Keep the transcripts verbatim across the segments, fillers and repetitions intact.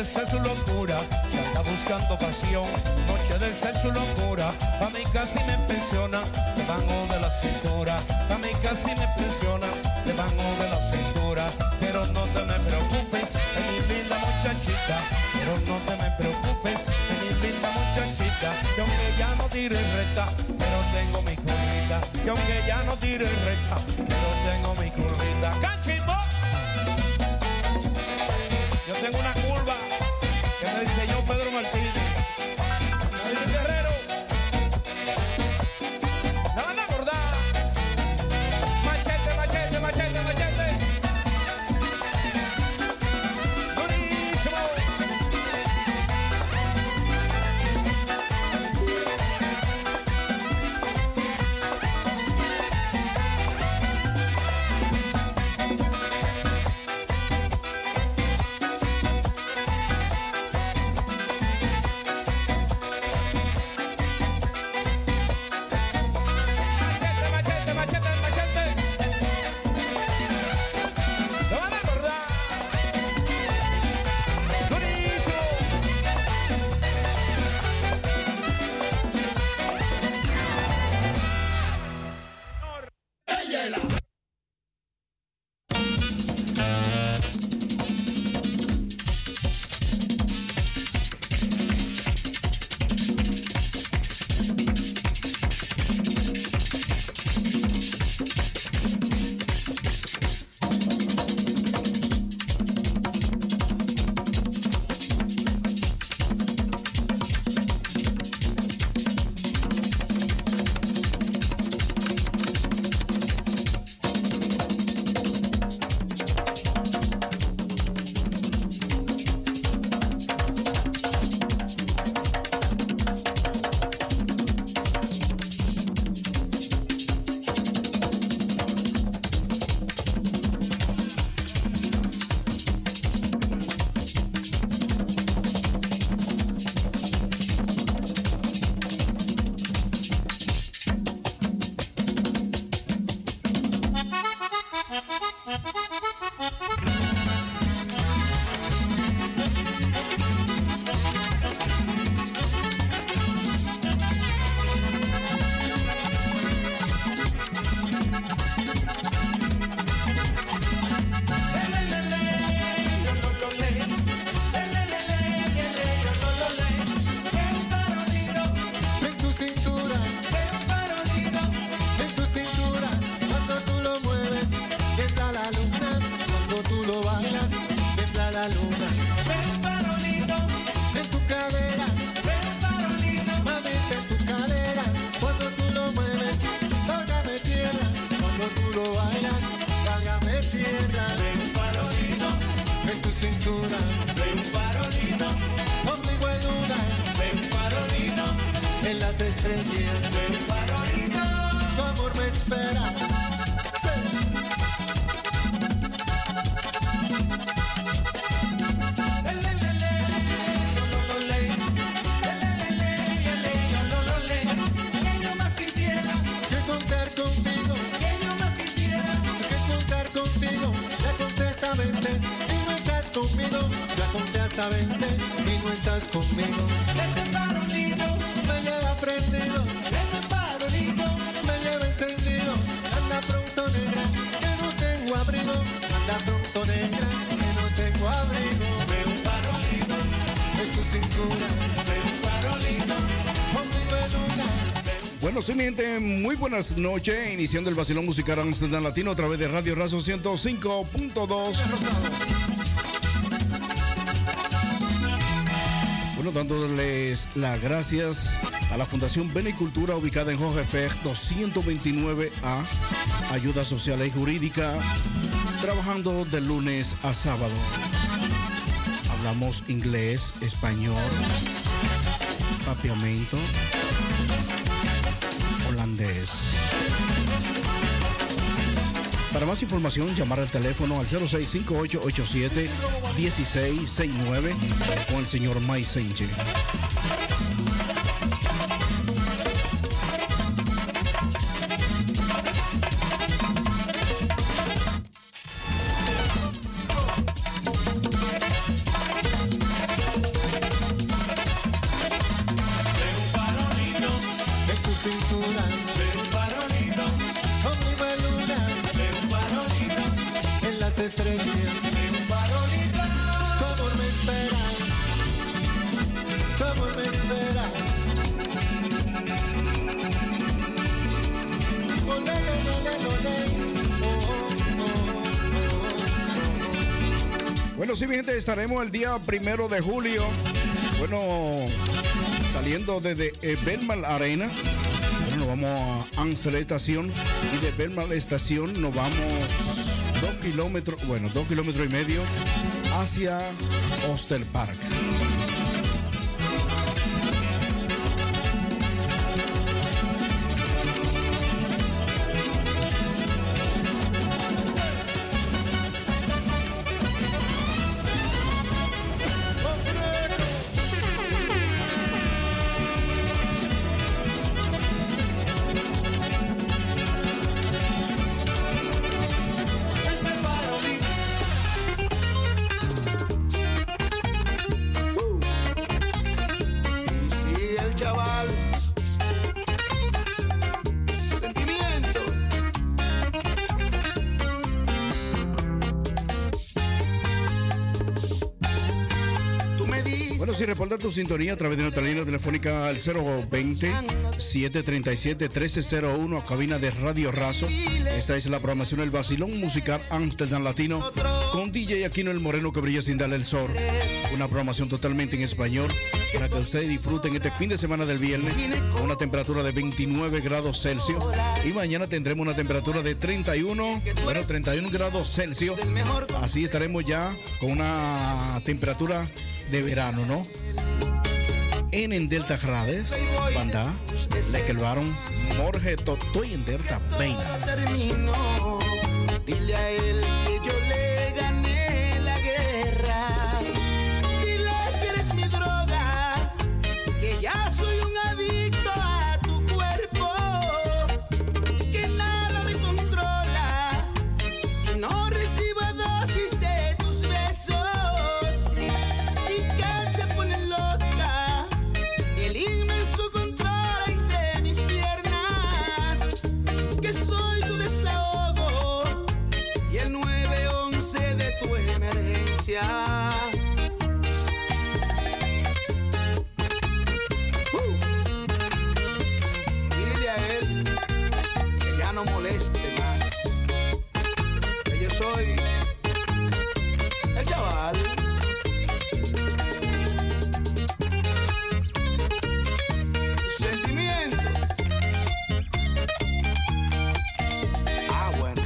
ser su locura, se anda buscando pasión. Noche de ser su locura, pa' mí casi me impresiona, debajo de la cintura. Pa' mí casi me impresiona, debajo de la cintura. Pero no te me preocupes, de mi linda muchachita. Pero no te me preocupes, de mi linda muchachita. Que aunque ya no tire recta, pero tengo mi currita. Que aunque ya no tire recta, pero tengo mi currita. ¡Cachimbo! Yo tengo una curva que me diseñó Pedro Martínez. David Guerrero. La van a acordar. Machete, machete, machete, machete. Durísimo. Bueno, sí, mi gente, muy buenas noches. Iniciando el vacilón musical Amsterdam Latino a través de Radio Razo ciento cinco punto dos. Bueno, dándoles las gracias a la Fundación Benicultura, ubicada en Jorge Fer doscientos veintinueve A, ayuda social y jurídica, trabajando de lunes a sábado. Hablamos inglés, español, papiamento, holandés. Para más información, llamar al teléfono al cero seis cinco ocho ocho siete uno seis seis nueve con el señor Mike Sánchez. sí, mi gente, estaremos el día primero de julio. Bueno, saliendo desde eh, Belmar Arena. Bueno, nos vamos a Amstel Estación. Y de Belmar Estación nos vamos dos kilómetros, bueno, dos kilómetros y medio hacia Hostel Park. Si reporta tu sintonía a través de nuestra línea telefónica al cero veinte, siete treinta y siete, trece cero uno, cabina de Radio Razo. Esta es la programación del Vacilón Musical Amsterdam Latino con D J Aquino el Moreno que brilla sin darle el sol. Una programación totalmente en español para que ustedes disfruten este fin de semana del viernes con una temperatura de veintinueve grados Celsius y mañana tendremos una temperatura de treinta y uno, bueno, treinta y uno grados Celsius. Así estaremos ya con una temperatura de verano, ¿no? En en Delta Grades, Banda, Lekelbaron, Morge, Totoy en Delta Peina. Dile a él que yo le gané la guerra. Dile que eres mi droga, que ya soy un adicto a tu cuerpo, que nada me controla si no recibo dosis de tus besos. Uh. Dile a él que ya no moleste más, que yo soy el chaval. Sentimiento. Ah, bueno.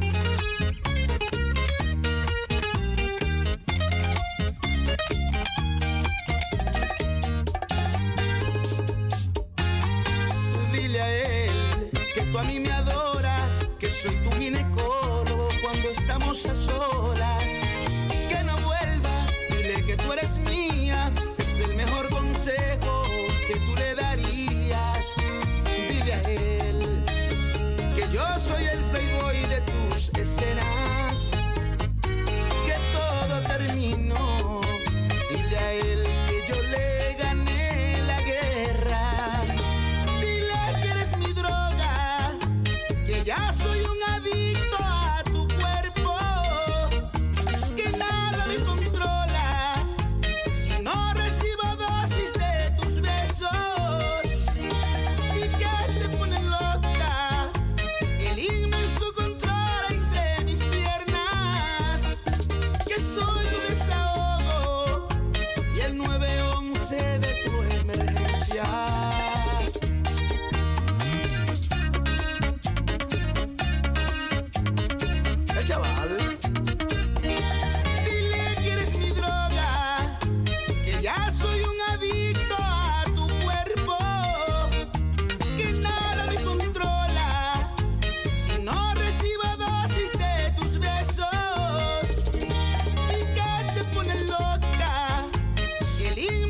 Tú a mí me adoras, que soy tu ginecólogo cuando estamos a solas. Que no vuelva, dile que tú eres mía, es el mejor consejo que tú le darías. Dile a él que yo soy el playboy de tus escenas, que todo terminó. Dile a él que yo le gané la guerra. Ya soy un adicto a tu cuerpo, que nada me controla si no recibo dosis de tus besos, y que te pone loca el inmenso control entre mis piernas, que soy tu desahogo y el nueve once de tu emergencia. Chaval, dile que eres mi droga, que ya soy un adicto a tu cuerpo, que nada me controla si no recibo dosis de tus besos, y que te pone loca el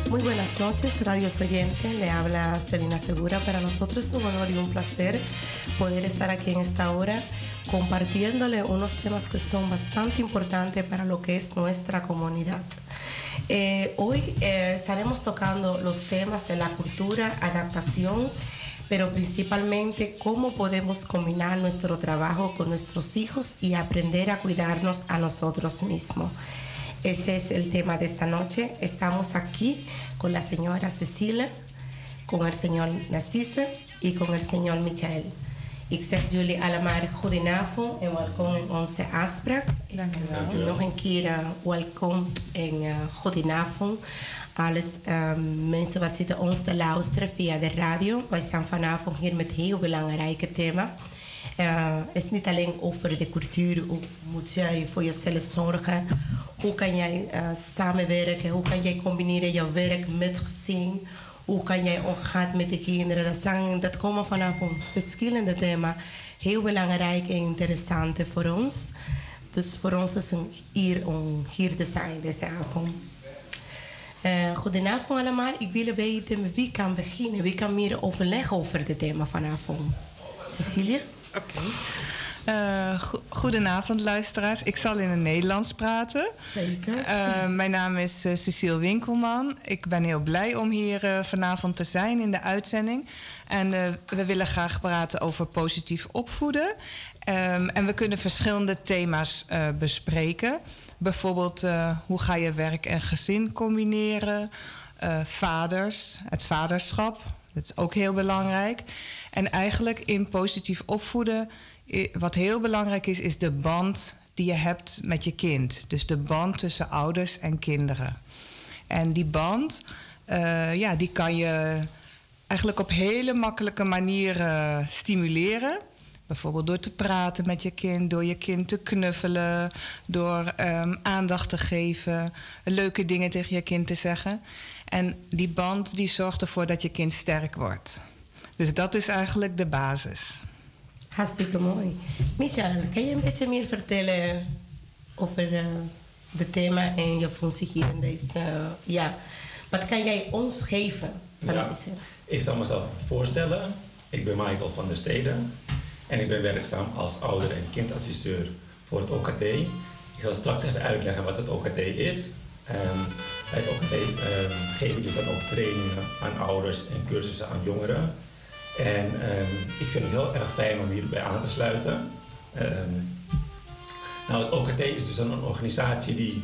Muy buenas noches, radios oyentes. Le habla Celina Segura. Para nosotros es un honor y un placer poder estar aquí en esta hora compartiéndole unos temas que son bastante importantes para lo que es nuestra comunidad. Eh, hoy eh, estaremos tocando los temas de la cultura, adaptación, pero principalmente cómo podemos combinar nuestro trabajo con nuestros hijos y aprender a cuidarnos a nosotros mismos. Ese es el tema de esta noche. Estamos aquí con la señora Cecilia, con el señor Narcisse y con el señor Michael. Ik zeg jullie allemaal goedenavond en welkom in onze afspraak. Nog een keer uh, welkom en uh, goedenavond. Alles um, mensen wat zitten ons te luisteren via de radio. Wij zijn vanavond hier met heel belangrijke thema. Uh, het is niet alleen over de cultuur. Hoe moet jij voor jezelf zorgen? Hoe kan jij uh, samenwerken? Hoe kan jij combineren jouw werk met gezin? Hoe kan jij omgaan met de kinderen? Dat, zijn, dat komen vanavond verschillende thema's. Heel belangrijk en interessant voor ons. Dus voor ons is het hier om hier te zijn deze avond. Uh, goedenavond allemaal. Ik wil weten wie kan beginnen. Wie kan meer overleggen over het thema vanavond? Cecilia? Oké. Okay. Uh, go- goedenavond luisteraars. Ik zal in het Nederlands praten. Zeker. Uh, mijn naam is uh, Cecile Winkelman. Ik ben heel blij om hier uh, vanavond te zijn in de uitzending. En uh, we willen graag praten over positief opvoeden. Um, en we kunnen verschillende thema's uh, bespreken. Bijvoorbeeld uh, hoe ga je werk en gezin combineren. Uh, vaders, het vaderschap. Dat is ook heel belangrijk. En eigenlijk in positief opvoeden, wat heel belangrijk is, is de band die je hebt met je kind. Dus de band tussen ouders en kinderen. En die band, uh, ja, die kan je eigenlijk op hele makkelijke manieren stimuleren. Bijvoorbeeld door te praten met je kind, door je kind te knuffelen, door um, aandacht te geven, leuke dingen tegen je kind te zeggen. En die band die zorgt ervoor dat je kind sterk wordt. Dus dat is eigenlijk de basis. Hartstikke mooi. Michael, kan je een beetje meer vertellen over uh, het thema en je functie hier in deze... Uh, ja, wat kan jij ons geven? Ja, ik zal mezelf voorstellen. Ik ben Michael van der Steden en ik ben werkzaam als ouder- en kindadviseur voor het O K T. Ik zal straks even uitleggen wat het O K T is. Um, bij het O K T um, geef ik dus dan ook trainingen aan ouders en cursussen aan jongeren. En um, ik vind het heel erg fijn om hierbij aan te sluiten. Um, nou, het O K T is dus een organisatie die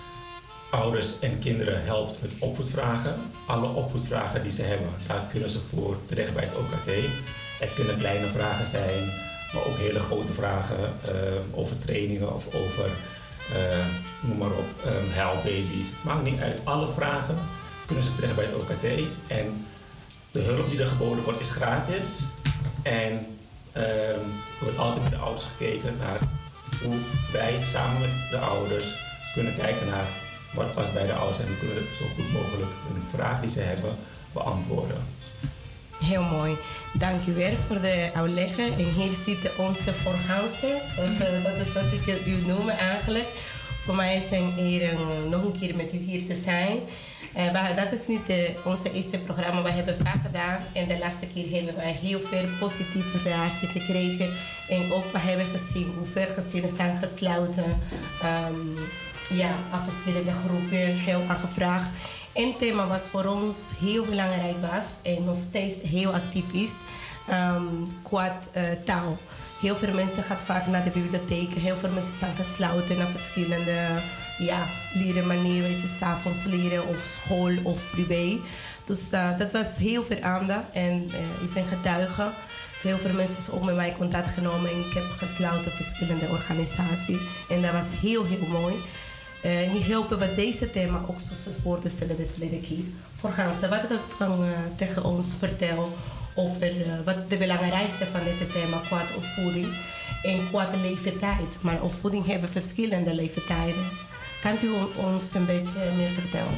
ouders en kinderen helpt met opvoedvragen. Alle opvoedvragen die ze hebben, daar kunnen ze voor terecht bij het O K T. Het kunnen kleine vragen zijn, maar ook hele grote vragen uh, over trainingen of over, uh, noem maar op, um, huilbaby's. Maakt niet uit, alle vragen kunnen ze terecht bij het O K T. En de hulp die er geboden wordt is gratis. En um, er wordt altijd met de ouders gekeken naar hoe wij samen met de ouders kunnen kijken naar wat past bij de ouders en hoe kunnen we zo goed mogelijk een vraag die ze hebben beantwoorden. Heel mooi. Dank u wel voor de uitleg. En hier zit onze voorgangster. Dat is wat ik u noem eigenlijk. Voor mij is het hier uh, nog een keer met u hier te zijn. Uh, maar dat is niet de, onze eerste programma. We hebben vaak gedaan. En de laatste keer hebben wij heel veel positieve reacties gekregen. En ook we hebben gezien hoe veel gezinnen zijn gesloten. Um, ja, aan verschillende groepen heel aangevraagd. Een thema was voor ons heel belangrijk was en nog steeds heel actief is, um, qua uh, taal. Heel veel mensen gaan vaak naar de bibliotheek, heel veel mensen zijn gesloten naar verschillende ja, leren manieren, weet je, 's avonds leren of school of privé. Dus uh, dat was heel veel aandacht en uh, ik ben getuige. Heel veel mensen hebben ook met mij contact genomen en ik heb gesloten verschillende organisaties en dat was heel heel mooi. Uh, niet helpen wat deze thema ook zoals woorden stellen de verleden keer. Voorgaande, wat ik kan uh, tegen ons vertellen over uh, wat de belangrijkste van deze thema qua opvoeding en qua de leeftijd. Maar opvoeding hebben verschillende leeftijden. Kan u ons een beetje meer vertellen?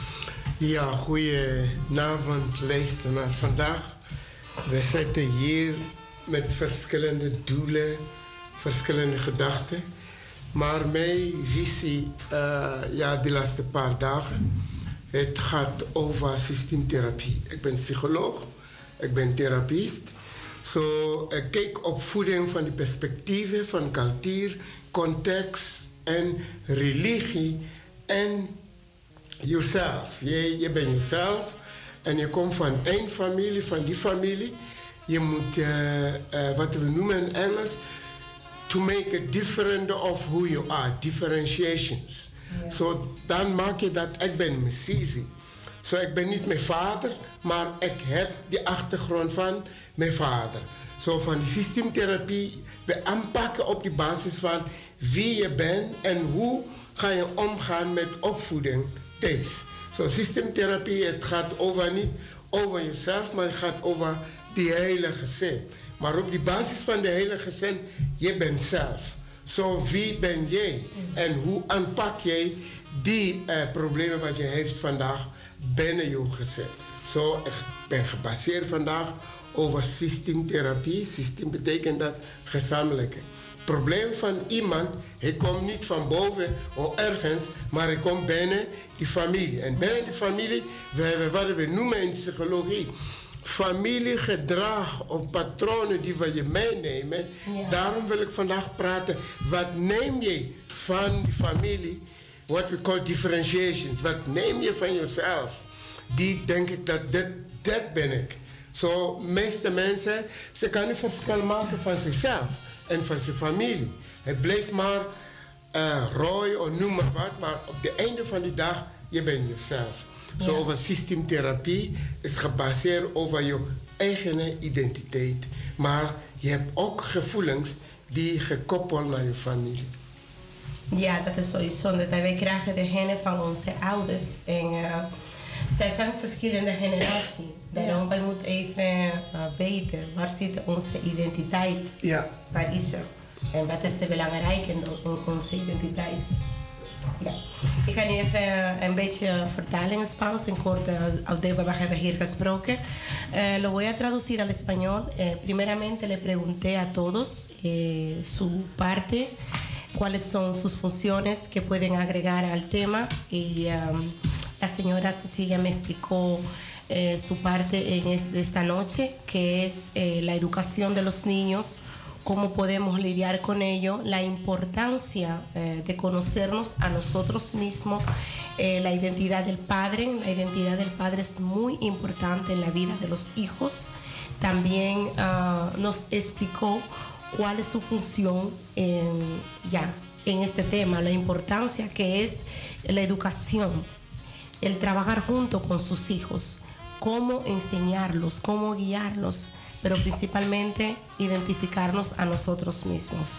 Ja, goedenavond luisteraar. Vandaag we zitten hier met verschillende doelen, verschillende gedachten. Maar mijn visie, uh, ja, die laatste paar dagen, Het gaat over systeemtherapie. Ik ben psycholoog, ik ben therapeut. So, ik kijk op voeding van de perspectieven van cultuur, context en religie en jezelf. Je, je bent jezelf en je komt van één familie, van die familie. Je moet, uh, uh, wat we noemen in Engels, to make it different of who you are, differentiations. Ja. So, dan maak je dat, ik ben mijn Sisi. So, ik ben niet mijn vader, maar ik heb die achtergrond van mijn vader. Zo van die systeemtherapie, we aanpakken op die basis van wie je bent en hoe ga je omgaan met opvoeding deze. Zo, systeemtherapie, het gaat over niet over jezelf, maar het gaat over die hele gezin. Maar op die basis van de hele gezin, je bent zelf. Zo, wie ben jij? En hoe aanpak jij die uh, problemen wat je heeft vandaag binnen je gezin? Zo, ik ben gebaseerd vandaag over systeemtherapie. Systeem betekent dat gezamenlijke. Het probleem van iemand, hij komt niet van boven of ergens, maar hij komt binnen die familie. En binnen die familie, we hebben wat we noemen in psychologie, familiegedrag of patronen die we je meenemen. Ja. Daarom wil ik vandaag praten, wat neem je van die familie, wat we call differentiations. Wat neem je van jezelf? Die denk ik dat dit, dit ben ik. Zo, de meeste mensen, ze kunnen niet verschil maken van zichzelf en van zijn familie. Het blijft maar uh, rooi of noem maar wat, maar op het einde van de dag, je bent jezelf. Zo, ja. Over systeemtherapie is gebaseerd over je eigen identiteit. Maar je hebt ook gevoelens die gekoppeld naar je familie. Ja, dat is sowieso. Dat wij krijgen de genen van onze ouders. En uh, zij zijn verschillende generaties. Daarom ja. Moeten we even uh, weten waar zit onze identiteit. Ja. Waar is er? En wat is de belangrijke in onze identiteit? Ja. Ik ga nu even een beetje vertalen en Spaans, en kort al de wat we hebben hier gesproken. Eh, lo voy a traducir al español. Eh, primeramente le pregunté a todos eh, su parte, cuáles son sus funciones que pueden agregar al tema, y um, la señora Cecilia me explicó eh, su parte en es, de esta noche, que es eh, la educación de los niños, cómo podemos lidiar con ello, la importancia eh, de conocernos a nosotros mismos, eh, la identidad del padre. La identidad del padre es muy importante en la vida de los hijos. También uh, nos explicó cuál es su función en, ya, en este tema, la importancia que es la educación, el trabajar junto con sus hijos, cómo enseñarlos, cómo guiarlos, pero principalmente identificarnos a nosotros mismos.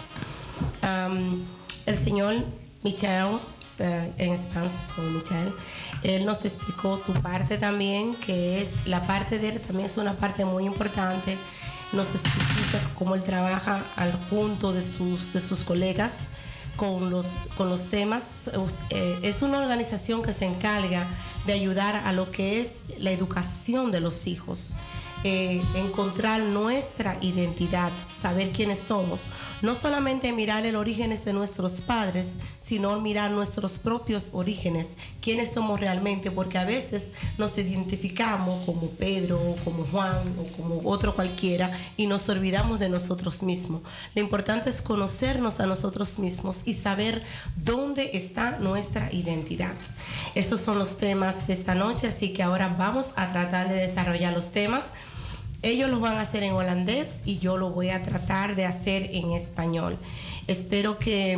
Um, el señor Michael, en español es Michael, él nos explicó su parte también, que es la parte de él, también es una parte muy importante. Nos especifica cómo él trabaja al junto de sus, de sus colegas con los, con los temas. Eh, es una organización que se encarga de ayudar a lo que es la educación de los hijos. Eh, encontrar nuestra identidad, saber quiénes somos, no solamente mirar el origen de nuestros padres, sino mirar nuestros propios orígenes, quiénes somos realmente, porque a veces nos identificamos como Pedro, como Juan o como otro cualquiera y nos olvidamos de nosotros mismos. Lo importante es conocernos a nosotros mismos y saber dónde está nuestra identidad. Esos son los temas de esta noche, así que ahora vamos a tratar de desarrollar los temas. Ellos lo van a hacer en holandés y yo lo voy a tratar de hacer en español. Espero que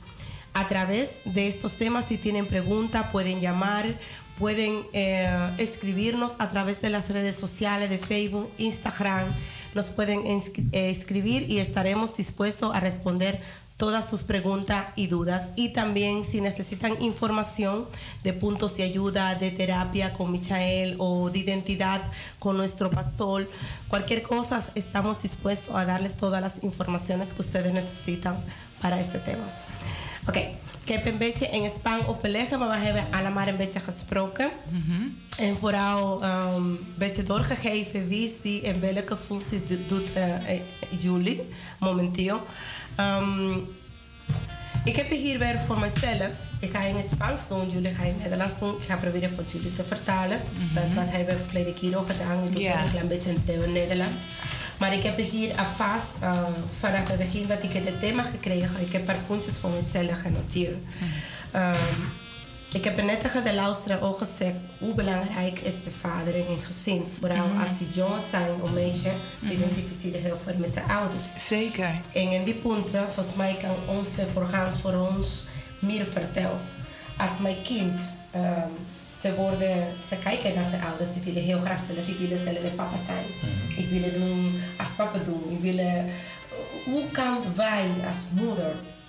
a través de estos temas, si tienen preguntas, pueden llamar, pueden eh, escribirnos a través de las redes sociales de Facebook, Instagram. Nos pueden eh, escribir y estaremos dispuestos a responder todas sus preguntas y dudas. Y también si necesitan información de puntos de ayuda, de terapia con Michael o de identidad con nuestro pastor, cualquier cosa, estamos dispuestos a darles todas las informaciones que ustedes necesitan para este tema. Oké, okay. Ik heb een beetje in Spaans overleggen, maar we hebben allemaal een beetje gesproken. Mm-hmm. En vooral een um, beetje doorgegeven wie is wie en welke functie doet uh, jullie momenteel. Um, Ik heb hier weer voor mezelf. Ik ga in het Spaans doen, jullie gaan in het Nederlands doen. Ik ga proberen voor jullie te vertalen. Mm-hmm. Dat wat hebben we verleden keer ook gedaan. Ik doe yeah. een klein beetje in het Nederlands. Maar ik heb hier alvast, uh, vanaf het begin dat ik het thema gekregen, ik heb een paar puntjes voor mezelf genoteerd. Mm-hmm. Um, ik heb net tegen de luisteraar ook gezegd hoe belangrijk is de vader in een gezin. Vooral mm-hmm. als ze jong zijn, een meisje, die mm-hmm. identificeren heel veel met zijn ouders. Zeker. En in die punten, volgens mij kan onze orgaans voor ons meer vertellen. Als mijn kind, um, ze, worden, ze kijken naar zijn ouders, ze willen heel graag zelf, ik wil zelf de papa zijn. Mm-hmm. Ik wil het doen als papa doen. Ik wil, uh, hoe kan wij als moeder...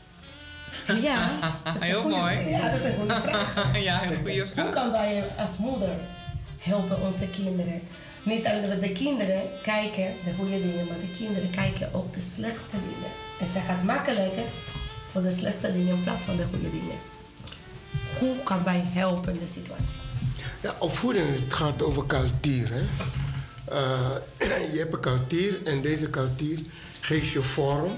Ja, dat is heel goede, mooi. Ja, dat is een goede vraag. Ja, heel goede vraag. Hoe kan wij als moeder helpen onze kinderen? Niet alleen dat de kinderen kijken de goede dingen, maar de kinderen kijken ook de slechte dingen. En ze gaat makkelijker voor de slechte dingen in plaats van de goede dingen. Hoe kan wij helpen in de situatie? Ja, opvoeding, het gaat over cultuur. Hè? Uh, je hebt een cultuur en deze cultuur geeft je vorm,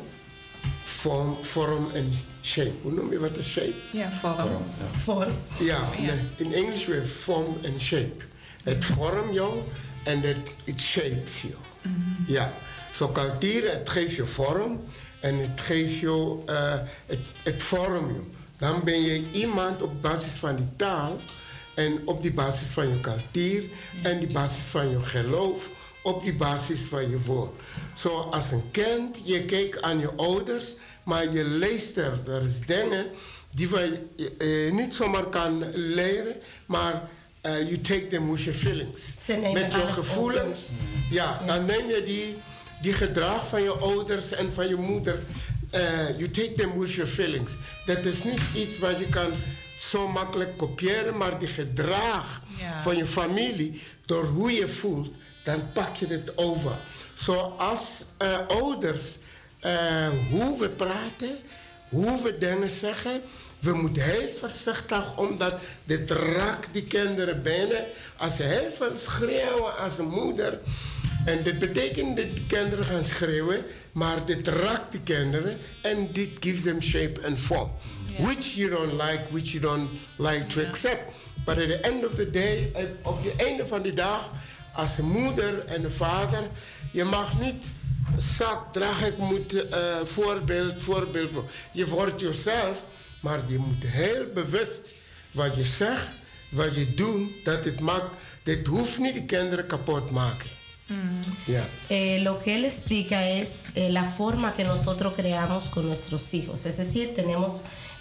vorm, vorm en shape. Hoe noem je wat een shape? Ja, vorm. Vorm. Ja, vorm. Ja, ja. Nee, in Engels we have form en shape. Het vormt jou en het it shapes you. Mm-hmm. Ja, zo so, cultuur, het geeft je vorm en het geeft je, uh, het, het vormt je. Dan ben je iemand op basis van die taal en op die basis van je cultuur en die basis van je geloof, op die basis van je woord. Zo so, als een kind, je kijkt aan je ouders, maar je leest er, er is dingen die je uh, niet zomaar kan leren, maar uh, you take them with your feelings. Met je gevoelens. Ja, ja, dan neem je die, die gedrag van je ouders en van je moeder. Uh, you take them with your feelings. Dat is niet iets wat je kan zo makkelijk kopiëren, maar die gedrag ja. van je familie, door hoe je voelt, dan pak je het over. Zoals uh, ouders, uh, hoe we praten, hoe we dingen zeggen, we moeten heel voorzichtig, omdat dit raakt die kinderen binnen. Als ze heel veel schreeuwen als een moeder, en dit betekent dat de kinderen gaan schreeuwen, maar dit raakt die kinderen en dit gives them shape and form. Yeah. Which you don't like, which you don't like to yeah. accept. But at the end of the day, op het einde van de dag, als een moeder en een vader, je mag niet zak dragen, ik moet uh, voorbeeld, voorbeeld. Je wordt jezelf, maar je moet heel bewust wat je zegt, wat je doet, dat het maakt, dit hoeft niet de kinderen kapot maken. Mm. Yeah. Eh, lo que él explica es eh, la forma que nosotros creamos con nuestros hijos. Es decir, tenemos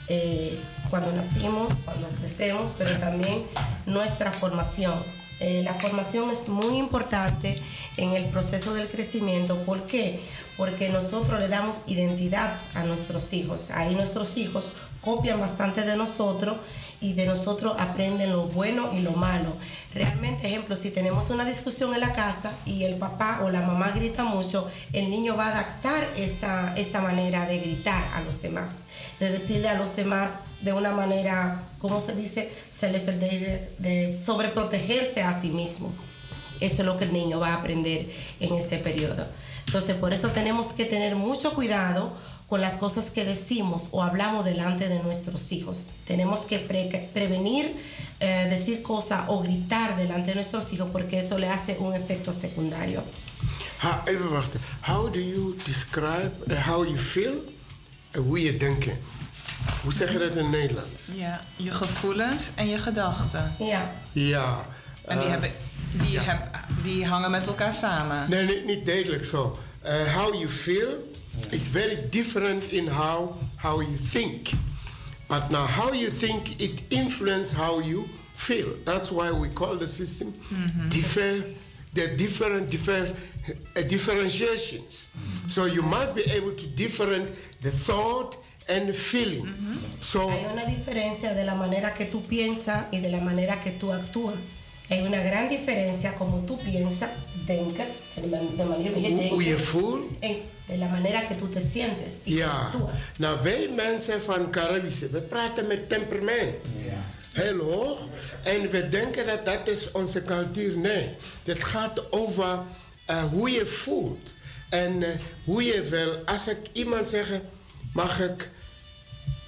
eh, cuando nacimos, cuando crecemos, pero también nuestra formación. Eh, la formación es muy importante en el proceso del crecimiento. ¿Por qué? Porque nosotros le damos identidad a nuestros hijos. Ahí nuestros hijos copian bastante de nosotros y de nosotros aprenden lo bueno y lo malo. Realmente, ejemplo, si tenemos una discusión en la casa y el papá o la mamá grita mucho, el niño va a adaptar esta, esta manera de gritar a los demás, de decirle a los demás de una manera, ¿cómo se dice? Se le de, de sobreprotegerse a sí mismo. Eso es lo que el niño va a aprender en este periodo. Entonces, por eso tenemos que tener mucho cuidado con las cosas que decimos o hablamos delante de nuestros hijos. Tenemos que pre prevenir eh, decir cosas o gritar delante de nuestros hijos, porque eso le hace un efecto secundario. Ha, even wachten. How do you describe uh, how you feel en hoe je denkt? Hoe zeg je dat in Nederlands? Ja, je gevoelens en je gedachten. Ja. Ja. En die, uh, hebben, die, ja. heb, die hangen met elkaar samen. Nee, niet, niet duidelijk zo. Uh, how you feel is very different in how, how you think. But now how you think, it influences how you feel. That's why we call the system mm-hmm. differ, the different, different uh, differentiations. Mm-hmm. So you must be able to differentiate the thought and the feeling. Mm-hmm. So, hay una diferencia de la manera que tú piensas y de la manera que tú actúas. Hay una gran diferencia como tú piensas, denken, de manera que denken, hoe je voelt, de la manera que tú te sientes y ja. actúas. Nou, wij mensen van Caribische, we praten met temperament. Ja. Heel hoog. En we denken dat dat is onze cultuur. Nee, het gaat over uh, hoe je voelt. En uh, hoe je wil. Als ik iemand zeg, mag ik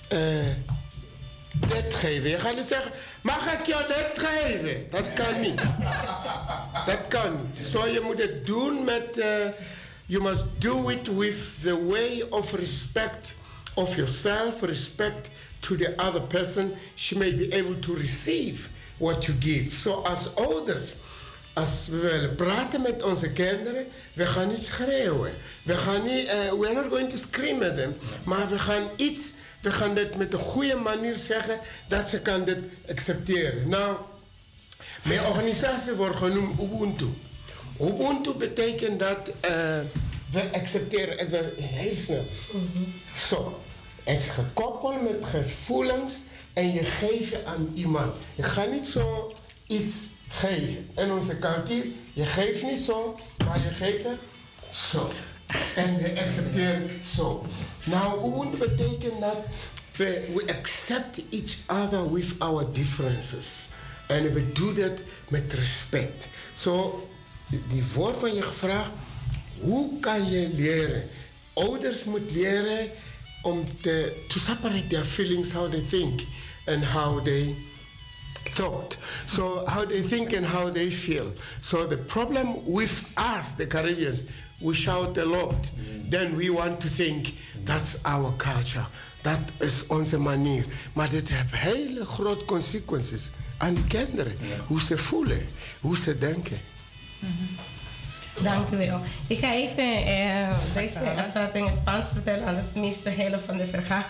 uh, dit geven. Je gaat niet zeggen, mag ik jou dit geven? Dat kan niet. Dat kan niet. Zo, je moet het doen met... Uh, you must do it with the way of respect of yourself, respect to the other person. She may be able to receive what you give. So als ouders, als we willen praten met onze kinderen, we gaan niet schreeuwen. We gaan niet, uh, we're not going to scream at them. Maar we gaan iets, we gaan dit met een goede manier zeggen, dat ze kan dit accepteren. Nou, mijn organisatie wordt genoemd Ubuntu. Ubuntu betekent dat uh, we accepteren, en we heel snel. Mm-hmm. Zo, het is gekoppeld met gevoelens en je geeft aan iemand. Je gaat niet zo iets geven. In onze cultuur, je geeft niet zo, maar je geeft zo. En we accepteren zo. Nou, Ubuntu betekent dat we, we accept each other with our differences. En we doen dat met respect. Zo, die woord van je gevraagd, hoe kan je leren? Ouders moeten leren om te to separate their feelings, how they think and how they thought. So how they think and how they feel. So the problem with us, the Caribbeans, we shout a lot. Then we want to think that's our culture. Dat is onze manier. Maar dit heeft hele grote consequenties aan de kinderen. Ja. Hoe ze voelen, hoe ze denken. Mm-hmm. Dank u wel. Ik ga even eh, deze even in Spaans vertellen, anders mist de hele van de verhaal.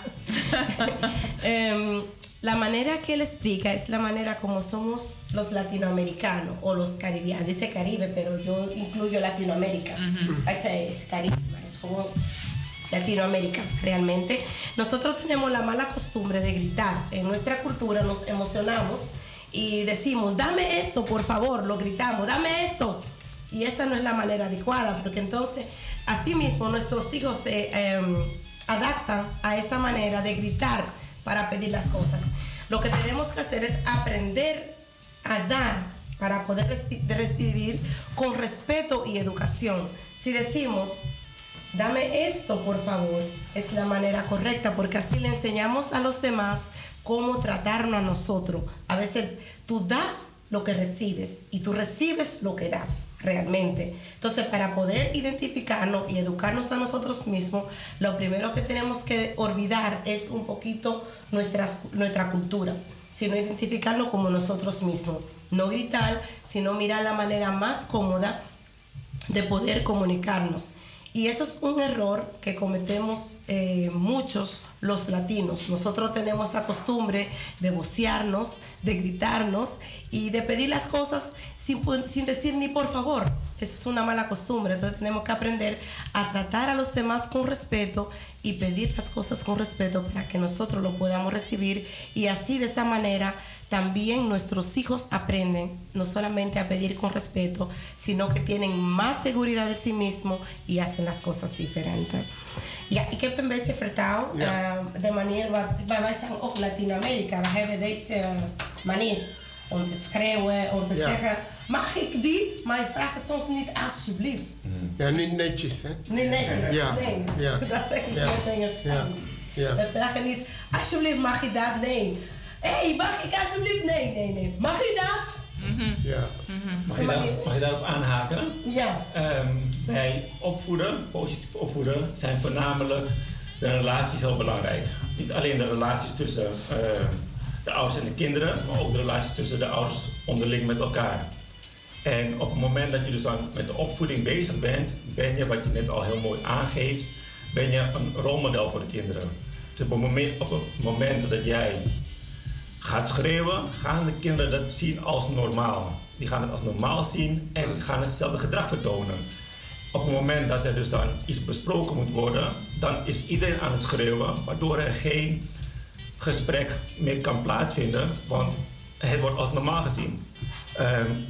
um, la manera que él explica es la manera como somos los latinoamericanos o los caribeanos. Dice Caribe, pero yo incluyo Latinoamérica. Mm-hmm. Ese es Caribe, es como Latinoamérica realmente. Nosotros tenemos la mala costumbre de gritar. En nuestra cultura nos emocionamos y decimos, dame esto, por favor, lo gritamos, dame esto. Y esta no es la manera adecuada, porque entonces, así mismo, nuestros hijos se eh, adaptan a esa manera de gritar para pedir las cosas. Lo que tenemos que hacer es aprender a dar para poder recibir con respeto y educación. Si decimos, dame esto, por favor, es la manera correcta, porque así le enseñamos a los demás cómo tratarnos a nosotros. A veces tú das lo que recibes y tú recibes lo que das realmente. Entonces, para poder identificarnos y educarnos a nosotros mismos, lo primero que tenemos que olvidar es un poquito nuestra, nuestra cultura, sino identificarnos como nosotros mismos. No gritar, sino mirar la manera más cómoda de poder comunicarnos. Y eso es un error que cometemos eh, muchos los latinos. Nosotros tenemos la costumbre de vocearnos, de gritarnos y de pedir las cosas sin, sin decir ni por favor. Esa es una mala costumbre. Entonces tenemos que aprender a tratar a los demás con respeto y pedir las cosas con respeto para que nosotros lo podamos recibir. Y así, de esa manera, también nuestros hijos aprenden no solamente a pedir con respeto, sino que tienen más seguridad de sí mismos y hacen las cosas diferentes. Ja, ik heb een beetje vertaald. Ja. Uh, de manier wat wij zijn ook Latijns-Amerika. We hebben deze manier om te schreeuwen, om te ja. zeggen, mag ik dit? Maar je vraagt het soms niet alsjeblieft. Mm. Ja, niet netjes, hè? Niet netjes, ja. nee. Ja. Dat zeg ik ja. net in het ja. ja. We vragen niet, alsjeblieft mag je dat? Nee. Hé, hey, mag ik alsjeblieft? Nee, nee, nee. Mag je dat? Mm-hmm. Ja. Mm-hmm. Mag, je daar, mag je daarop aanhaken? Ja. Um, bij opvoeden, positief opvoeden, zijn voornamelijk de relaties heel belangrijk. Niet alleen de relaties tussen uh, de ouders en de kinderen, maar ook de relaties tussen de ouders onderling met elkaar. En op het moment dat je dus dan met de opvoeding bezig bent, ben je, wat je net al heel mooi aangeeft, ben je een rolmodel voor de kinderen. Dus op het moment, op het moment dat jij gaat schreeuwen, gaan de kinderen dat zien als normaal. Die gaan het als normaal zien en gaan hetzelfde gedrag vertonen. Op het moment dat er dus dan iets besproken moet worden, dan is iedereen aan het schreeuwen, waardoor er geen gesprek meer kan plaatsvinden, want het wordt als normaal gezien. Um,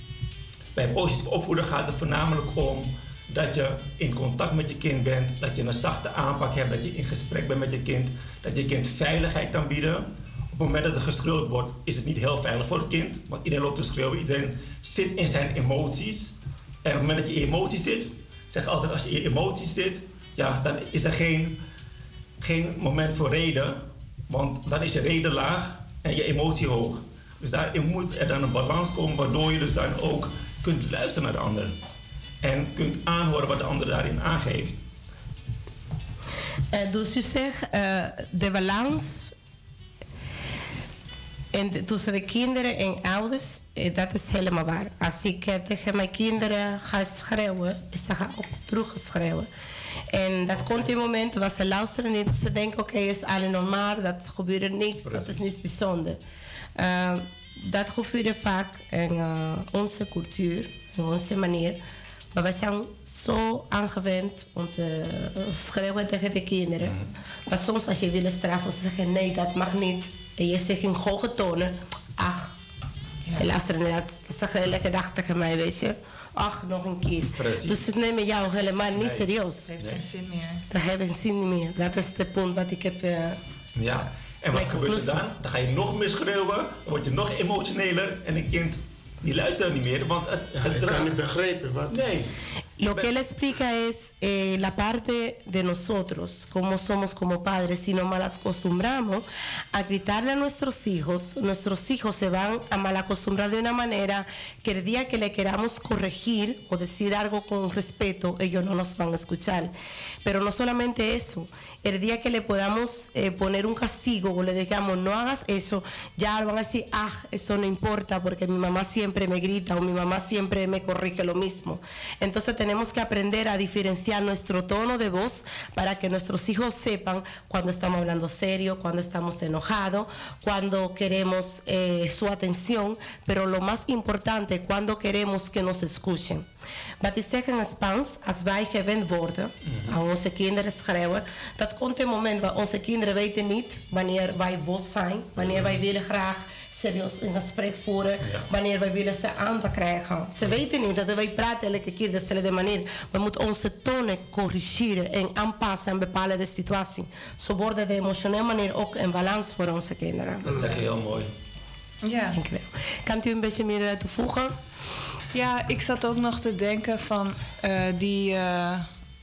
bij positief opvoeden gaat het voornamelijk om dat je in contact met je kind bent, dat je een zachte aanpak hebt, dat je in gesprek bent met je kind, dat je kind veiligheid kan bieden. Op het moment dat er geschreeuwd wordt, is het niet heel veilig voor het kind, want iedereen loopt te schreeuwen, iedereen zit in zijn emoties. En op het moment dat je in emoties zit, zeg ik altijd, als je in emoties zit, ja, dan is er geen, geen moment voor reden Want dan is je reden laag en je emotie hoog. Dus daarin moet er dan een balans komen waardoor je dus dan ook kunt luisteren naar de ander. En kunt aanhoren wat de ander daarin aangeeft. Uh, dus u zegt uh, de balans en de, tussen de kinderen en ouders, uh, dat is helemaal waar. Als ik uh, tegen mijn kinderen ga schreeuwen, ze gaan ook terug schreeuwen. En dat komt in momenten waar ze luisteren niet. Ze denken, oké, okay, is alles normaal, dat gebeurt niks, dat is niets bijzonders. Uh, dat gebeurt vaak in uh, onze cultuur, in onze manier. Maar we zijn zo aangewend om te schreeuwen tegen de kinderen. Mm. Maar soms als je wil straffen, ze zeggen nee, dat mag niet. En je zegt in hoge tonen, ach, ja. Ze luisteren niet. Ze zeggen elke dag tegen mij, weet je. Ach, nog een keer. Precies. Dus ze nemen jou helemaal niet nee. serieus. Dat heeft geen zin meer. Dat heeft geen zin meer. Dat is het punt wat ik heb... Uh, ja, en wat gebeurt er dan? Dan ga je nog meer schreeuwen, dan word je nog emotioneler en een kind... Die luisteren niet meer, want het ja, ik kan niet begrijpen wat. Nee. Lo que él explica es eh, la parte de nosotros, como somos como padres, si nos mal acostumbramos a gritarle a nuestros hijos, nuestros hijos se van a mal acostumbrar de una manera que el día que le queramos corregir o decir algo con respeto, ellos no nos van a escuchar. Pero no solamente eso, el día que le podamos eh, poner un castigo o le digamos no hagas eso, ya van a decir, ah, eso no importa porque mi mamá siempre me grita o mi mamá siempre me corrige lo mismo. Entonces tenemos que aprender a diferenciar nuestro tono de voz para que nuestros hijos sepan cuando estamos hablando serio, cuando estamos enojados, cuando queremos eh, su atención, pero lo más importante, cuando queremos que nos escuchen. Wat ik zeg in het Spaans, als wij gewend worden aan onze kinderen schreeuwen, dat komt een moment waar onze kinderen weten niet wanneer wij boos zijn, wanneer wij willen graag serieus een gesprek voeren, ja. wanneer wij willen ze aandacht krijgen. Ze weten niet dat wij praten elke keer dezelfde manier. We moeten onze tonen corrigeren en aanpassen aan bepaalde situaties. Zo wordt de emotionele manier ook een balans voor onze kinderen. Dat zeg je heel mooi. Ja. Dank u wel. Kan u een beetje meer toevoegen? Ja, ik zat ook nog te denken van uh, die, uh,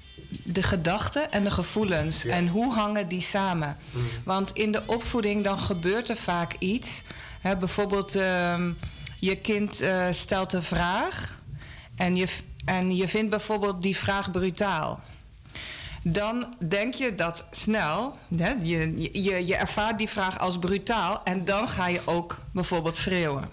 de gedachten en de gevoelens. Ja. En hoe hangen die samen? Mm. Want in de opvoeding dan gebeurt er vaak iets. Hè, bijvoorbeeld uh, je kind uh, stelt een vraag en je, en je vindt bijvoorbeeld die vraag brutaal. Dan denk je dat snel, hè, je, je, je ervaart die vraag als brutaal en dan ga je ook bijvoorbeeld schreeuwen.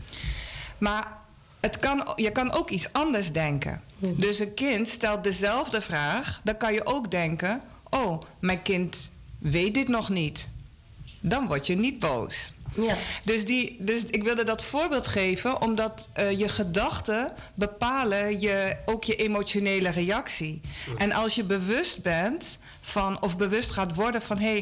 Maar het kan, je kan ook iets anders denken. Ja. Dus een kind stelt dezelfde vraag, dan kan je ook denken, oh, mijn kind weet dit nog niet. Dan word je niet boos. Ja. Dus, die, dus ik wilde dat voorbeeld geven, omdat uh, je gedachten bepalen je, ook je emotionele reactie. Ja. En als je bewust bent van, of bewust gaat worden van, hé, hey,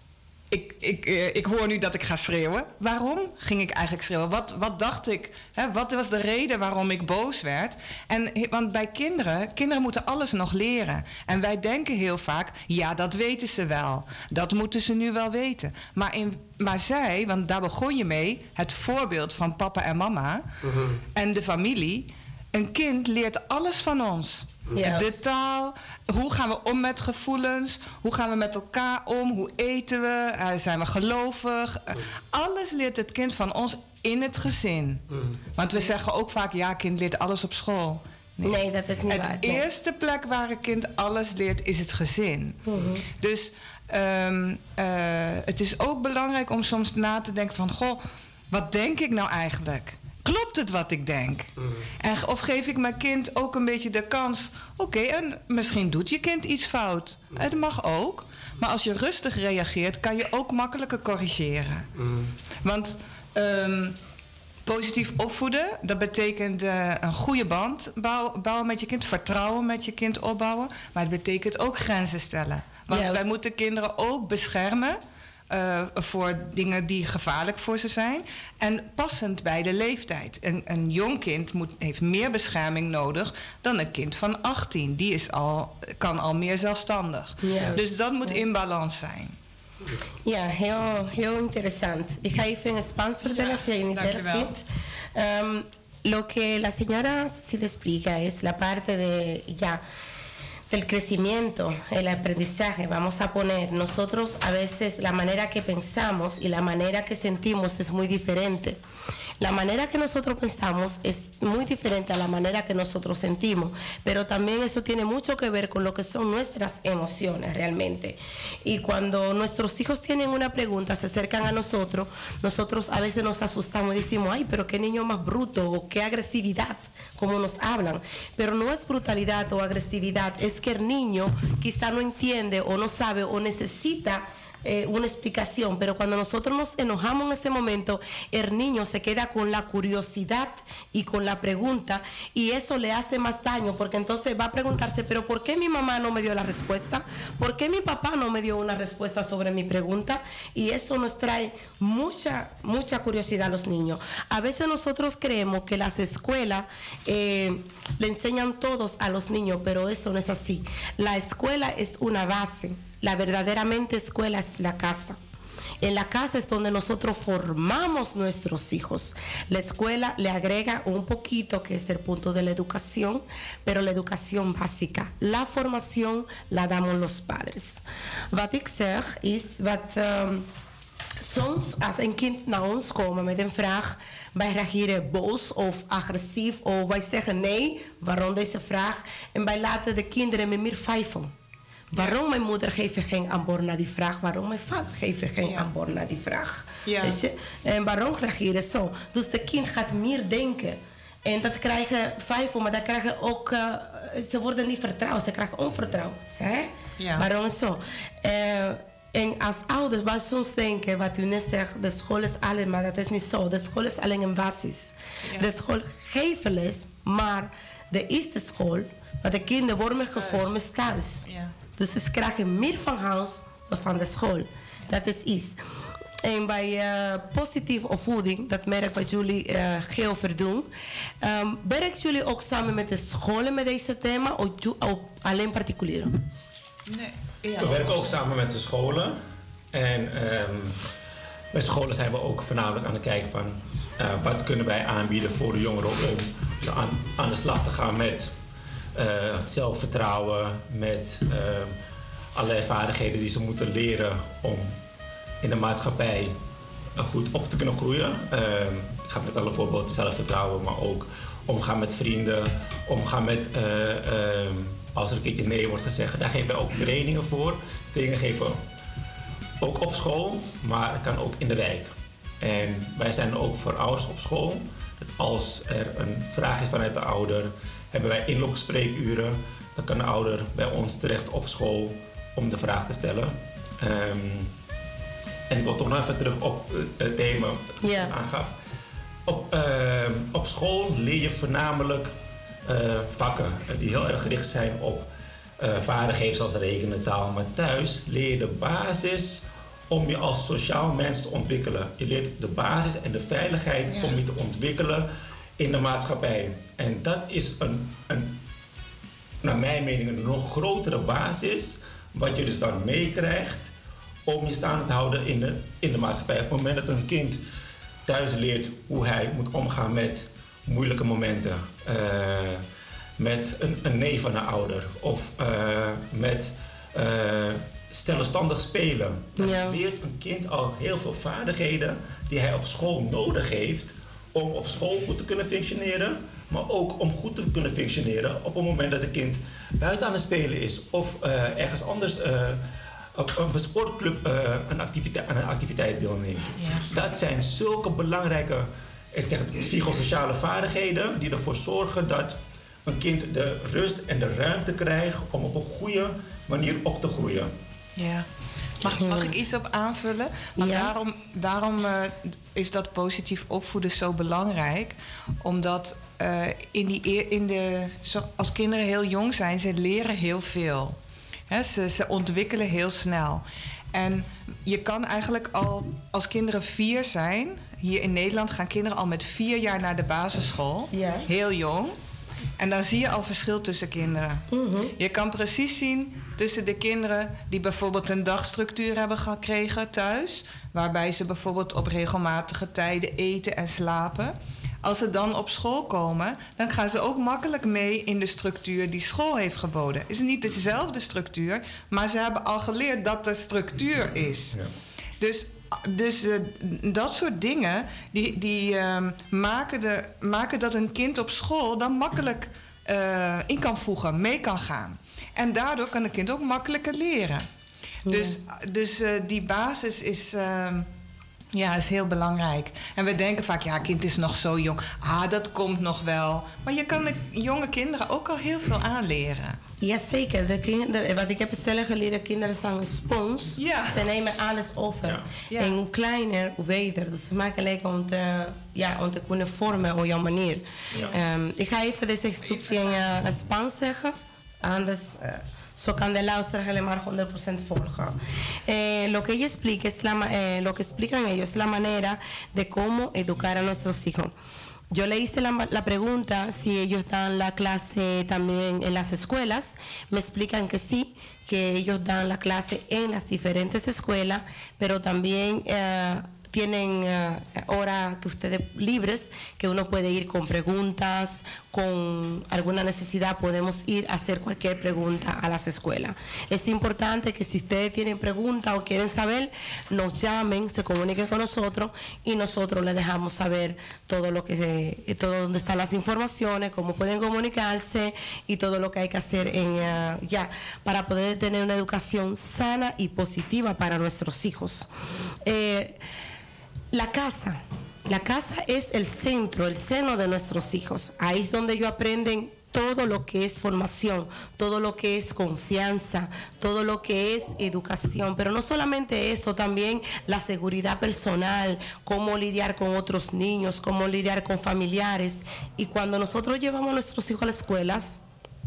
ik, ik, uh, ik hoor nu dat ik ga schreeuwen. Waarom ging ik eigenlijk schreeuwen? Wat, wat dacht ik? Hè? Wat was de reden waarom ik boos werd? En, want bij kinderen, kinderen moeten alles nog leren. En wij denken heel vaak, ja, dat weten ze wel. Dat moeten ze nu wel weten. Maar, in, maar zij, want daar begon je mee, het voorbeeld van papa en mama uh-huh. en de familie. Een kind leert alles van ons. Yes. De taal, hoe gaan we om met gevoelens, hoe gaan we met elkaar om, hoe eten we, uh, zijn we gelovig. Uh, alles leert het kind van ons in het gezin. Mm. Want we zeggen ook vaak, ja, kind leert alles op school. Nee, nee dat is niet het waar. Het eerste plek waar een kind alles leert is het gezin. Mm-hmm. Dus um, uh, het is ook belangrijk om soms na te denken van, goh, wat denk ik nou eigenlijk? Klopt het wat ik denk? Mm. En, of geef ik mijn kind ook een beetje de kans, oké, okay, en misschien doet je kind iets fout. Mm. Het mag ook. Maar als je rustig reageert, kan je ook makkelijker corrigeren. Mm. Want um, positief opvoeden, dat betekent uh, een goede band bouw, bouwen met je kind, vertrouwen met je kind opbouwen. Maar het betekent ook grenzen stellen. Want yes. wij moeten kinderen ook beschermen. Uh, voor dingen die gevaarlijk voor ze zijn. En passend bij de leeftijd. Een, een jong kind moet, heeft meer bescherming nodig dan een kind van achttien. Die is al, kan al meer zelfstandig. Ja. Dus dat moet in balans zijn. Ja, heel, heel interessant. Ik ga even in Spaans vertellen, als je niet erg vindt. Um, lo que la señora Cecilia explica es la parte de, ya, del crecimiento, el aprendizaje, vamos a poner, nosotros a veces la manera que pensamos y la manera que sentimos es muy diferente. La manera que nosotros pensamos es muy diferente a la manera que nosotros sentimos, pero también eso tiene mucho que ver con lo que son nuestras emociones realmente. Y cuando nuestros hijos tienen una pregunta, se acercan a nosotros, nosotros a veces nos asustamos y decimos, ay, pero qué niño más bruto, o qué agresividad, como nos hablan. Pero no es brutalidad o agresividad, es que el niño quizá no entiende o no sabe o necesita Eh, una explicación, pero cuando nosotros nos enojamos en ese momento, el niño se queda con la curiosidad y con la pregunta, y eso le hace más daño, porque entonces va a preguntarse, pero ¿por qué mi mamá no me dio la respuesta? ¿Por qué mi papá no me dio una respuesta sobre mi pregunta? Y eso nos trae mucha, mucha curiosidad a los niños. A veces nosotros creemos que las escuelas eh, le enseñan todos a los niños, pero eso no es así. La escuela es una base. La verdaderamente escuela es la casa. En la casa es donde nosotros formamos nuestros hijos. La escuela le agrega un poquito, que es el punto de la educación, pero la educación básica. La formación la damos los padres. Wat ik zeg is, wat um, soms als een kind naar ons komt met een vraag, wij reageren boos of agressief, of wij zeggen nee, waarom deze vraag? En wij laten de kinderen met meer vijven. Waarom mijn moeder geeft geen antwoord naar die vraag? Waarom mijn vader geeft geen ja. antwoord naar die vraag? Ja. Weet je? En waarom reageren zo? Dus de kind gaat meer denken. En dat krijgen vijf, maar dat krijgen ook... Uh, ze worden niet vertrouwd, ze krijgen onvertrouwen. Hè? Ja. Waarom zo? Uh, en als ouders, wij soms denken, wat u net zegt, de school is alleen, maar dat is niet zo. De school is alleen een basis. Ja. De school geeft les, maar de eerste school, waar de kinderen worden gevormd, is thuis. Ja. Dus ze krijgen meer van huis dan van de school. Dat is iets. En bij uh, positieve opvoeding, dat merk wat jullie uh, heel veel doen. Um, werken jullie ook samen met de scholen met deze thema of, of alleen particulier? Nee. Ja, we werken ook samen met de scholen. En um, met scholen zijn we ook voornamelijk aan het kijken van uh, wat kunnen wij aanbieden voor de jongeren om aan, aan de slag te gaan met uh, het zelfvertrouwen, met uh, allerlei vaardigheden die ze moeten leren om in de maatschappij goed op te kunnen groeien. Uh, ik ga met alle voorbeelden zelfvertrouwen, maar ook omgaan met vrienden, omgaan met uh, uh, als er een keertje nee wordt gezegd. Daar geven wij ook trainingen voor. Trainingen geven ook op school, maar het kan ook in de wijk. En wij zijn ook voor ouders op school. Dat als er een vraag is vanuit de ouder, hebben wij inloopspreekuren. Dan kan de ouder bij ons terecht op school om de vraag te stellen. Um, en ik wil toch nog even terug op het thema dat ik yeah. aangaf. Op, uh, op school leer je voornamelijk uh, vakken die heel erg gericht zijn op uh, vaardigheden zoals rekenen, taal. Maar thuis leer je de basis om je als sociaal mens te ontwikkelen. Je leert de basis en de veiligheid ja. om je te ontwikkelen in de maatschappij. En dat is een, een, naar mijn mening een nog grotere basis, wat je dus dan meekrijgt om je staande te houden in de, in de maatschappij. Op het moment dat een kind thuis leert hoe hij moet omgaan met moeilijke momenten, uh, met een, een nee van een ouder of uh, met uh, zelfstandig spelen. Dan ja. leert een kind al heel veel vaardigheden die hij op school nodig heeft om op school goed te kunnen functioneren, maar ook om goed te kunnen functioneren op het moment dat een kind buiten aan het spelen is of uh, ergens anders uh, op een sportclub uh, een activiteit, aan een activiteit deelneemt. Ja. Dat zijn zulke belangrijke ik zeg, psychosociale vaardigheden die ervoor zorgen dat een kind de rust en de ruimte krijgt om op een goede manier op te groeien. Ja. Mag, mag ik iets op aanvullen? Want ja. daarom, daarom uh, is dat positief opvoeden zo belangrijk. Omdat uh, in die, in de, als kinderen heel jong zijn, ze leren heel veel. He, ze, ze ontwikkelen heel snel. En je kan eigenlijk al, als kinderen vier zijn, hier in Nederland gaan kinderen al met vier jaar naar de basisschool. Ja. Heel jong. En dan zie je al verschil tussen kinderen. Mm-hmm. Je kan precies zien tussen de kinderen die bijvoorbeeld een dagstructuur hebben gekregen thuis, waarbij ze bijvoorbeeld op regelmatige tijden eten en slapen. als ze dan op school komen, dan gaan ze ook makkelijk mee in de structuur die school heeft geboden. Het is niet dezelfde structuur, maar ze hebben al geleerd dat er structuur is. Ja. Dus, dus uh, dat soort dingen die, die uh, maken, de, maken dat een kind op school dan makkelijk uh, in kan voegen, mee kan gaan. En daardoor kan een kind ook makkelijker leren. Ja. Dus, dus uh, die basis is, uh, ja, is heel belangrijk. En we denken vaak, ja, kind is nog zo jong. Ah, dat komt nog wel. Maar je kan de jonge kinderen ook al heel veel aanleren. Jazeker. De kinderen, wat ik heb zelf geleerd, kinderen zijn een spons. Ja. Ze nemen alles over. Ja. Ja. En hoe kleiner, hoe beter. Dus het is makkelijk om te, ja, om te kunnen vormen op jouw manier. Ja. Um, ik ga even deze stukje in uh, Spaans zeggen. Anders... Uh, So can de luisteraar helemaal honderd procent volgen. Eh, lo que ella explica es la, eh, lo que explican ellos es la manera de cómo educar a nuestros hijos. Yo le hice la, la pregunta si ellos dan la clase también en las escuelas. Me explican que sí, que ellos dan la clase en las diferentes escuelas, pero también eh, tienen uh, horas que ustedes libres, que uno puede ir con preguntas, con alguna necesidad, podemos ir a hacer cualquier pregunta a las escuelas. Es importante que si ustedes tienen preguntas o quieren saber, nos llamen, se comuniquen con nosotros y nosotros les dejamos saber todo lo que se, todo donde están las informaciones, cómo pueden comunicarse y todo lo que hay que hacer en, uh, ya para poder tener una educación sana y positiva para nuestros hijos. Eh, La casa, la casa es el centro, el seno de nuestros hijos. Ahí es donde ellos aprenden todo lo que es formación, todo lo que es confianza, todo lo que es educación. Pero no solamente eso, también la seguridad personal, cómo lidiar con otros niños, cómo lidiar con familiares. Y cuando nosotros llevamos a nuestros hijos a las escuelas,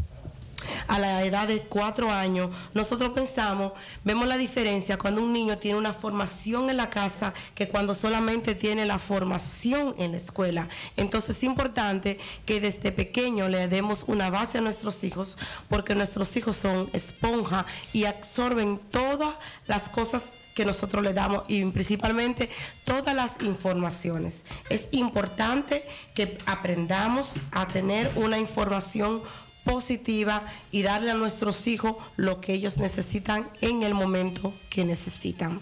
a la edad de cuatro años, nosotros pensamos, vemos la diferencia cuando un niño tiene una formación en la casa que cuando solamente tiene la formación en la escuela. Entonces es importante que desde pequeño le demos una base a nuestros hijos, porque nuestros hijos son esponja y absorben todas las cosas que nosotros le damos y principalmente todas las informaciones. Es importante que aprendamos a tener una información positiva y darle a nuestros hijos lo que ellos necesitan en el momento que necesitan.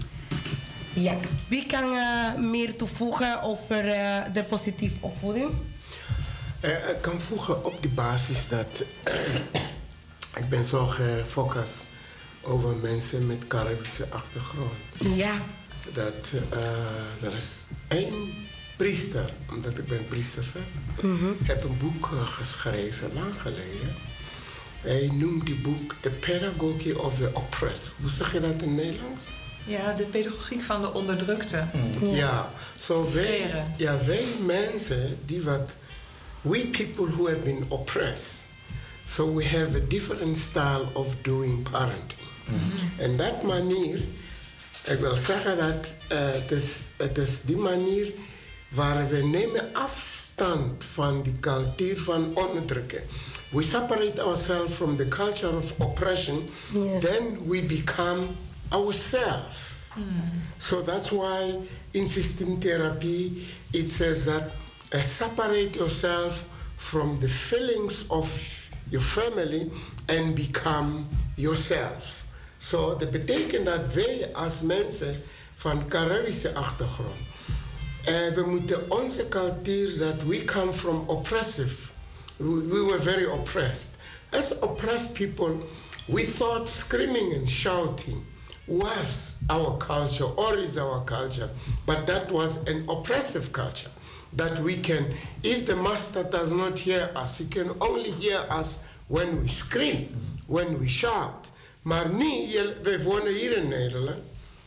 Ja, wie kan uh, meer toevoegen over uh, de positieve opvoeding? Uh, ik kan voegen op die basis dat uh, ik ben zo gefocust over mensen met Caribische achtergrond. Ja. Dat uh, er is één priester, omdat ik ben priester zelf, mm-hmm. heb een boek uh, geschreven, lang geleden. Hij noemt die boek The Pedagogy of the Oppressed. Hoe zeg je dat in Nederlands? Ja, de pedagogiek van de onderdrukte. Mm. Ja, ja. So wij, ja, wij mensen die wat, we people who have been oppressed, so we have a different style of doing parenting. Mm-hmm. En dat manier, ik wil zeggen dat uh, het, is, het is die manier waar we nemen afstand van die cultuur van onderdrukken. We separate ourselves from the culture of oppression, yes. Then we become ourselves. Mm. So that's why in system therapy it says that uh, separate yourself from the feelings of your family and become yourself. So dat betekent dat wij als mensen van Caribische achtergrond, uh, we moeten onze cultuur, that we come from oppressive, we, we were very oppressed. As oppressed people, we thought screaming and shouting was our culture or is our culture, but that was an oppressive culture. That we can, if the master does not hear us, he can only hear us when we scream, when we shout. Maar niet, we wonen hier in Nederland.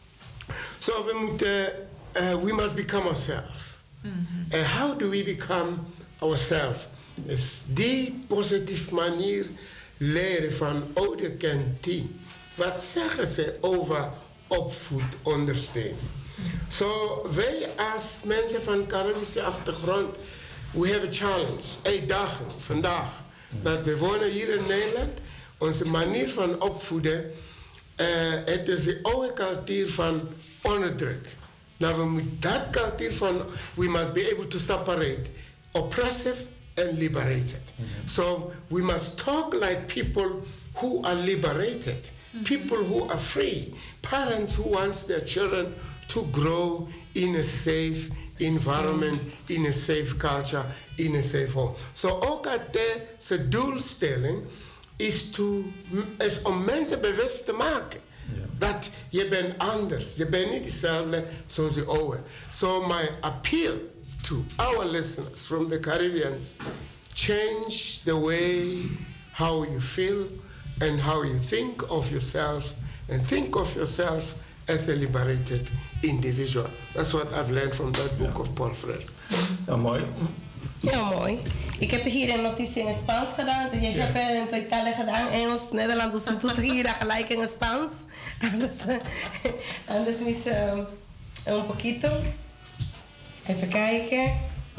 So we moeten, uh, we must become ourselves. Mm-hmm. And how do we become ourselves? Is die positieve manier leren van oude kantien. Wat zeggen ze over opvoedondersteuning? So wij als mensen van Caribische achtergrond, we have a challenge. Uitdaging vandaag. Dat we wonen hier in Nederland. Onze manier van opvoeden, uh, het is de oude cultuur van onderdruk. Nou, we moeten dat cultuur van, we must be able to separate oppressive and liberated. Mm-hmm. So we must talk like people who are liberated, mm-hmm. people who are free, parents who want their children to grow in a safe environment, in a safe culture, in a safe home. So ook deze doelstelling is, to, is om mensen bewust te maken. Yeah. Dat je bent anders, je bent niet hetzelfde zoals je oude. So my appeal to our listeners from the Caribbeans, change the way how you feel and how you think of yourself, and think of yourself as a liberated individual. That's what I've learned from that book ja. of Paul Freire. Ja, mooi. Heel mooi. Ik heb hier een notitie in het Spaans gedaan. Je ja. hebt in het Italië gedaan, Engels, Nederlands. Dus je doet hier gelijk in het Spaans. Anders, anders mis um, un poquito. Even kijken.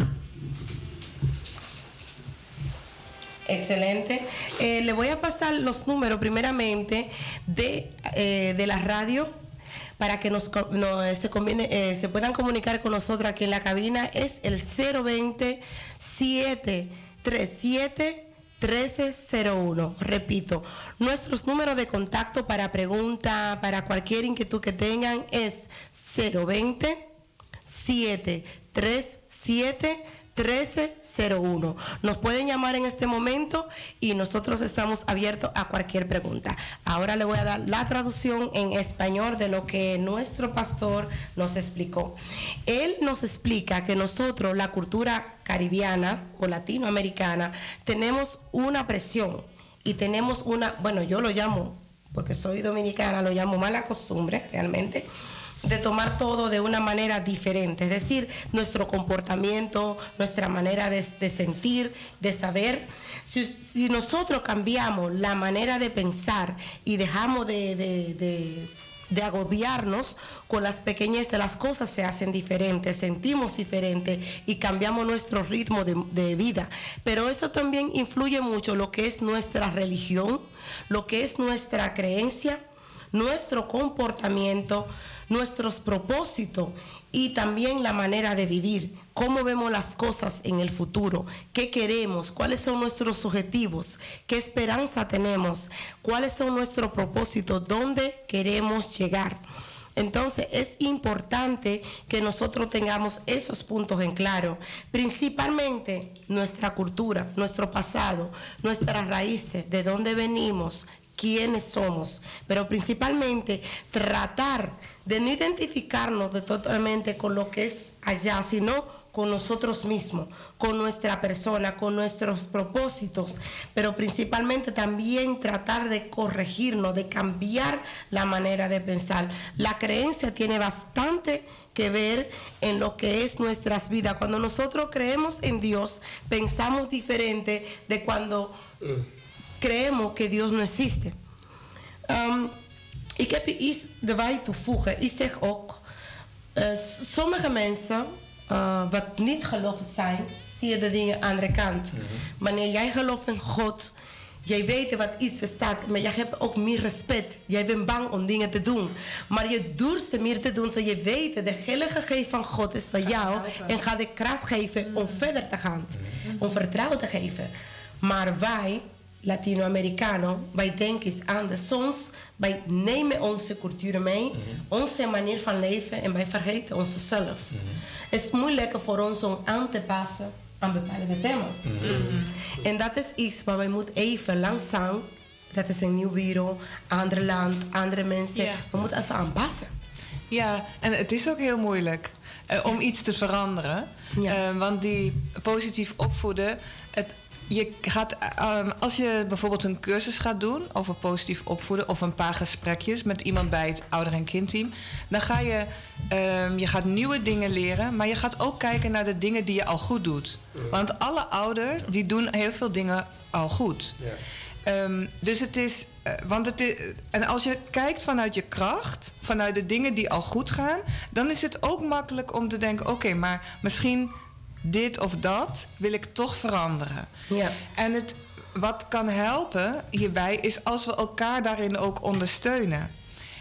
Excelente. Eh, le voy a pasar los números primeramente de, eh, de la radio para que nos, no, se, conviene, eh, se puedan comunicar con nosotros aquí en la cabina. Es el cero veinte, siete tres siete, trece cero uno. Repito, nuestros números de contacto para pregunta, para cualquier inquietud que tengan es cero veinte, siete tres siete, trece cero uno. Nos pueden llamar en este momento y nosotros estamos abiertos a cualquier pregunta. Ahora le voy a dar la traducción en español de lo que nuestro pastor nos explicó. Él nos explica que nosotros, la cultura caribeana o latinoamericana, tenemos una presión y tenemos una, bueno, yo lo llamo, porque soy dominicana, lo llamo mala costumbre realmente, de tomar todo de una manera diferente, es decir, nuestro comportamiento, nuestra manera de, de sentir, de saber. Si, si nosotros cambiamos la manera de pensar y dejamos de, de, de, de agobiarnos con las pequeñeces, las cosas se hacen diferentes, sentimos diferente y cambiamos nuestro ritmo de, de vida. Pero eso también influye mucho lo que es nuestra religión, lo que es nuestra creencia, nuestro comportamiento, nuestros propósitos y también la manera de vivir, cómo vemos las cosas en el futuro, qué queremos, cuáles son nuestros objetivos, qué esperanza tenemos, cuáles son nuestros propósitos, dónde queremos llegar. Entonces es importante que nosotros tengamos esos puntos en claro, principalmente nuestra cultura, nuestro pasado, nuestras raíces, de dónde venimos, quiénes somos, pero principalmente tratar de no identificarnos de totalmente con lo que es allá, sino con nosotros mismos, con nuestra persona, con nuestros propósitos, pero principalmente también tratar de corregirnos, de cambiar la manera de pensar. La creencia tiene bastante que ver en lo que es nuestras vidas. Cuando nosotros creemos en Dios, pensamos diferente de cuando creemos que Dios no existe. Um, ik heb hier iets erbij toevoegen. Ik zeg ook, uh, sommige mensen uh, wat niet geloven zijn, zie je de dingen aan de andere kant. Mm-hmm. Wanneer jij gelooft in God, jij weet wat iets bestaat, maar jij hebt ook meer respect. Jij bent bang om dingen te doen. Maar je durft meer te doen, zodat je weet dat de heilige geest van God is van jou en gaat de kracht geven om verder te gaan, om vertrouwen te geven. Maar wij, Latino-Amerikanen, wij denken anders. Soms, wij nemen onze cultuur mee, mm-hmm. onze manier van leven en wij vergeten onszelf. Mm-hmm. Het is moeilijker voor ons om aan te passen aan bepaalde thema's. Mm-hmm. En dat is iets waar wij moeten even langzaam, dat is een nieuw wereld, ander land, andere mensen, yeah. we moeten even aanpassen. Ja, en het is ook heel moeilijk uh, om iets te veranderen. Ja. Uh, want die positief opvoeden, het Je gaat, um, als je bijvoorbeeld een cursus gaat doen over positief opvoeden of een paar gesprekjes met iemand bij het ouder- en kindteam, dan ga je, um, je gaat nieuwe dingen leren, maar je gaat ook kijken naar de dingen die je al goed doet. Want alle ouders die doen heel veel dingen al goed. Ja. Um, dus het is, uh, want het is, en als je kijkt vanuit je kracht, vanuit de dingen die al goed gaan, dan is het ook makkelijk om te denken, oké, okay, maar misschien dit of dat wil ik toch veranderen. Ja. En het, wat kan helpen hierbij is als we elkaar daarin ook ondersteunen.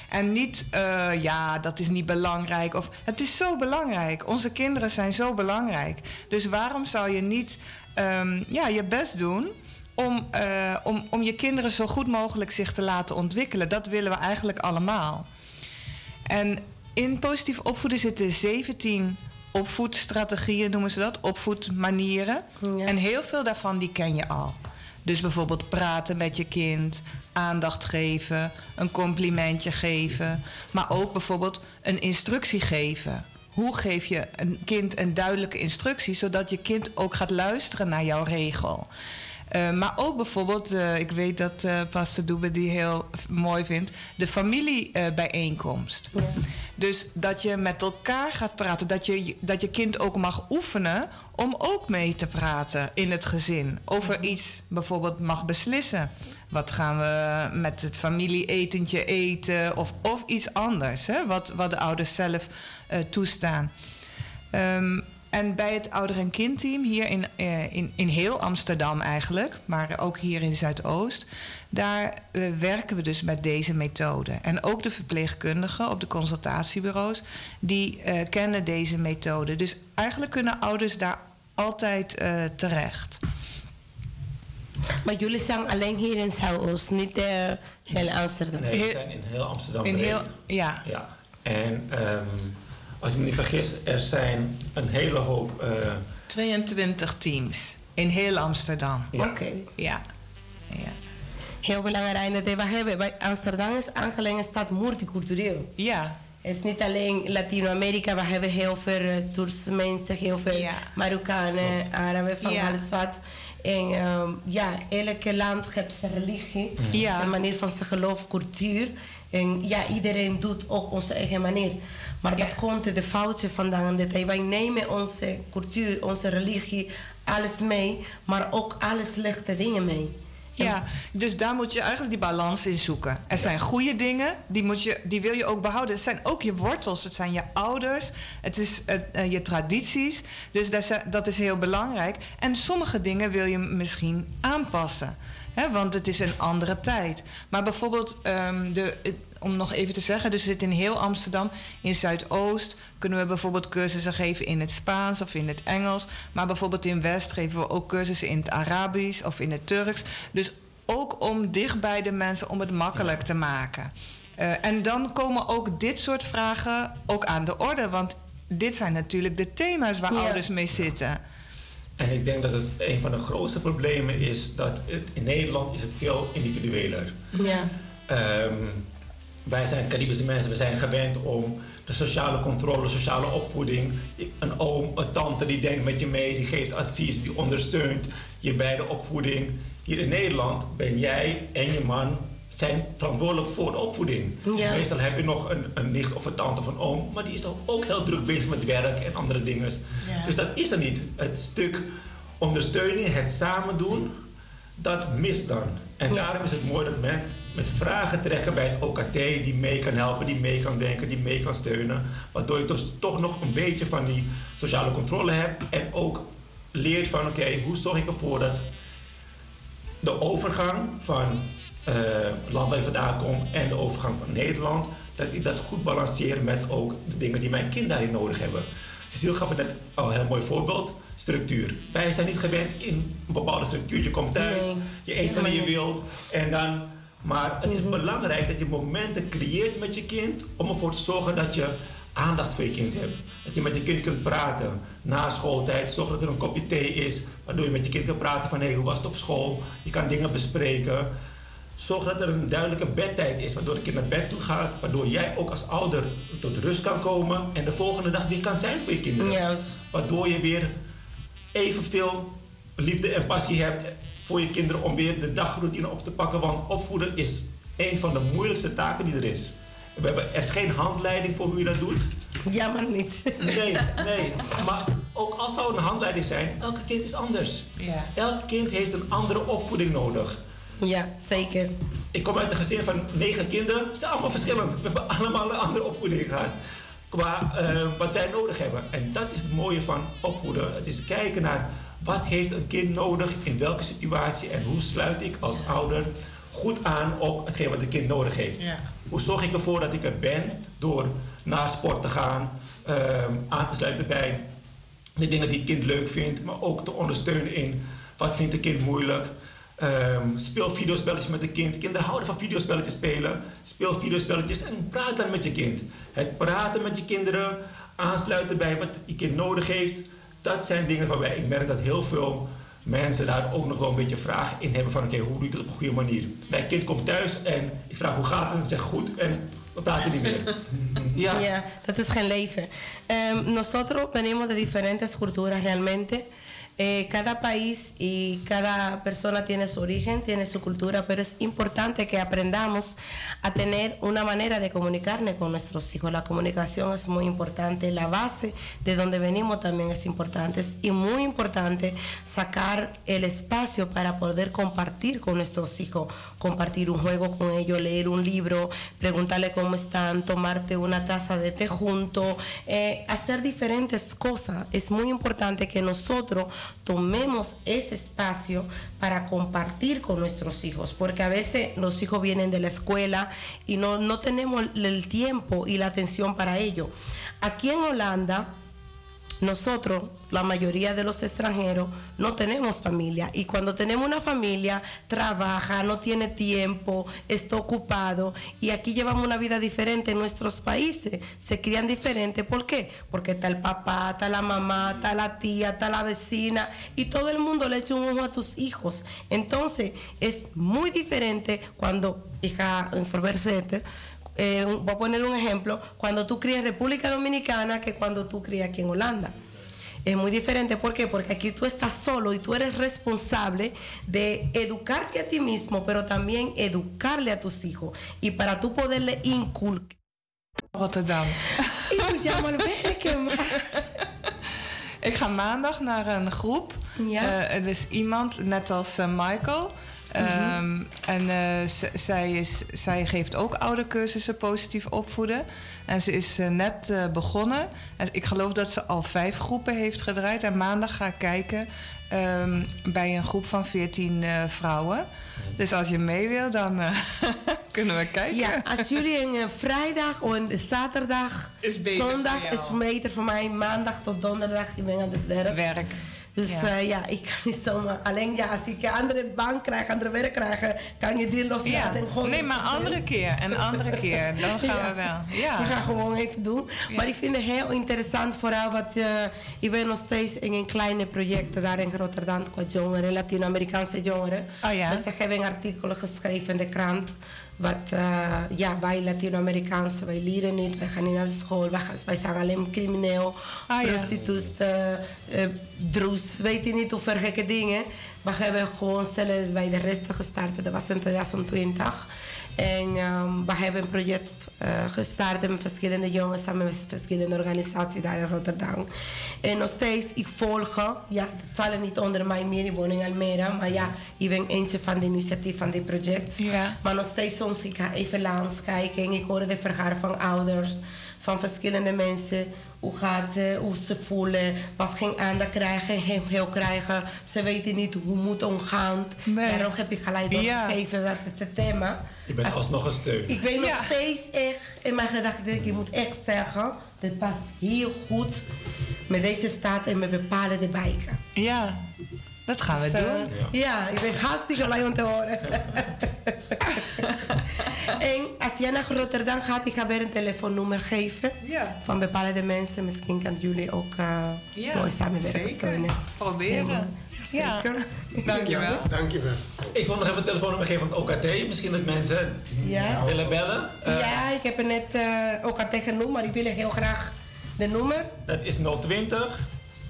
En niet, uh, ja, dat is niet belangrijk. Of, het is zo belangrijk. Onze kinderen zijn zo belangrijk. Dus waarom zou je niet um, ja, je best doen om, uh, om, om je kinderen zo goed mogelijk zich te laten ontwikkelen? Dat willen we eigenlijk allemaal. En in positief opvoeden zitten zeventien opvoedstrategieën, noemen ze dat, opvoedmanieren. Ja. En heel veel daarvan die ken je al. Dus bijvoorbeeld praten met je kind, aandacht geven, een complimentje geven. Maar ook bijvoorbeeld een instructie geven. Hoe geef je een kind een duidelijke instructie, zodat je kind ook gaat luisteren naar jouw regel. Uh, maar ook bijvoorbeeld, uh, ik weet dat uh, Pastor Doebe die heel mooi vindt, de familiebijeenkomst. Uh, ja. Dus dat je met elkaar gaat praten, dat je, dat je kind ook mag oefenen om ook mee te praten in het gezin. Over iets bijvoorbeeld mag beslissen. Wat gaan we met het familieetentje eten of, of iets anders, hè? Wat, wat de ouders zelf uh, toestaan. Um, En bij het ouder- en kindteam hier in, uh, in, in heel Amsterdam eigenlijk, maar ook hier in Zuidoost, daar uh, werken we dus met deze methode. En ook de verpleegkundigen op de consultatiebureaus, die uh, kennen deze methode. Dus eigenlijk kunnen ouders daar altijd uh, terecht. Maar jullie zijn alleen hier in Zuidoost, niet uh, heel Amsterdam? Nee, we zijn in heel Amsterdam. In heel, ja. ja. En um, als ik me niet vergis, er zijn een hele hoop... Uh, tweeëntwintig teams in heel Amsterdam. Ja. Oké. Okay. Ja. ja. Heel belangrijk dat we hebben. Bij Amsterdam is aangelegd een stad multicultureel. Ja. Het is niet alleen Latino-Amerika, we hebben heel veel uh, Turkse mensen, heel veel ja. Marokkanen, Araben van ja. alles wat. En um, ja, elke land heeft zijn religie, ja. zijn manier van zijn geloof, cultuur. En ja, iedereen doet ook onze eigen manier. Maar ja. dat komt de foutje vandaan. Dat wij nemen onze cultuur, onze religie, alles mee, maar ook alle slechte dingen mee. Ja, dus daar moet je eigenlijk die balans in zoeken. Er ja. zijn goede dingen, die, moet je, die wil je ook behouden. Het zijn ook je wortels, het zijn je ouders, het is uh, je tradities. Dus dat is, dat is heel belangrijk. En sommige dingen wil je misschien aanpassen. Hè, want het is een andere tijd. Maar bijvoorbeeld, um, de, om nog even te zeggen, dus we zitten in heel Amsterdam. In Zuidoost kunnen we bijvoorbeeld cursussen geven in het Spaans of in het Engels. Maar bijvoorbeeld in West geven we ook cursussen in het Arabisch of in het Turks. Dus ook om dicht bij de mensen, om het makkelijk te maken. Uh, en dan komen ook dit soort vragen ook aan de orde. Want dit zijn natuurlijk de thema's waar ja. ouders mee zitten. En ik denk dat het een van de grootste problemen is dat het, in Nederland is het veel individueler. Ja. Um, wij zijn Caribische mensen, we zijn gewend om de sociale controle, sociale opvoeding. Een oom, een tante die denkt met je mee, die geeft advies, die ondersteunt je bij de opvoeding. Hier in Nederland ben jij en je man zijn verantwoordelijk voor de opvoeding. Ja. Meestal heb je nog een, een nicht of een tante of een oom, maar die is dan ook heel druk bezig met werk en andere dingen. Ja. Dus dat is er niet. Het stuk ondersteuning, het samen doen, dat mist dan. En ja. daarom is het mooi dat men met vragen terecht bij het O K T die mee kan helpen, die mee kan denken, die mee kan steunen. Waardoor je dus toch nog een beetje van die sociale controle hebt en ook leert van oké, okay, hoe zorg ik ervoor dat de overgang van Uh, land waar je vandaan komt en de overgang van Nederland, dat ik dat goed balanceer met ook de dingen die mijn kind daarin nodig hebben. Cecile gaf het net al een heel mooi voorbeeld, structuur. Wij zijn niet gewend in een bepaalde structuur. Je komt thuis, nee. je eet wanneer je wilt en dan, maar het is mm-hmm. belangrijk dat je momenten creëert met je kind om ervoor te zorgen dat je aandacht voor je kind hebt. Dat je met je kind kunt praten na schooltijd, zorg dat er een kopje thee is, waardoor je met je kind kunt praten van hé, hey, hoe was het op school? Je kan dingen bespreken. Zorg dat er een duidelijke bedtijd is, waardoor het kind naar bed toe gaat, waardoor jij ook als ouder tot rust kan komen en de volgende dag weer kan zijn voor je kinderen. Yes. Waardoor je weer evenveel liefde en passie hebt voor je kinderen om weer de dagroutine op te pakken, want opvoeden is een van de moeilijkste taken die er is. We hebben, er is geen handleiding voor hoe je dat doet. Ja, maar niet. Nee, nee. Maar ook als zou een handleiding zijn, elke kind is anders. Ja. Elk kind heeft een andere opvoeding nodig. Ja, zeker. Ik kom uit een gezin van negen kinderen. Ze zijn allemaal verschillend. We hebben allemaal een andere opvoeding gehad. Qua uh, wat wij nodig hebben. En dat is het mooie van opvoeden. Het is kijken naar wat heeft een kind nodig in welke situatie. En hoe sluit ik als ouder goed aan op hetgeen wat het kind nodig heeft. Ja. Hoe zorg ik ervoor dat ik er ben door naar sport te gaan, um, aan te sluiten bij de dingen die het kind leuk vindt, maar ook te ondersteunen in wat vindt het kind moeilijk. Um, speel videospelletjes met het kind. Kinderen houden van videospelletjes spelen. Speel videospelletjes en praat dan met je kind. Het praten met je kinderen, aansluiten bij wat je kind nodig heeft, dat zijn dingen waarbij ik merk dat heel veel mensen daar ook nog wel een beetje vragen in hebben van oké, okay, hoe doe ik dat op een goede manier? Mijn kind komt thuis en ik vraag hoe gaat het en het zegt goed en we praten niet meer. Ja. Ja, dat is geen leven. Um, nosotros venimos de diferentes culturas realmente. Eh, cada país y cada persona tiene su origen, tiene su cultura, pero es importante que aprendamos a tener una manera de comunicarnos con nuestros hijos. La comunicación es muy importante, la base de donde venimos también es importante. Es y muy importante sacar el espacio para poder compartir con nuestros hijos, compartir un juego con ellos, leer un libro, preguntarle cómo están, tomarte una taza de té junto, eh, hacer diferentes cosas. Es muy importante que nosotros tomemos ese espacio para compartir con nuestros hijos, porque a veces los hijos vienen de la escuela y no, no tenemos el tiempo y la atención para ello. Aquí en Holanda, nosotros, la mayoría de los extranjeros, no tenemos familia, y cuando tenemos una familia, trabaja, no tiene tiempo, está ocupado, y aquí llevamos una vida diferente. En nuestros países se crían diferente. ¿Por qué? Porque está el papá, está la mamá, está la tía, está la vecina, y todo el mundo le echa un ojo a tus hijos. Entonces es muy diferente cuando hija en Eh, voy a poner un ejemplo, cuando tú crías en República Dominicana que cuando tú crías aquí en Holanda. Es muy diferente. ¿Por qué? Porque aquí tú estás solo y tú eres responsable de educarte a ti mismo, pero también educarle a tus hijos. Y para tú poderle inculcar. Rotterdam. Y tú llamas al werken, maar. Ik ga maandag naar een groep. Ja. Uh, het is iemand, net als uh, Michael. Mm-hmm. Um, en uh, z- zij, is, zij geeft ook oudercursussen positief opvoeden. En ze is uh, net uh, begonnen. En ik geloof dat ze al vijf groepen heeft gedraaid. En maandag ga ik kijken um, bij een groep van veertien uh, vrouwen. Dus als je mee wil, dan uh, kunnen we kijken. Ja, als jullie een uh, vrijdag of een zaterdag, is beter zondag voor jou. is beter voor mij. Maandag tot donderdag, ik ben aan het werk. Werk. Dus ja. Uh, ja, ik kan niet zomaar. Alleen ja, als ik een andere baan krijg, andere werk krijg, kan je die loslaten. Ja. En gewoon Nee, maar andere keer. Een andere keer. Dan gaan ja. we wel. Ja. Ik ga gewoon even doen. Ja. Maar ik vind het heel interessant, vooral wat uh, ik ben nog steeds in een kleine project daar in Rotterdam qua jongeren, Latino-Amerikaanse jongeren. Oh ja. Dus ik heb een artikel geschreven in de krant. Wat, uh, ja, wij Latino-Amerikaanse, wij leren niet, wij gaan niet naar de school, wij, gaan, wij zijn alleen crimineel, ah, ja. prostituut, uh, uh, droes, weet je niet hoeveel gekke dingen. We hebben gewoon zelf bij de rest gestart, dat was in twintig twintig. En um, we hebben een project uh, gestart met verschillende jongens samen met verschillende organisaties daar in Rotterdam. En nog steeds, ik volg, ja, het vallen niet onder mij meer, ik woon in Almere, maar ja, ik ben eentje van de initiatief van dit project. Ja. Maar nog steeds soms, ik ga even langs kijken en ik hoor de verhalen van ouders, van verschillende mensen. Hoe gaat het, hoe ze voelen, wat geen aandacht krijgen, heel, heel krijgen. Ze weten niet hoe moet omgaan. Nee. Daarom heb ik gelijk doorgegeven, ja. Dat is het thema. Je bent Als, alsnog een steun. Ik weet nog Ja. steeds echt, in mijn gedachten, denk ik, ik moet echt zeggen, dit past heel goed met deze staat en met bepaalde wijken. Ja, dat gaan we Dus, uh, doen. Ja. ja, ik ben hartstikke blij om te horen. En als jij naar Rotterdam gaat, ik ga weer een telefoonnummer geven. Ja. Van bepaalde mensen. Misschien kan jullie ook uh, Ja, mooi samenwerken. zeker. Steunen. Proberen. Ja. Zeker. Dankjewel. Dankjewel. Ik wil nog even een telefoonnummer geven van het O K T. Misschien dat mensen Ja. willen bellen. Uh, Ja, ik heb er net uh, ook al tegen genoemd, maar ik wil heel graag de nummer. Dat is nul twintig,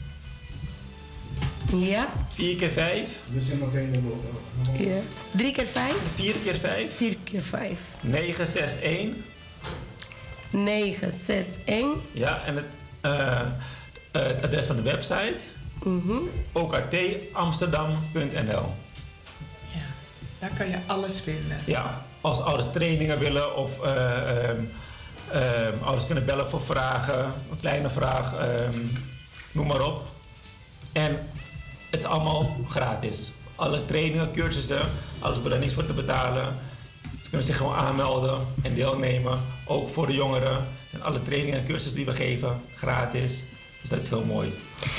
Ja. vier keer vijf, We zijn nog één nummer. Ja. Drie keer vijf. vier keer vijf, Vier keer vijf. negen zes een. Negen, zes, één. Ja, en het, uh, uh, het adres van de website. Mhm. O K T amsterdam punt n l. Ja, daar kan je alles vinden. Ja, als ouders trainingen willen of uh, um, um, ouders kunnen bellen voor vragen, een kleine vraag, um, noem maar op. En het is allemaal gratis. alle trainingen, cursussen, alles voor daar niks voor te betalen. Ze kunnen zich gewoon aanmelden en deelnemen, ook voor de jongeren. En alle trainingen en cursussen die we geven, gratis. Dus dat is heel mooi.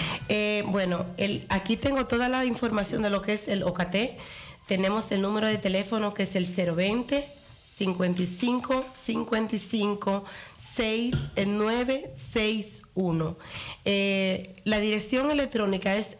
Eh, bueno, el, aquí tengo toda la información de lo que es el O C A T. Tenemos el número de teléfono que es el cero veinte, cincuenta y cinco, cincuenta y cinco, seis nueve seis uno. Eh, la dirección electrónica es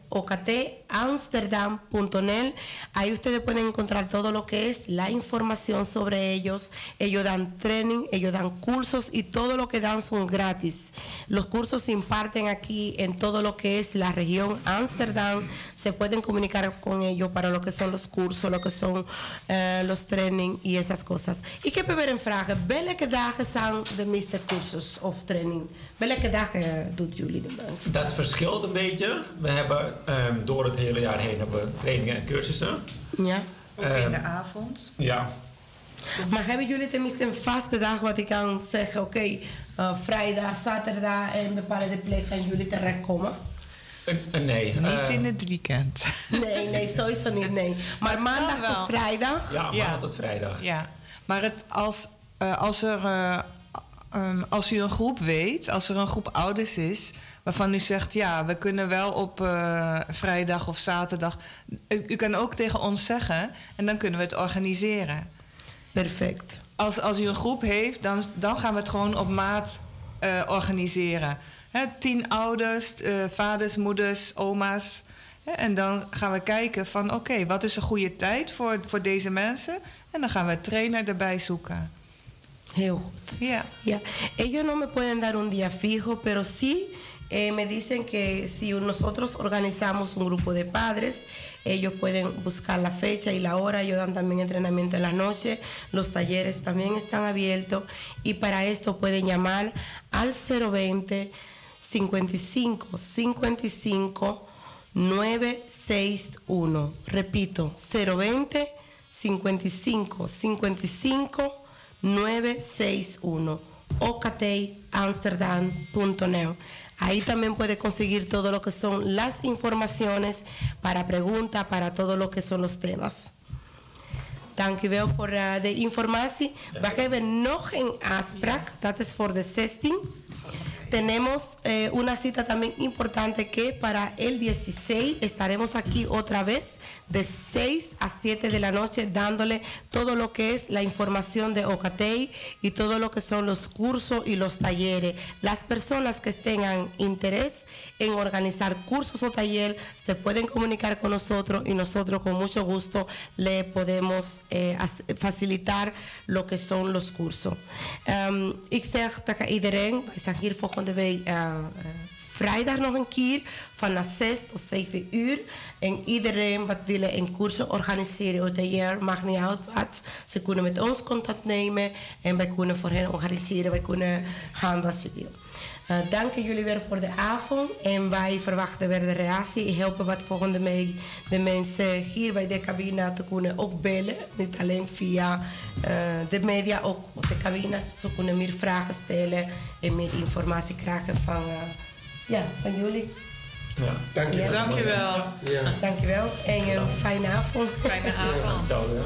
ocatamsterdam punto net. Ahí ustedes pueden encontrar todo lo que es la información sobre ellos. Ellos dan training, ellos dan cursos y todo lo que dan son gratis. Los cursos se imparten aquí en todo lo que es la región Ámsterdam. Se pueden comunicar con ellos para lo que son los cursos, lo que son uh, los training y esas cosas. Ik heb weer een vraag. Welke dagen zijn de meeste cursus of training? Welke dagen doet jullie de meeste? Dat verschilt een beetje. We hebben um, door het hele jaar heen hebben we trainingen en cursussen. Ja. Ook um, in de avond. Ja. Maar hebben jullie tenminste een vaste dag wat ik kan zeggen, oké, okay, uh, vrijdag, zaterdag en bepaalde plek kan jullie terechtkomen? Uh, nee. Niet uh, in het weekend. Nee, nee, sowieso niet, nee. Maar maandag tot vrijdag? Ja, maandag ja. tot vrijdag. Ja, maar het, als, uh, als, er, uh, um, als u een groep weet, als er een groep ouders is waarvan u zegt, ja, we kunnen wel op uh, vrijdag of zaterdag. U, u kan ook tegen ons zeggen en dan kunnen we het organiseren. Perfect. Als, als u een groep heeft, dan, dan gaan we het gewoon op maat uh, organiseren. He, tien ouders, uh, vaders, moeders, oma's. He, en dan gaan we kijken van oké, okay, wat is een goede tijd voor, voor deze mensen? En dan gaan we een trainer erbij zoeken. Heel goed. Ja. Yeah. Ellos no me pueden dar un día fijo, pero sí eh, me dicen que si nosotros organizamos un grupo de padres, ellos pueden buscar la fecha y la hora. Ellos dan también entrenamiento en la noche. Los talleres también están abiertos. Y para esto pueden llamar al cero veinte, cincuenta y cinco, cincuenta y cinco, nueve seis uno. Repito, cero veinte, cincuenta y cinco, cincuenta y cinco, nueve seis uno. ocatamsterdam punto net. Ahí también puede conseguir todo lo que son las informaciones para preguntas, para todo lo que son los temas. Dank u wel voor uh, de informatie. We hebben nog een afspraak, dat is voor de zestien. Tenemos eh, una cita también importante que para el dieciséis estaremos aquí otra vez de seis a siete de la noche dándole todo lo que es la información de O C A T y todo lo que son los cursos y los talleres. Las personas que tengan interés en organizar cursos o taller se pueden comunicar con nosotros y nosotros con mucho gusto le podemos eh, facilitar lo que son los cursos. Um, ik zeg tegen iedereen, wij zijn hier volgende week uh, uh, vrijdag nog een keer van zes tot zeven uur. En iedereen wat willen een cursus organiseren of taller, maakt niet uit wat. Ze kunnen met ons contact nemen en wij kunnen voor hen organiseren. Wij kunnen gaan wat ze willen. Uh, dank jullie weer voor de avond en wij verwachten weer de reactie. Helpen wat volgende week de mensen hier bij de cabine te kunnen ook bellen. Niet alleen via uh, de media, ook op de cabines. Ze kunnen meer vragen stellen en meer informatie krijgen van, uh, ja, van jullie. Ja. Dank je wel. Dank je wel. Ja. Dank je wel en een fijne avond. Fijne avond. Zo, ja.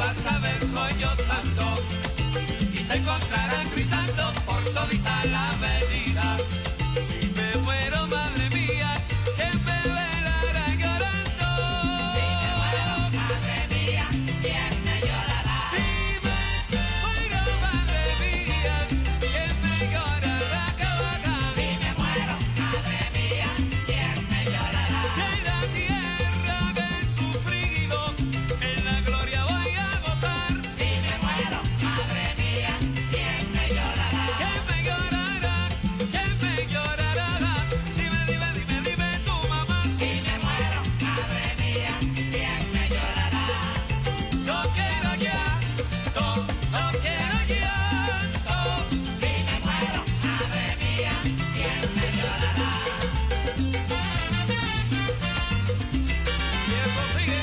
casa del sueño santo y te encontrarán gritando por todita la avenida. Si me muero, madre mía, ¿quién me velará llorando? Si me muero, madre mía, ¿quién me llorará? Si me muero, madre mía, ¿quién me llorará? Cabaca. Si me muero, madre mía, ¿quién me llorará? Si en la tierra me he sufrido, en la gloria voy a gozar. Si me muero, madre mía, ¿quién me llorará? ¿Quién me llorará? ¿Quién me llorará? Dime, dime, dime, dime tu mamá. Si me muero, madre mía, ¿quién me llorará? No quiero llanto, no quiero llanto. Si me muero, madre mía, ¿quién me llorará? Y eso sigue.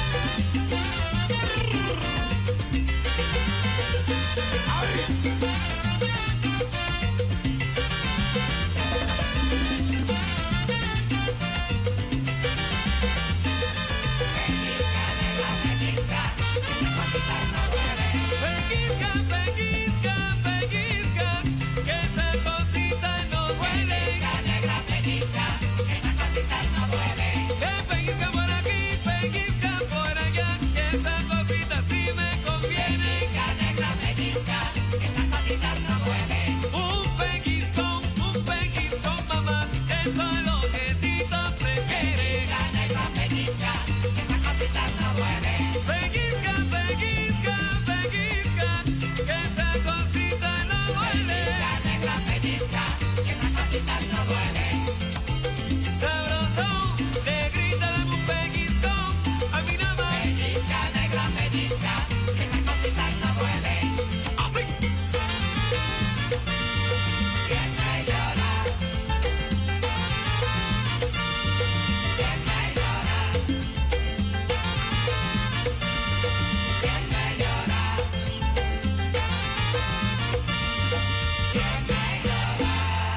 Pellizca, pellizca, pellizca, que esa cosita no duele. Pellizca, negra, pellizca, que esa cosita no duele. Que pellizca por aquí, pellizca por allá, que esa cosita sí me conviene. Pellizca, negra, pellizca, que esa cosita no duele. Un pellizcón, un pellizcón, mamá, eso es lo que Tito prefiere. Pellizca, negra, pellizca, que esa cosita no duele. Pellizca, pellizca, pellizca, que esa cosita no duele. Pellizca, negra, pellizca, que esa cosita no duele. Sabrosón, negrita, dame un pellizcón, a mí nada más. Pellizca, negra, pellizca, que esa cosita no duele. Así. ¿Quién me llora? ¿Quién me llora? ¿Quién me llora? ¿Quién me llora?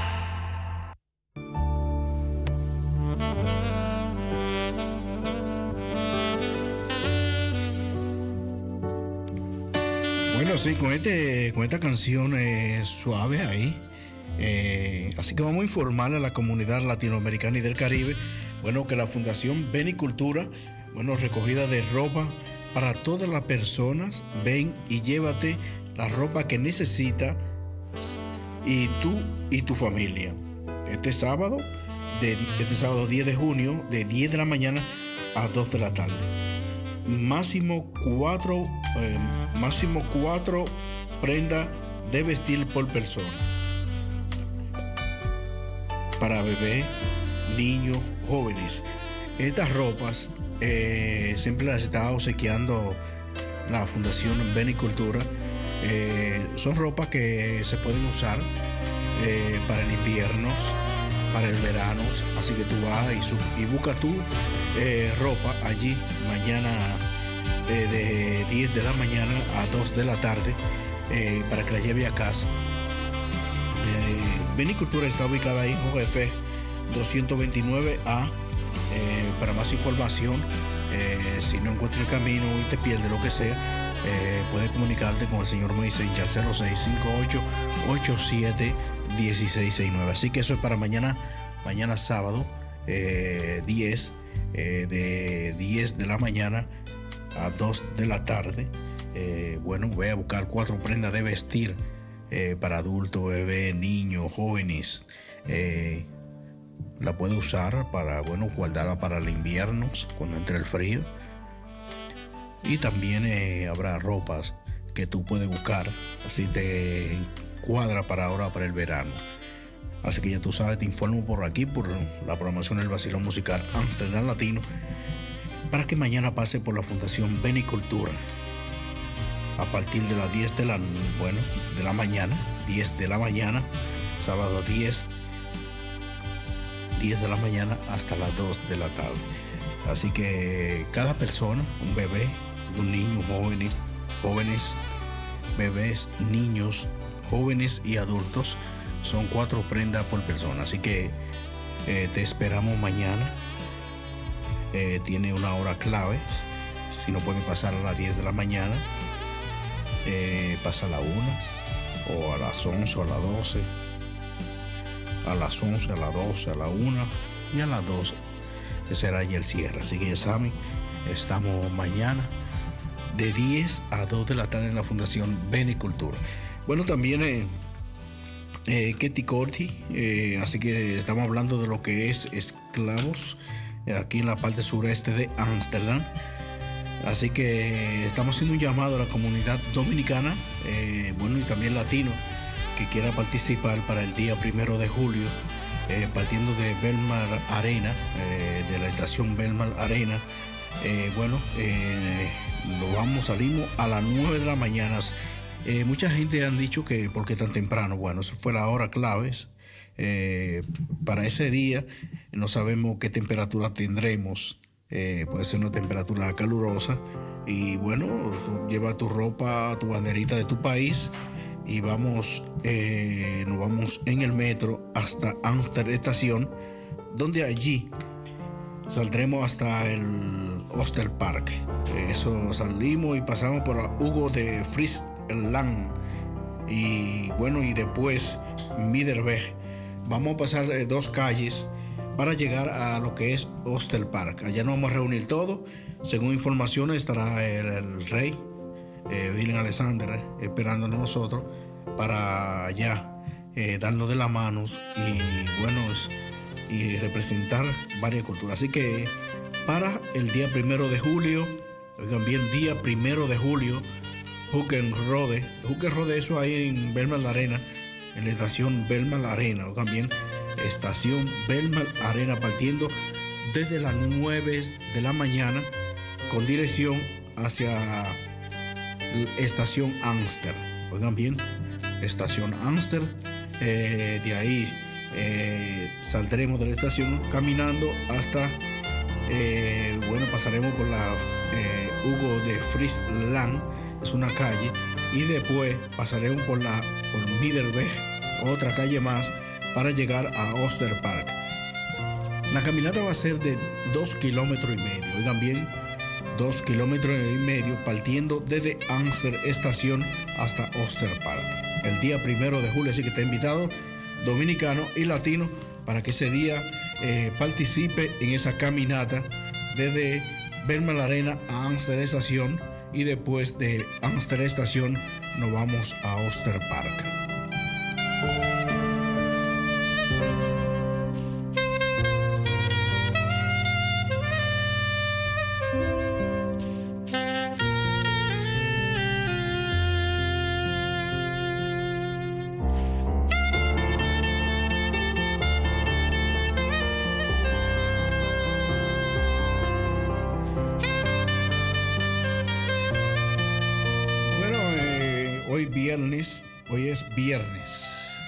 Bueno, sí, con, este, con esta canción eh, suave ahí. eh, así que vamos a informar a la comunidad latinoamericana y del Caribe, bueno, que la Fundación Benicultura, bueno, recogida de ropa para todas las personas. Ven y llévate la ropa que necesitas y tú y tu familia. Este sábado, de, este sábado diez de junio, de diez de la mañana a dos de la tarde. Máximo cuatro, eh, máximo cuatro prendas de vestir por persona. Para bebés, niños, jóvenes. Estas ropas eh, siempre las está obsequiando la Fundación Benicultura. Eh, son ropas que se pueden usar eh, para el invierno, para el verano. Así que tú vas y, sub, y buscas tu eh, ropa allí mañana eh, de diez de la mañana a dos de la tarde eh, para que la lleve a casa. Eh, Benicultura está ubicada ahí en J F doscientos veintinueve A. Eh, para más información, eh, si no encuentras el camino y te pierdes lo que sea, eh, puedes comunicarte con el señor Moisés al cero seis cinco ocho, ocho siete, uno seis seis nueve. Así que eso es para mañana, mañana sábado eh, diez, eh, de diez de la mañana a dos de la tarde. Eh, bueno, voy a buscar cuatro prendas de vestir eh, para adultos, bebés, niños, jóvenes. Eh, la puedo usar para, bueno, guardarla para el invierno cuando entre el frío. Y también eh, habrá ropas que tú puedes buscar, así te cuadra para ahora, para el verano. Así que ya tú sabes, te informo por aquí, por la programación del Vacilón Musical Amsterdam Latino, para que mañana pase por la Fundación Benicultura a partir de las diez de la, bueno, de la mañana, diez de la mañana, sábado diez, diez de la mañana hasta las dos de la tarde. Así que cada persona, un bebé, un niño, jóvenes, jóvenes, bebés, niños, jóvenes y adultos, son cuatro prendas por persona. Así que eh, te esperamos mañana. Eh, tiene una hora clave. Si no pueden pasar a las diez de la mañana, eh, pasa a las una, o a las once, o a las doce, a las once, a las doce, a la una y a las doce, que será ya el cierre. Así que ya saben, estamos mañana de diez a dos de la tarde en la Fundación Benicultura. Bueno, también eh, eh, Ketty Corti, eh, así que estamos hablando de lo que es esclavos eh, aquí en la parte sureste de Ámsterdam. Así que estamos haciendo un llamado a la comunidad dominicana, eh, bueno, y también latino, que quiera participar para el día primero de julio, eh, partiendo de Belmar Arena, eh, de la estación Belmar Arena. Eh, bueno, eh, lo vamos, salimos a las nueve de la mañana. Eh, mucha gente han dicho que por qué tan temprano. Bueno, eso fue la hora clave. Eh, para ese día no sabemos qué temperatura tendremos. Eh, puede ser una temperatura calurosa. Y bueno, tú llevas tu ropa, tu banderita de tu país y vamos, eh, nos vamos en el metro hasta Amsterdam Estación, donde allí saldremos hasta el Oosterpark. Eso salimos y pasamos por Hugo de Friesland y bueno, y después Middelberg. Vamos a pasar eh, dos calles para llegar a lo que es Oosterpark. Allá nos vamos a reunir todos. Según informaciones estará el, el rey eh, Willem Alexander eh, esperándonos nosotros para allá eh, darnos de las manos y bueno es, y representar varias culturas. Así que para el día primero de julio, oigan bien, día primero de julio, Huckenrode, Huckenrode, eso ahí en Belmar Arena, en la estación Belmar Arena, oigan bien, estación Belmar Arena, partiendo desde las nueve de la mañana con dirección hacia la estación Amsterdam, oigan bien, estación Amsterdam, eh, de ahí Eh, saldremos de la estación caminando hasta, eh, bueno, pasaremos por la eh, Hugo de Friesland, es una calle, y después pasaremos por la por Middelberg, otra calle más, para llegar a Oosterpark. La caminata va a ser de dos kilómetros y medio, oigan bien, dos kilómetros y medio, partiendo desde Amsterdam Estación hasta Oosterpark. El día primero de julio, así que está invitado dominicano y latino para que ese día eh, participe en esa caminata desde Belmar Arena a Amsterdam Estación y después de Amsterdam Estación nos vamos a Oosterpark. Viernes, hoy es viernes,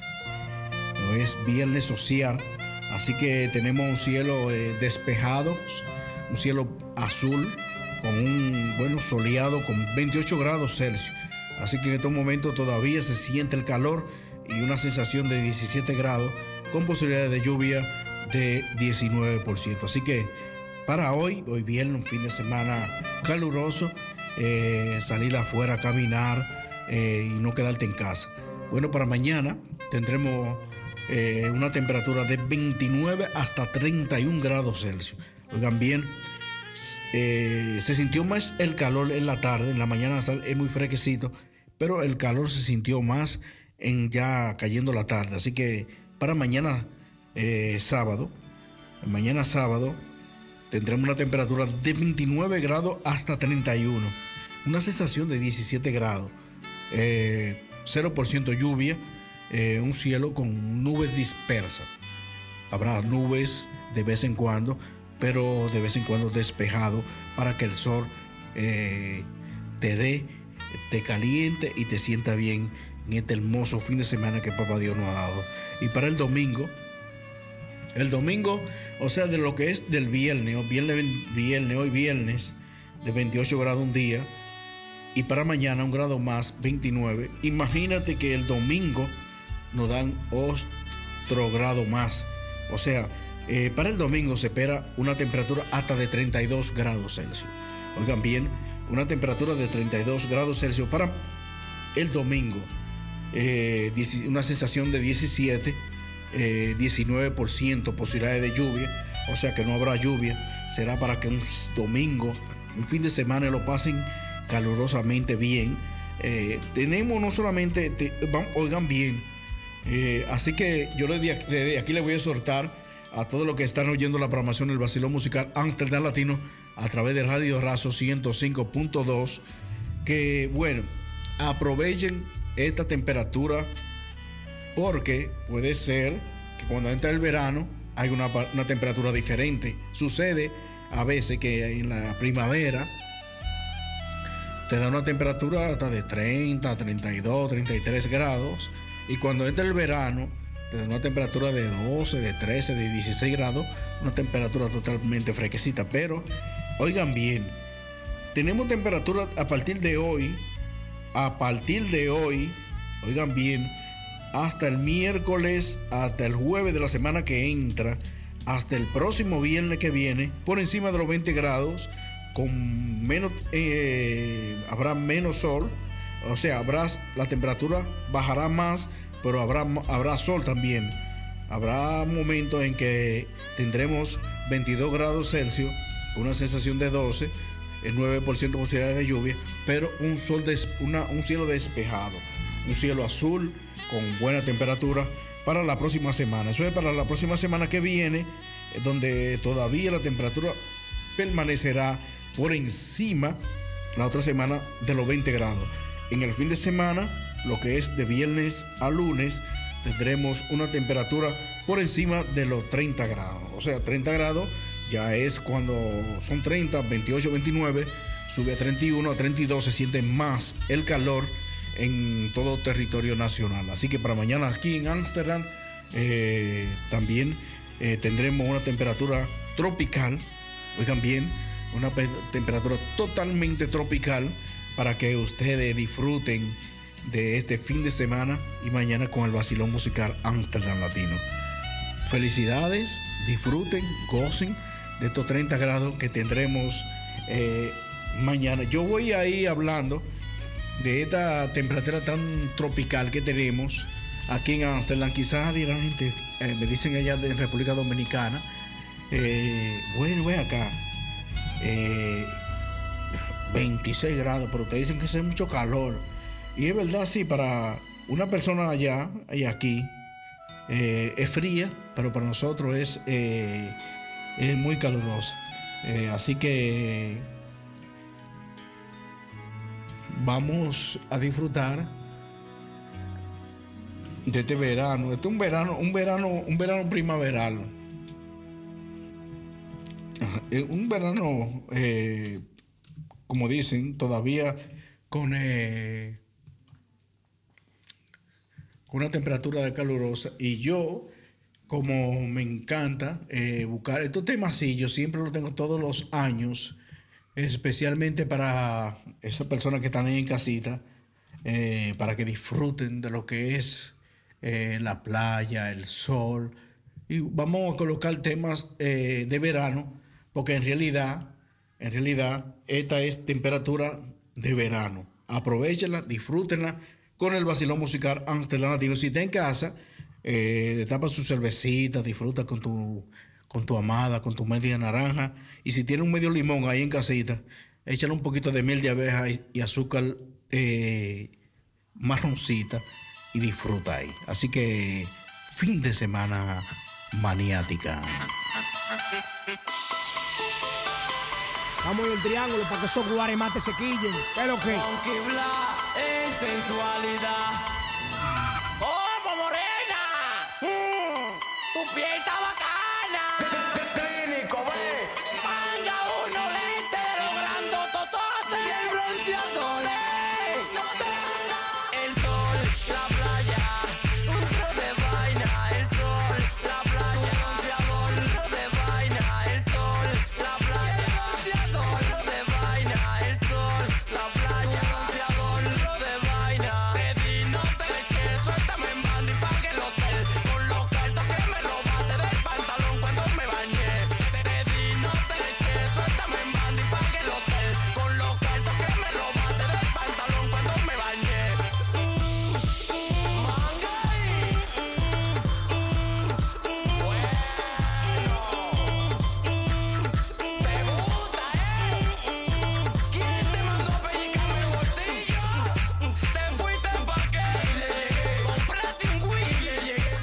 hoy es viernes social, así que tenemos un cielo eh, despejado, un cielo azul, con un bueno soleado con veintiocho grados Celsius, así que en estos momentos todavía se siente el calor y una sensación de diecisiete grados con posibilidades de lluvia de diecinueve por ciento, así que para hoy, hoy viernes, un fin de semana caluroso, eh, salir afuera a caminar, Eh, y no quedarte en casa. Bueno, para mañana tendremos eh, una temperatura de veintinueve hasta treinta y un grados Celsius. Oigan bien, eh, se sintió más el calor en la tarde, en la mañana es muy fresquecito, pero el calor se sintió más en ya cayendo la tarde. Así que para mañana eh, sábado, mañana sábado tendremos una temperatura de veintinueve grados hasta treinta y uno, una sensación de diecisiete grados. Eh, cero por ciento lluvia, eh, un cielo con nubes dispersas. Habrá nubes de vez en cuando, pero de vez en cuando despejado para que el sol eh, te dé, te caliente y te sienta bien en este hermoso fin de semana que Papá Dios nos ha dado. Y para el domingo, el domingo, o sea, de lo que es del viernes, o viernes, viernes hoy viernes, de veintiocho grados un día. Y para mañana un grado más, veintinueve. Imagínate que el domingo nos dan otro grado más. O sea, eh, para el domingo se espera una temperatura hasta de treinta y dos grados Celsius. Oigan bien, una temperatura de treinta y dos grados Celsius para el domingo. Eh, una sensación de diecisiete, eh, diecinueve por ciento posibilidades de lluvia, o sea que no habrá lluvia. Será para que un domingo, un fin de semana lo pasen calurosamente bien. Eh, tenemos no solamente, te, van, oigan bien, eh, así que yo desde aquí le voy a exhortar a todos los que están oyendo la programación del Vacilón Musical Amsterdam Latino a través de Radio Razo ciento cinco punto dos, que bueno, aprovechen esta temperatura, porque puede ser que cuando entra el verano hay una, una temperatura diferente. Sucede a veces que en la primavera te da una temperatura hasta de treinta, treinta y dos, treinta y tres grados, y cuando entra el verano te da una temperatura de doce, de trece, de dieciséis grados, una temperatura totalmente fresquecita. Pero oigan bien, tenemos temperatura a partir de hoy, a partir de hoy, oigan bien, hasta el miércoles, hasta el jueves de la semana que entra, hasta el próximo viernes que viene, por encima de los veinte grados, con menos, eh, habrá menos sol, o sea, habrá, la temperatura bajará más, pero habrá, habrá sol también. Habrá momentos en que tendremos veintidós grados Celsius, una sensación de doce, el nueve por ciento de posibilidades de lluvia, pero un, sol des, una, un cielo despejado, un cielo azul con buena temperatura para la próxima semana. Eso es para la próxima semana que viene, donde todavía la temperatura permanecerá por encima la otra semana de los veinte grados. En el fin de semana, lo que es de viernes a lunes, tendremos una temperatura por encima de los treinta grados. O sea, treinta grados ya es cuando son treinta, veintiocho, veintinueve, sube a treinta y uno, a treinta y dos, se siente más el calor en todo territorio nacional. Así que para mañana aquí en Ámsterdam eh, también eh, tendremos una temperatura tropical, oigan bien, una pe- temperatura totalmente tropical para que ustedes disfruten de este fin de semana y mañana con el Vacilón Musical Amsterdam Latino. Felicidades, disfruten, gocen de estos treinta grados que tendremos eh, mañana. Yo voy ahí hablando de esta temperatura tan tropical que tenemos aquí en Amsterdam. Quizás dirán gente, eh, me dicen allá de República Dominicana, eh, bueno, voy acá, eh, veintiséis grados, pero ustedes dicen que hace mucho calor. Y es verdad, sí, para una persona allá y aquí eh, es fría, pero para nosotros es, eh, es muy calurosa. Eh, así que vamos a disfrutar de este verano. Este es un verano, un verano, un verano primaveral. Un verano, eh, como dicen, todavía con, eh, con una temperatura de calurosa. Y yo, como me encanta eh, buscar estos temas así, yo siempre los tengo todos los años, especialmente para esas personas que están ahí en casita, eh, para que disfruten de lo que es eh, la playa, el sol. Y vamos a colocar temas eh, de verano, porque en realidad, en realidad, esta es temperatura de verano. Aprovechenla, disfrútenla con el Vacilón Musical Amsterdam Latino. Si está en casa, eh, tapa su cervecita, disfruta con tu, con tu amada, con tu media naranja. Y si tiene un medio limón ahí en casita, échale un poquito de miel de abeja y, y azúcar eh, marroncita y disfruta ahí. Así que fin de semana maniática. Vamos en el triángulo para que esos guaremates se quillen. ¿Qué es lo que? Funky Bla en sensualidad. ¡Como morena! Mm, ¡Tu piel está bacana! ¡Clínico, ve! ¡Manga uno lente de los grandotototes! ¡Y el bronceador! ¡Ey! ¡No te hagas! El sol, la playa, un tro de vaina. El sol, la playa, un bronceador, un tro de vaina. El sol, la playa, un bronceador, un tro de vaina. El sol, la playa, un bronceador, un tro de vaina. Te di no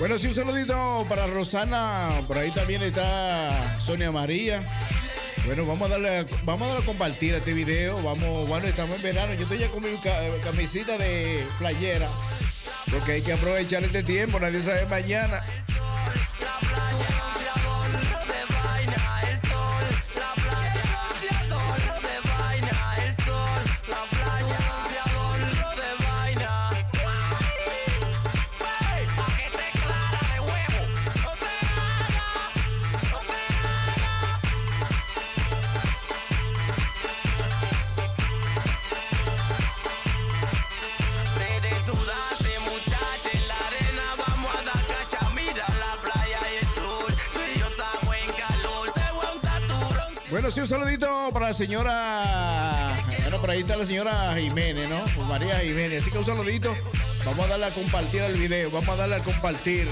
Bueno, sí, un saludito para Rosana. Por ahí también está Sonia María. Bueno, vamos a darle, vamos a darle a compartir este video. Vamos, bueno, estamos en verano. Yo estoy ya con mi camisita de playera. Porque hay que aprovechar este tiempo. Nadie sabe mañana. Bueno, sí, un saludito para la señora. Bueno, por ahí está la señora Jiménez, ¿no? Pues María Jiménez. Así que un saludito. Vamos a darle a compartir el video. Vamos a darle a compartir.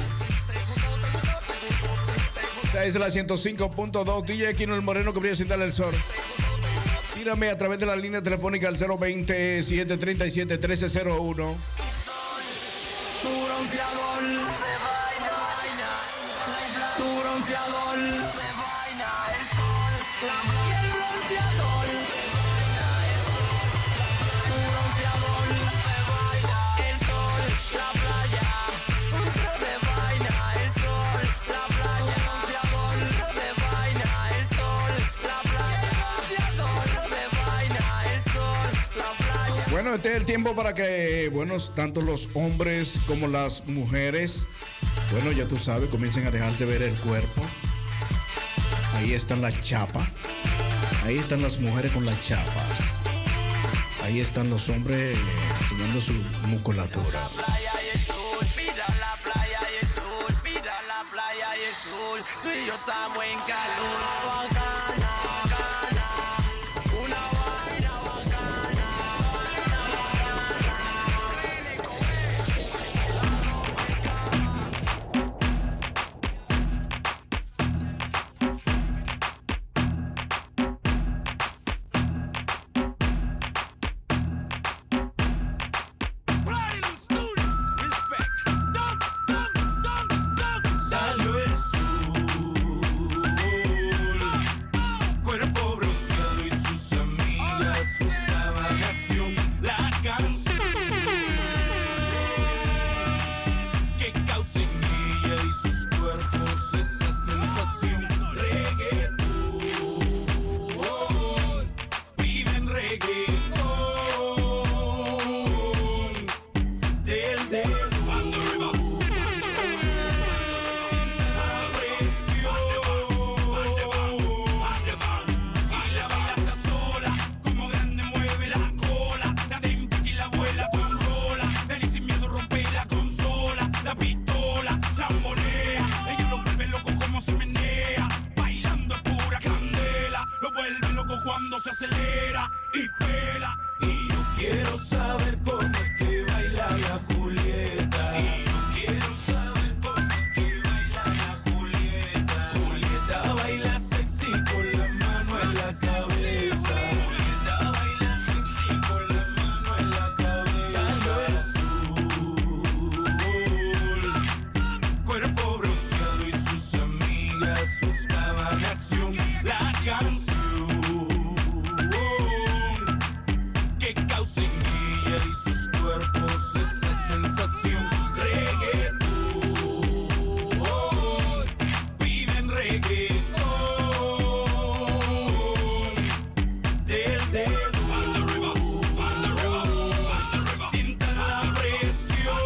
Esta es la ciento cinco punto dos. D J Aquino el Moreno que brilla sin darle el sol. Tírame a través de la línea telefónica al cero veinte, siete treinta y siete, trece cero uno. Tu bronceador de vaina, tu bronceador de vaina, el sol, la y el bronceador de vaina, el sol, tu bronceador de vaina, el sol, la playa, un tro de vaina, el sol, la playa, bronceador de vaina, el sol, la playa, bronceador de vaina, el sol, la playa. Bueno, este es el tiempo para que, bueno, tanto los hombres como las mujeres, bueno, ya tú sabes, comiencen a dejarse ver el cuerpo. Ahí están las chapas. Ahí están las mujeres con las chapas. Ahí están los hombres eh, enseñando su musculatura. Mira la playa y el sur, mira la playa y el sur, tú y yo estamos en calor, bacana, bacana, una vaina bacana, vaina Salió el sol, cuerpo bronceado y sus amigas buscaban acción. La canción que causa en ella y sus cuerpos esa sensación. Reggaetón, piden reggaetón del dedo. Cuando se acelera y pela. Y yo quiero saber cómo es que baila la Julieta. Y yo quiero saber cómo es que baila la Julieta. Julieta baila sexy con la mano en la cabeza. Julieta baila sexy con la mano en la cabeza. Salió el sol, cuerpo bronceado y sus amigas buscaban acción. La canción que causa en ella y sus cuerpos esa sensación. Reggaetón, piden reggaetón del dedo. Sientan la presión.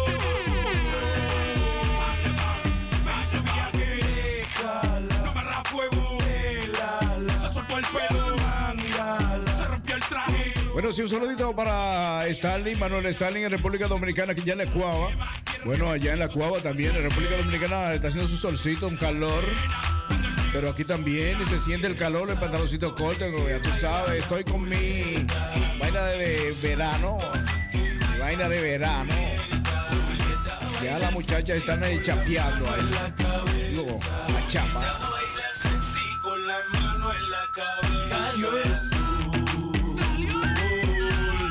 Ese viaje, no me arra fuego. Se soltó el pelo, se rompió el traje. Bueno, sí, un saludito para Stanley, Manuel Stanley en República Dominicana, que ya en la Cuava. Bueno, allá en la Cuava también, en República Dominicana está haciendo su solcito, un calor. Pero aquí también se siente el calor, el pantaloncito corto, ya tú sabes, estoy con mi vaina de verano, mi vaina de verano. Ya las muchachas están ahí chapeando ahí. Digo, la chapa. Con la mano en la cabeza. Salió el sol,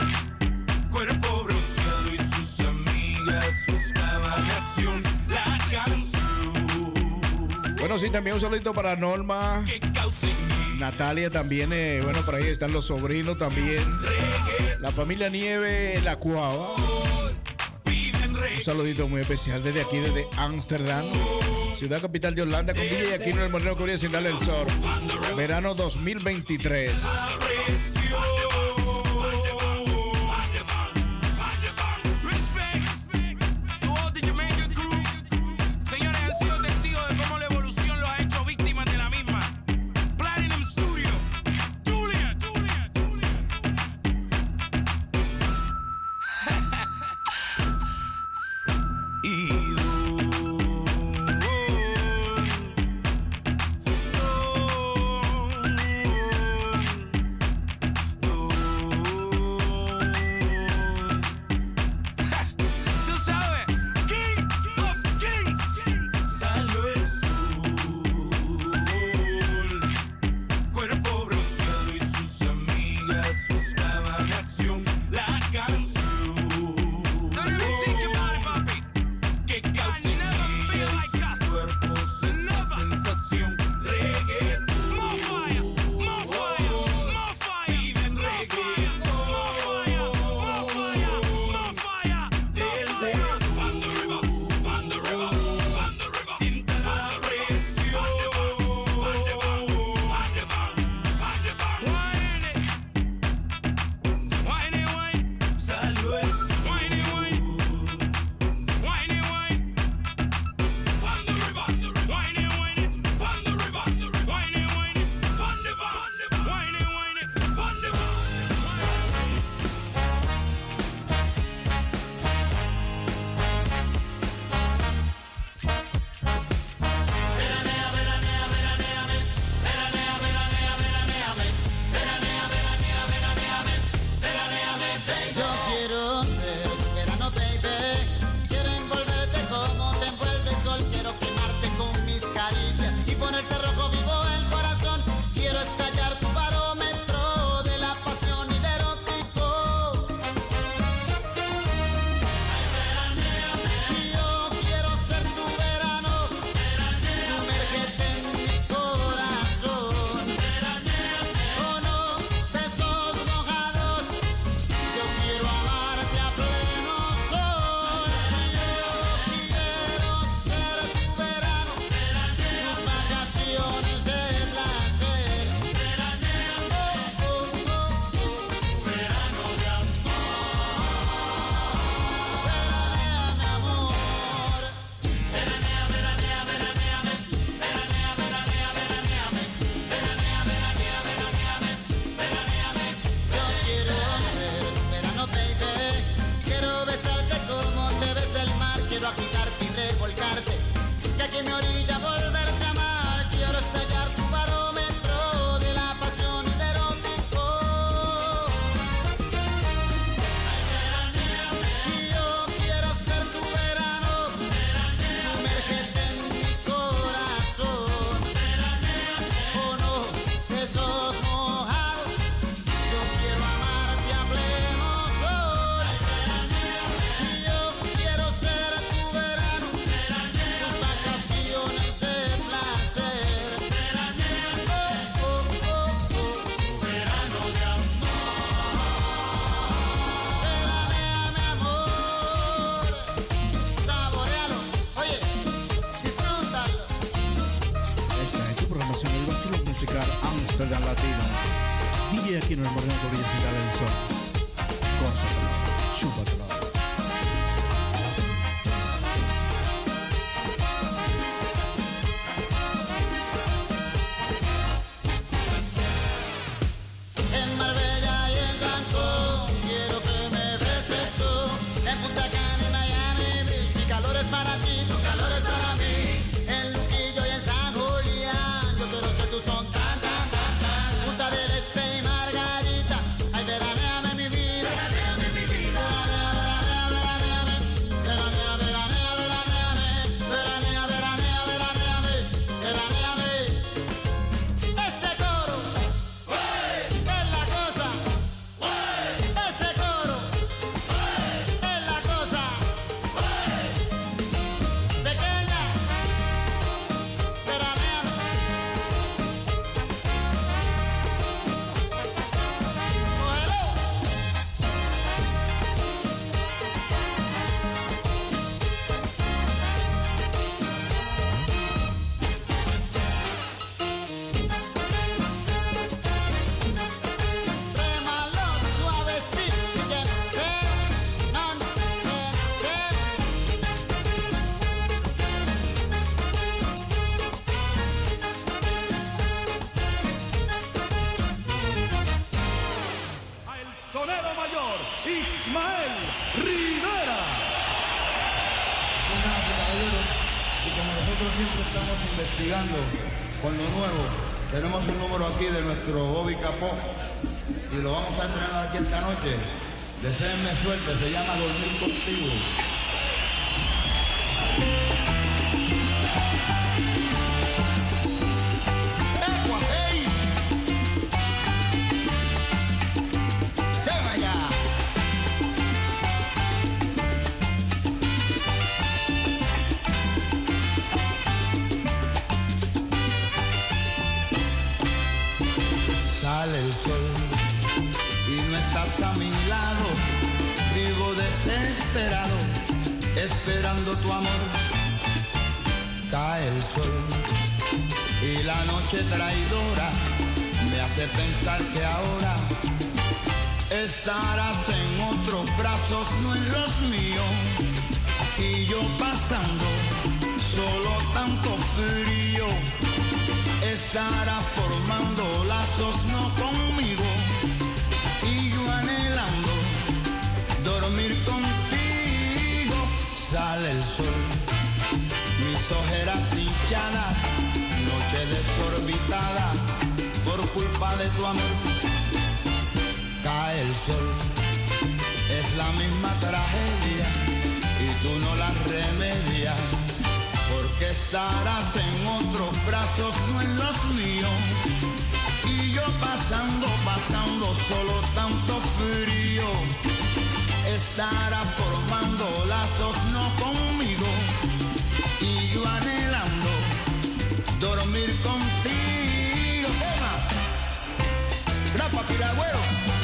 cuerpo bronceado y sus amigas buscaban acción. La Bueno, sí, también un saludito para Norma, Natalia también, eh, bueno, por ahí están los sobrinos también, la familia Nieve, la Cuava. Un saludito muy especial desde aquí, desde Ámsterdam, ciudad capital de Holanda, con D J Aquino, el Moreno Corea, sin darle el sol. Verano dos mil veintitrés. Amsterdam Latino. D J Aquino, el Moreno Corea, sin darle el sol. Gózatelo, chúpatelo. En Marbella y en Cancún quiero que me beses tú. En Punta Cana y Miami Beach, mi calor es para ti, tu calor es para mí. En Luquillo y en San Julián, yo quiero ser tu son tan tan tan tan. Punta del Este y Margarita, ay veranéame mi vida, veranéame mi vida. Veranéame, veranéame, veranéame, veranéame, veranéame, veranéame, veranéame. Ese coro. Es la cosa, ese coro, es la cosa, pequeña. nosotros siempre estamos investigando con lo nuevo. Tenemos un número aquí de nuestro Bobby Capó y lo vamos a estrenar aquí esta noche. Deseenme suerte, se llama Dormir Contigo. Sale el sol y no estás a mi lado, vivo desesperado, esperando tu amor. Cae el sol y la noche traidora me hace pensar que ahora estarás en otros brazos, no en los míos, y yo pasando solo tanto frío. Estará formando lazos no conmigo y yo anhelando dormir contigo. Sale el sol, mis ojeras hinchadas, noche desorbitada por culpa de tu amor. Cae el sol, es la misma tragedia y tú no la remedias. Porque estarás en otros brazos, no en los míos. Y yo pasando, pasando solo tanto frío. Estará formando lazos no conmigo. Y yo anhelando dormir contigo. ¡Tema! ¡Grapa, piragüero!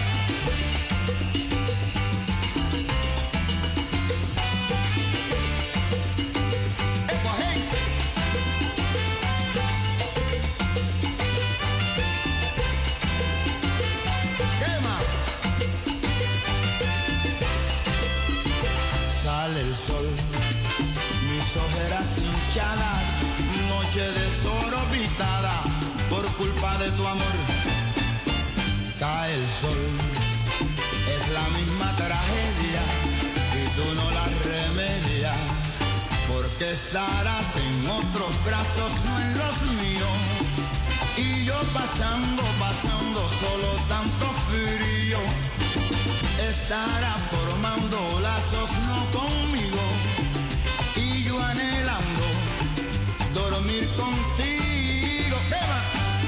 El sol, mis ojeras hinchadas, noche desorbitada por culpa de tu amor. Cae el sol, es la misma tragedia y tú no la remedias, porque estarás en otros brazos, no en los míos. Y yo pasando, pasando solo tanto frío. Estará formando lazos no conmigo y yo anhelando dormir contigo. ¡Eva!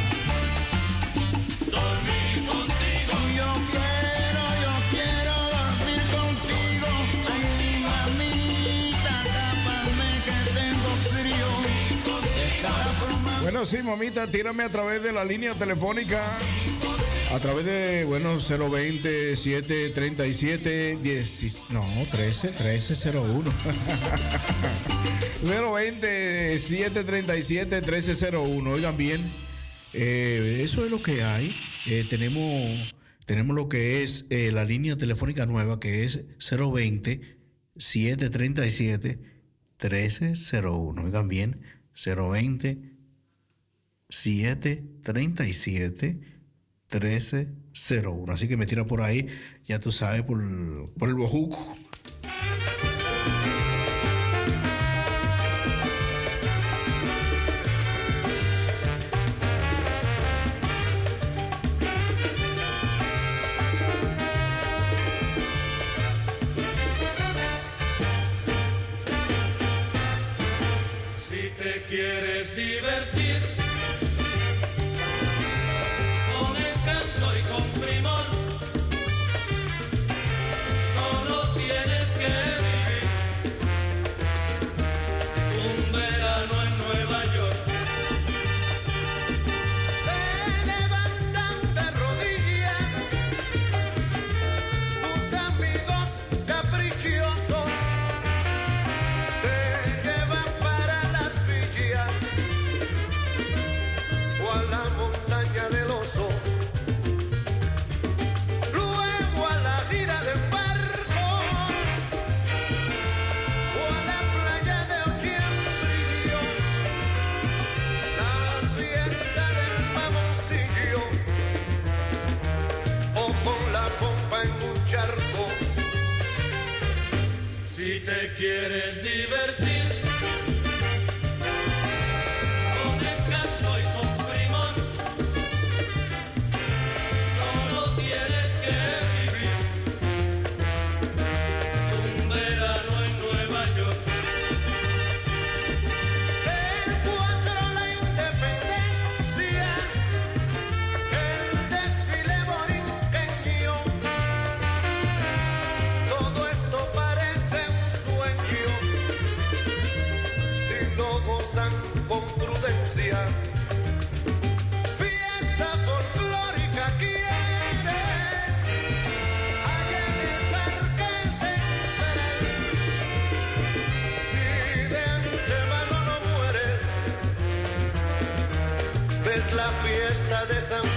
Dormir contigo. Yo quiero, yo quiero dormir contigo. Ay, sí, mamita, tápame que tengo frío. Estará formando... Bueno, sí, mamita, tírame a través de la línea telefónica. A través de, bueno, cero veinte, siete treinta y siete, diez, no, trece, trece cero uno. cero veinte, siete treinta y siete, trece cero uno. Oigan bien, eh, eso es lo que hay. Eh, tenemos, tenemos lo que es eh, la línea telefónica nueva, que es cero veinte, siete treinta y siete, trece cero uno. Oigan bien, cero veinte, siete treinta y siete, trece cero uno. Así que me tira por ahí, ya tú sabes, por, por el bojuco. Si te quieres divertir con el canto y con primor, solo tienes que vivir un verano en Nueva York. Te levantan de rodillas tus amigos caprichosos, te llevan para las villas o a la montaña del oso, luego a la gira de barco o a la playa de Ochiembrillo, la fiesta del mamoncillo o con la pompa en un charco. Si te quieres divertir con prudencia. Fiesta folclórica quieres, allá en el parque central. Si de antemano no mueres, ves la fiesta de San Juan.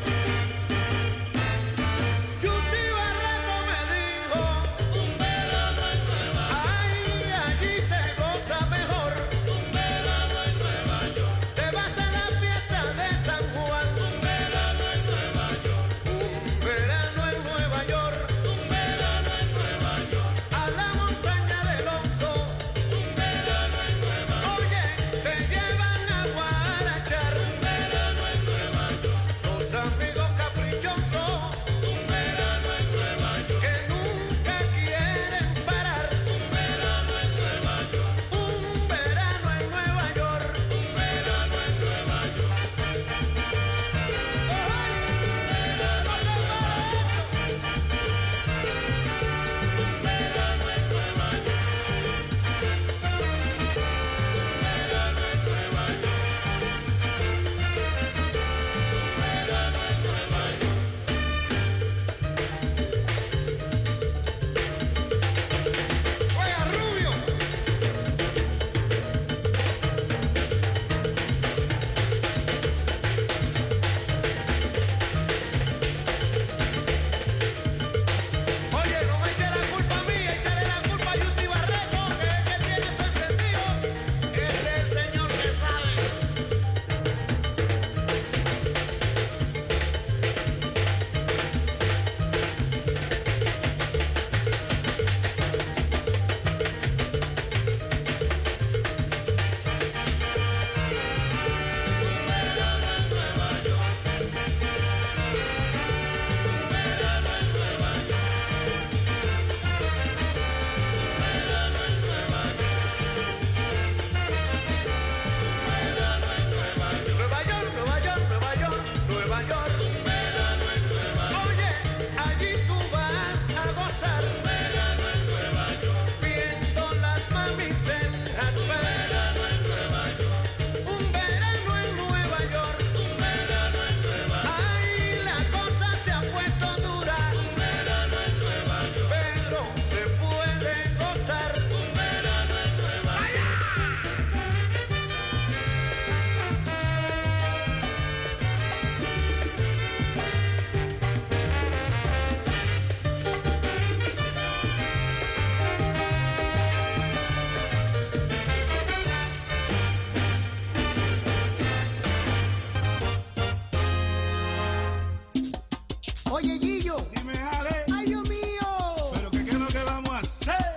Oye, Gillo. Dime, Ale. Ay, Dios mío. Pero que qué es lo que vamos a hacer.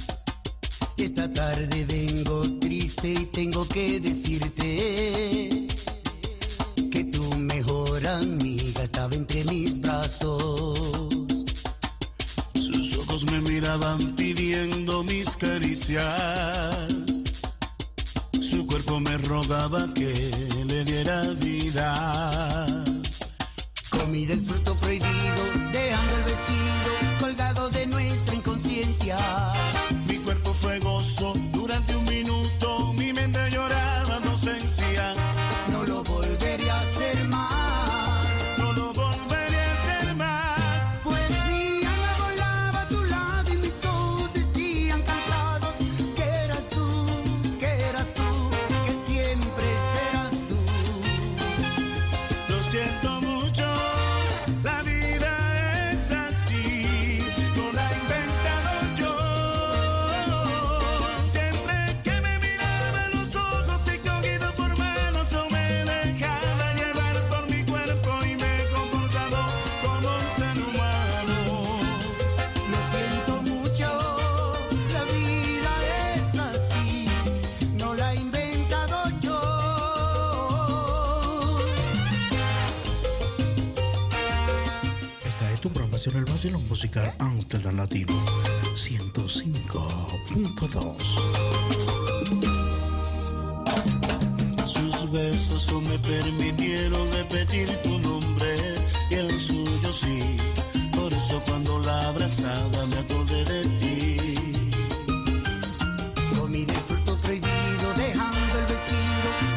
Esta tarde vengo triste y tengo que decirte que tu mejor amiga estaba entre mis brazos. Sus ojos me miraban pidiendo mis caricias. Su cuerpo me rogaba que le diera vida. Comí del fruto prohibido, dejando el vestido colgado de nuestra inconsciencia. Mi cuerpo fue gozo durante un minuto, mi mente lloraba de ausencia. No lo volveré a hacer más. No lo volveré a hacer más. Pues mi alma volaba a tu lado y mis ojos decían cansados que eras tú, que eras tú, que siempre serás tú. Lo siento mucho. La vida es así, no la he inventado yo. Siempre que me miraba a los ojos y cogido por manos, yo me dejaba llevar por mi cuerpo y me he comportado como un ser humano. Lo siento mucho, la vida es así, no la he inventado yo. Esta es tu programación, el vacilón musical Amsterdam Latino ciento cinco punto dos. Sus besos no me permitieron repetir tu nombre y el suyo sí. Por eso cuando la abrazaba me acordé de ti. Comí del fruto prohibido, dejando el vestido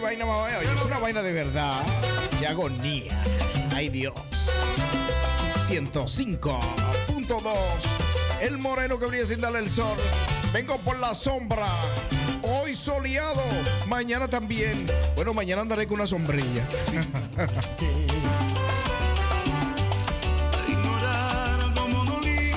vaina más vaya. Es una vaina de verdad. Qué agonía. Ay, Dios. ciento cinco punto dos. El moreno que brilla sin darle el sol. Vengo por la sombra. Hoy soleado. Mañana también. Bueno, mañana andaré con una sombrilla. Ignorar cómo dolías,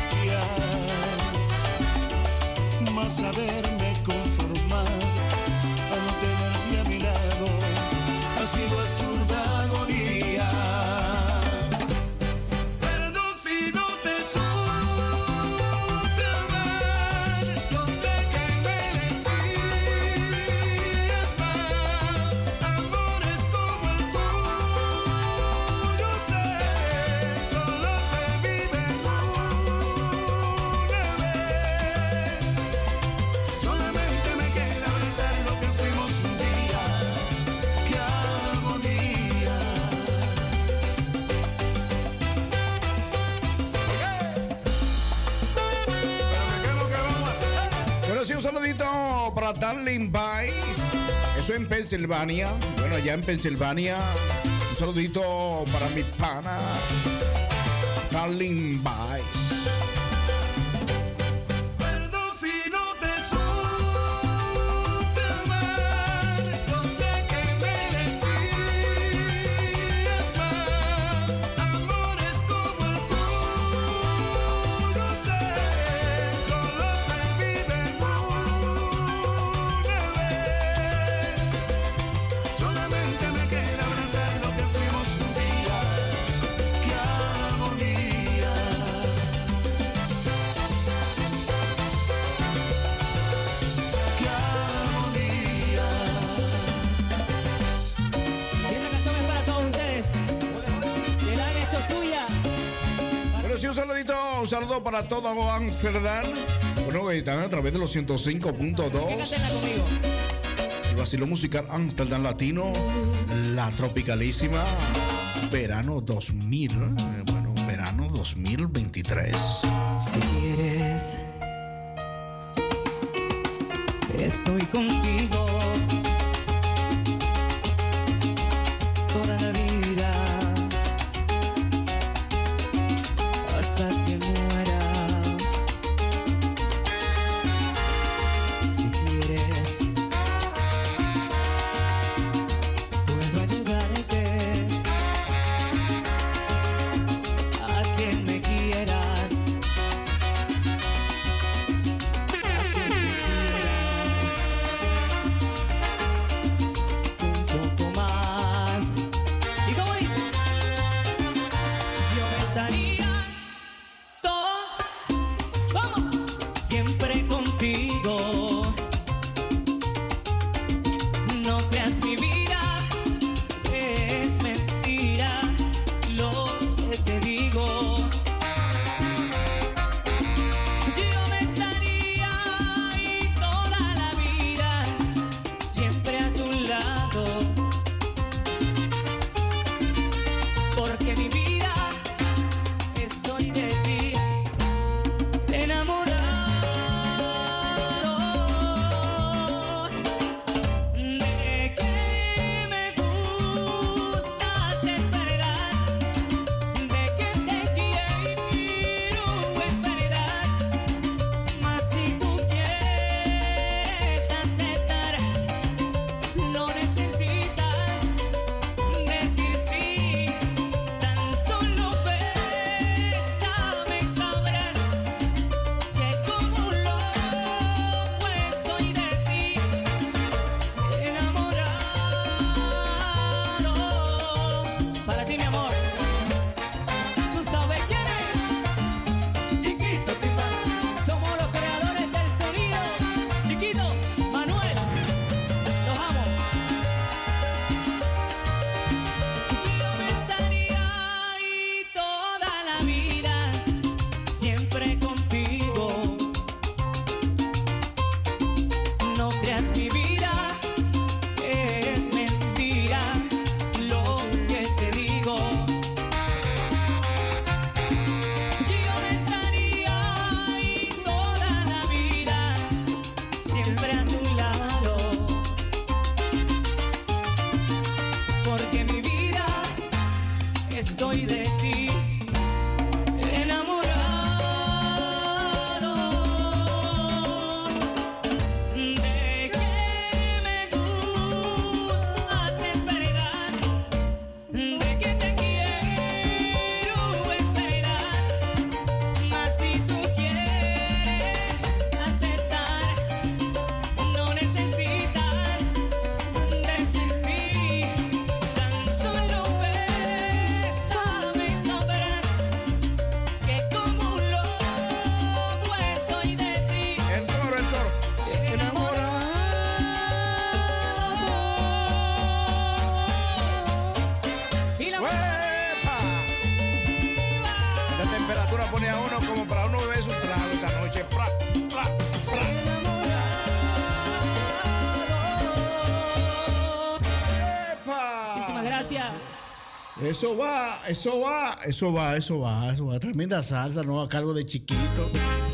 más saberme conformar a no tenerte a mi lado ha sido absurda agonía. Perdón si no te supe amar, no sé que merecías más amores como el tuyo, sé, solo se vive una vez. Solamente me queda abrazar lo que fuimos un día. ¡Qué agonía! ¿Qué es lo que vamos a hacer? Bueno, sí, un saludito para Darling Vice. Eso en Pensilvania. Bueno, allá en Pensilvania. Un saludito para mi pana Darling Vice. Perdón si no te supe amar, no sé que merecías más amores como el tuyo, sé, solo se vive una vez. Solamente me queda abrazar lo que fuimos un día. ¡Qué agonía! ¡Qué agonía! Y esta canción es para todos ustedes. Que la han hecho suya. Bueno, sí, un saludito, un saludo para todo Amsterdam. Bueno, que están a través de los ciento cinco punto dos. Cántela conmigo. El vacilo musical Amsterdam Latino, la tropicalísima Verano dos mil. eh, Bueno, verano dos mil veintitrés. Si quieres, estoy contigo toda la vida hasta que muera. Si quieres, puedo ayudarte a quien me quieras. Un poco más. ¿Y cómo dice? Yo estaría todo, vamos, siempre contigo. No creas mi vida, es mentira lo que te digo. Yo me estaría ahí toda la vida, siempre a tu lado, porque mi vida es hoy de ti, enamorado. De que me gustas es verdad, de que te quiero es verdad, mas si tú quieres aceptar, no necesitas decir sí, tan solo bésame y sabrás que como un loco estoy de ti, enamorado. Para ti, mi amor, tú sabes quién es. Chiquito Timba, somos los creadores del sonido. Chiquito, Manuel, los amo. Yo me estaría ahí toda la vida, siempre contigo. No creas mi vida, es mentira lo que te digo. Yo me estaría ahí toda la vida, siempre a tu lado, gracias. Eso va, eso va, eso va, eso va, eso va. Tremenda salsa, ¿no? A cargo de Chiquito.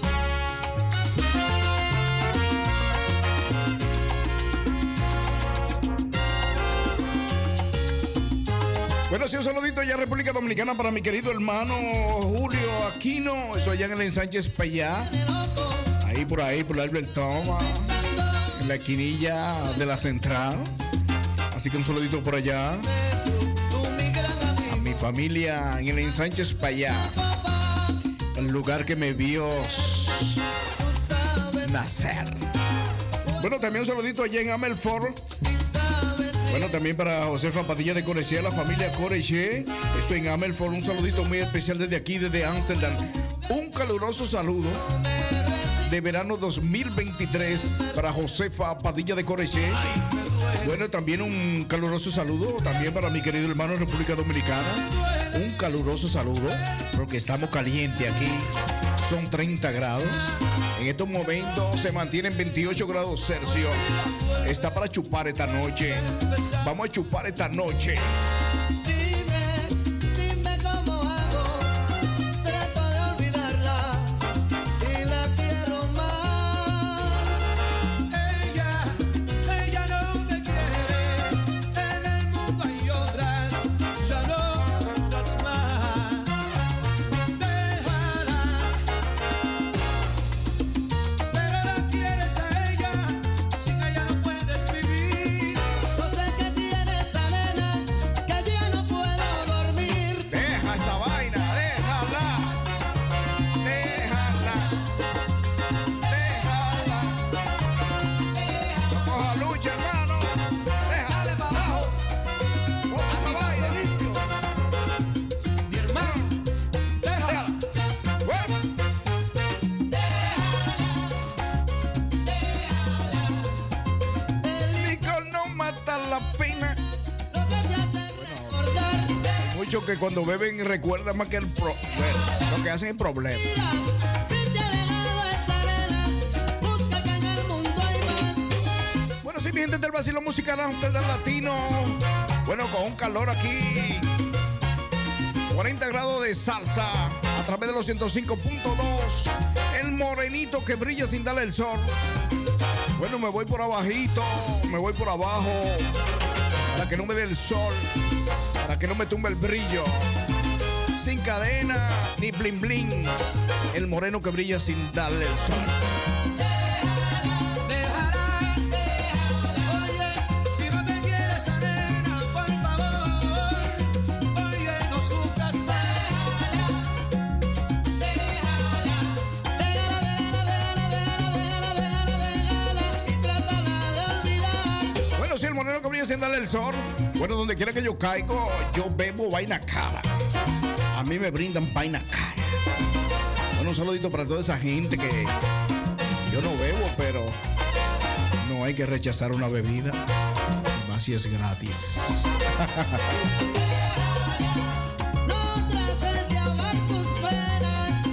Bueno, sí, un saludito allá en República Dominicana para mi querido hermano Julio Aquino. Eso allá en el Ensanche Payá. Ahí por ahí, por el Albert Thomas. En la esquinilla de la central. Así que un saludito por allá. A mi familia en el Ensanche Payá. El lugar que me vio nacer. Bueno, también un saludito allá en Amelfort. Bueno, también para Josefa Padilla de Coreche, la familia Coreche, eso en Amelfort, un saludito muy especial desde aquí, desde Ámsterdam. Un caluroso saludo de verano dos mil veintitrés para Josefa Padilla de Coreche. Bueno, también un caluroso saludo también para mi querido hermano República Dominicana. Un caluroso saludo, porque estamos calientes aquí. Son treinta grados. En estos momentos se mantienen veintiocho grados Celsius. Está para chupar esta noche. Vamos a chupar esta noche. Dime cómo hago, trato de olvidarla y la quiero más. Ella, ella no te quiere, en el mundo hay otras, ya no sufras más. Déjala, pero ahora quieres a ella, sin ella no puedes vivir. No sé qué tiene esa nena, que ya no puedo dormir. Deja esa vaina, déjala. Déjala. Déjala. No coja lucha, hermano. Déjala para abajo. Bota esa vaina. Mi hermano, déjala. El licor no mata la pena. Hay muchos que cuando beben recuerdan más que el pro. Bueno, lo que hacen es problema. Bueno, sí, mi gente del vacilo musical Amsterdam Latino. Bueno, con un calor aquí. cuarenta grados de salsa a través de los ciento cinco punto dos. El morenito que brilla sin darle el sol. Bueno, me voy por abajito, me voy por abajo. Para que no me dé el sol. Para que no me tumbe el brillo. Sin cadena ni bling bling. El moreno que brilla sin darle el sol. Déjala, oye, si no te quieres a nena, por favor, oye, no sufras más. Bueno, si el moreno que brilla sin darle el sol. Bueno, donde quiera que yo caigo, yo bebo vaina cara. A mí me brindan vaina cara. Bueno, un saludito para toda esa gente que yo no bebo, pero no hay que rechazar una bebida. Y más si es gratis. No trates de ahogar tus penas.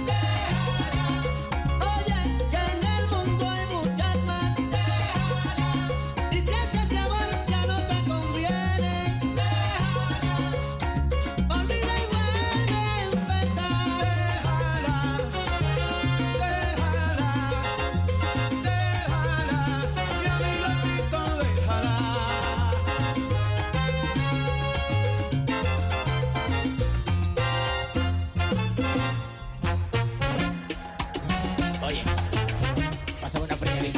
Oye, que en el mundo hay muchas más. Y si es que ese amor ya no te conviene, olvida y vuelve a empezar. Déjala, mi amigo Tito, déjala. Oye, pásame una fría.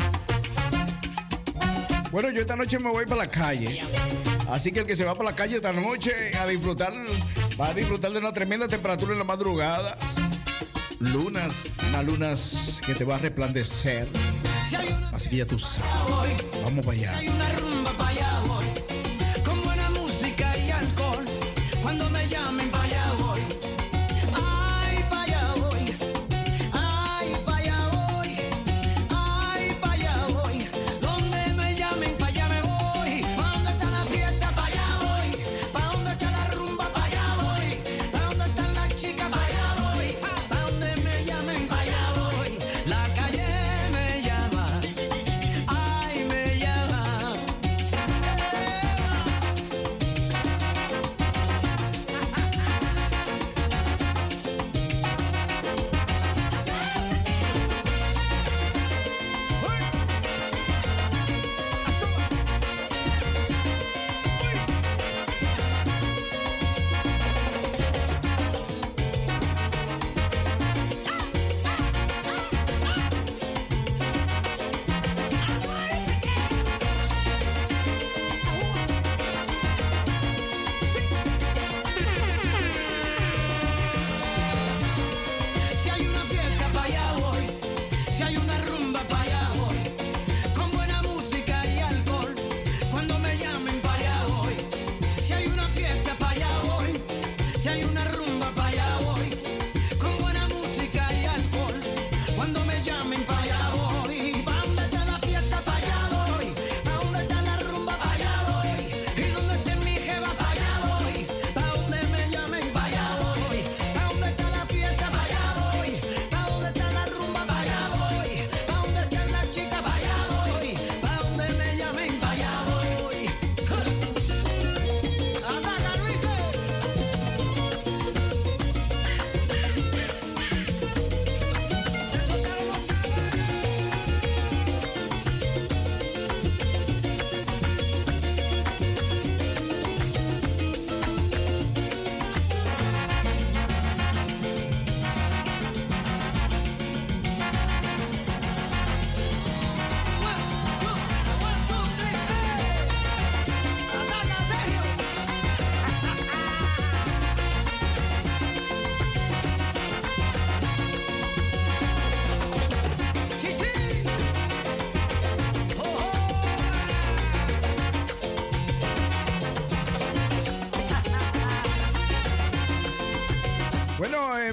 Bueno, yo esta noche me voy para la calle. Así que el que se va para la calle esta noche a disfrutar, va a disfrutar de una tremenda temperatura en la madrugada. Lunas, unas lunas que te va a resplandecer. Así que ya tú sabes. Vamos para allá. Hay una rumba para allá voy, con buena música y alcohol. Cuando me llamen para allá voy. Ay, para allá voy. Ay, para allá voy. Ay, para allá voy. Donde me llamen para allá me voy. ¿Pa' dónde está la fiesta? Para allá voy. ¿Pa' dónde está la rumba? Para allá voy. ¿Pa' dónde están las chicas? Para allá voy. ¿Pa' dónde me llamen? Para allá voy. La calle me llama. Ay, me llama.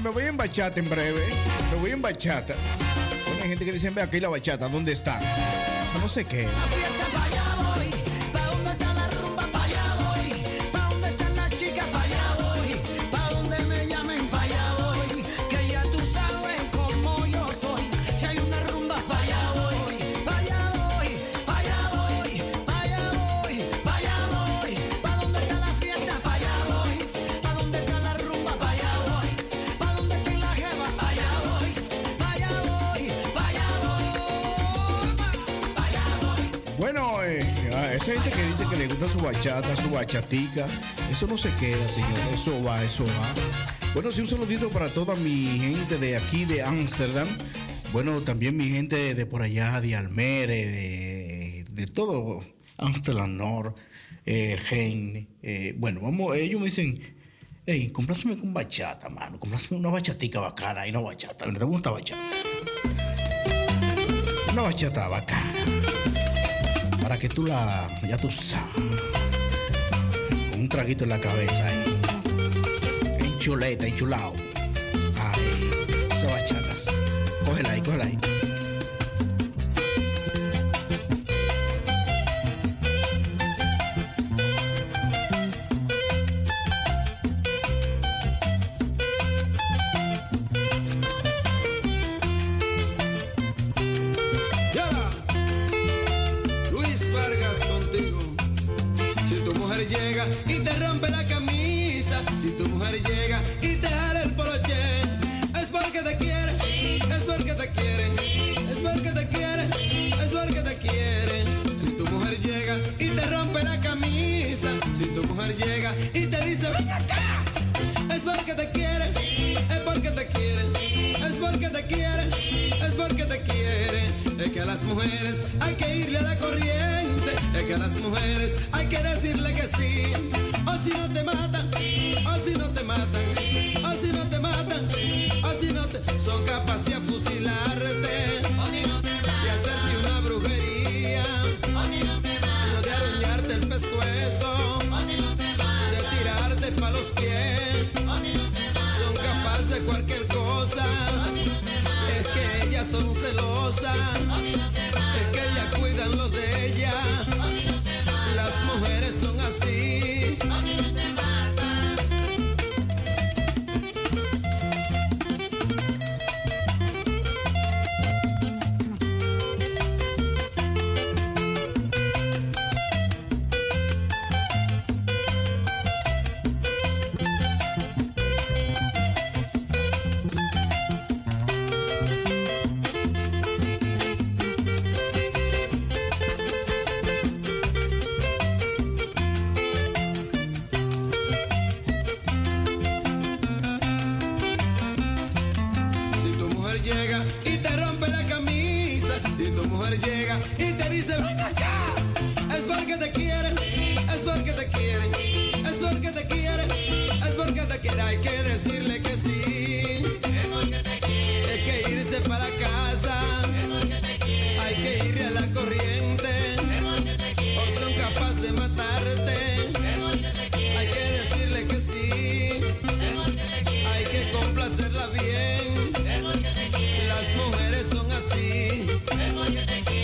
me voy en bachata en breve. Me voy en bachata. Bueno, hay gente que dice, ve aquí la bachata, ¿dónde está? Eso no sé qué. Bueno, eh, a esa gente que dice que le gusta su bachata, su bachatica, eso no se queda, señor. Eso va, eso va. Bueno, sí, un saludito para toda mi gente de aquí, de Ámsterdam. Bueno, también mi gente de por allá, de Almere, de, de todo Ámsterdam North, eh, Gen. Eh, bueno, vamos, ellos me dicen, hey, compláseme con bachata, mano. Compláseme una bachatica bacana y una bachata. ¿Te gusta bachata? Una bachata bacana. Para que tú la, ya tú sabes, con un traguito en la cabeza, ahí, en chuleta, en chulao. Ay, esas bachatas. Cógela ahí, cógela ahí. Llega y te rompe la camisa, si tu mujer llega y te jala el poloché, es porque te quiere, es porque te quiere, es porque te quiere, es porque te quiere. Si tu mujer llega y te rompe la camisa, si tu mujer llega y te dice ven acá, es porque te quiere, es porque te quiere, es porque te quiere, es porque te quiere. Es que a las mujeres hay que irle a la corriente, es que a las mujeres hay que decirle que sí, o si no te matan, o si no te matan, o si no te matan, o si no te... Son capaces de fusilarte, de hacerte una brujería, de aruñarte el pescuezo, de tirarte pa' los pies. Son capaces de cualquier cosa, es que ellas son celosas, es que ellas cuidan lo de ella. Las mujeres son así. Llega y te dice ven acá, es porque te quieren, es porque te quieren, es porque te quieren, es porque te quieren. Hay que decirle que sí, es porque te quieren. Hay que irse para casa, es porque te quieren. Hay que irle a la corriente, es porque te quieren. O son capaces de matarte, es porque te quieren. Hay que decirle que sí, es porque te quieren. Hay que complacerla bien, es porque te quieren. Las mujeres son así, es porque te quieren.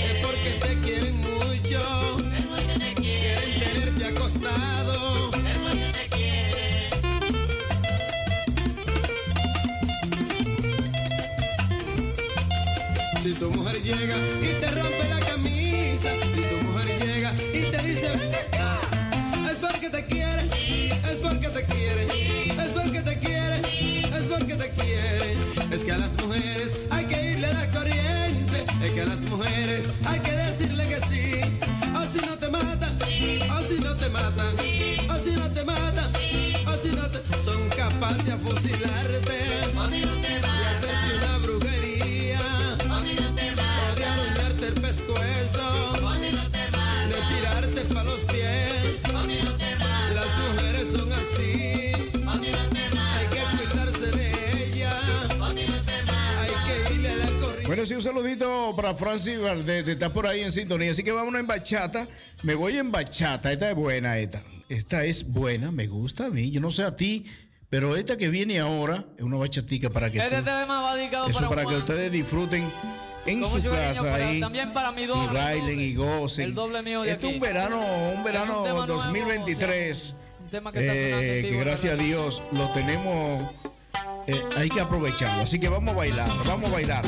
Si tu mujer llega y te rompe la camisa, si tu mujer llega y te dice ven acá, es porque te quiere, es porque te quiere, es porque te quiere, es porque te quiere. Es que a las mujeres hay que irle a la corriente, es que a las mujeres hay que decirle que sí, o si no te matan, o si no te matan, o si no te matan, o si no te... Son capaces de fusilarte, o si no te matan, de hacerte una brujería, o si no te matan, o de aruñarte el pescuezo, o si no te matan, de tirarte pa' los pies, o si no te matan. Las mujeres son así, o si no te matan, hay que cuidarse de ella, o si no te matan, hay que irle a la corriente. Bueno, sí, un saludito para Francis Valdés, está por ahí en sintonía, así que vámonos en bachata. Me voy en bachata, esta es buena, esta. Esta es buena, me gusta a mí. Yo no sé a ti, Pero esta que viene ahora es una bachatica para que Este tú- tema va dedicado eso para, para que Juan, ustedes disfruten en con su mucho cariño, casa pero ahí también para mi y doble, bailen y gocen. el doble mío de Este es aquí. un verano, un verano Es un tema dos mil nuevo, veintitrés. un tema que está sonando en eh, vivo que en gracias a Radio Dios lo tenemos, eh, hay que aprovecharlo. Así que vamos a bailar, vamos a bailar.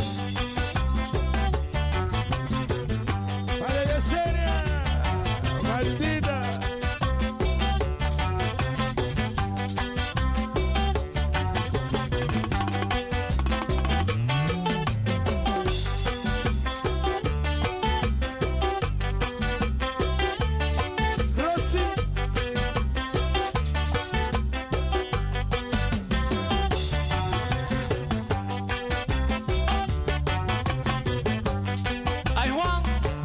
Vale, Yesenia, maldita. Ay, Juan.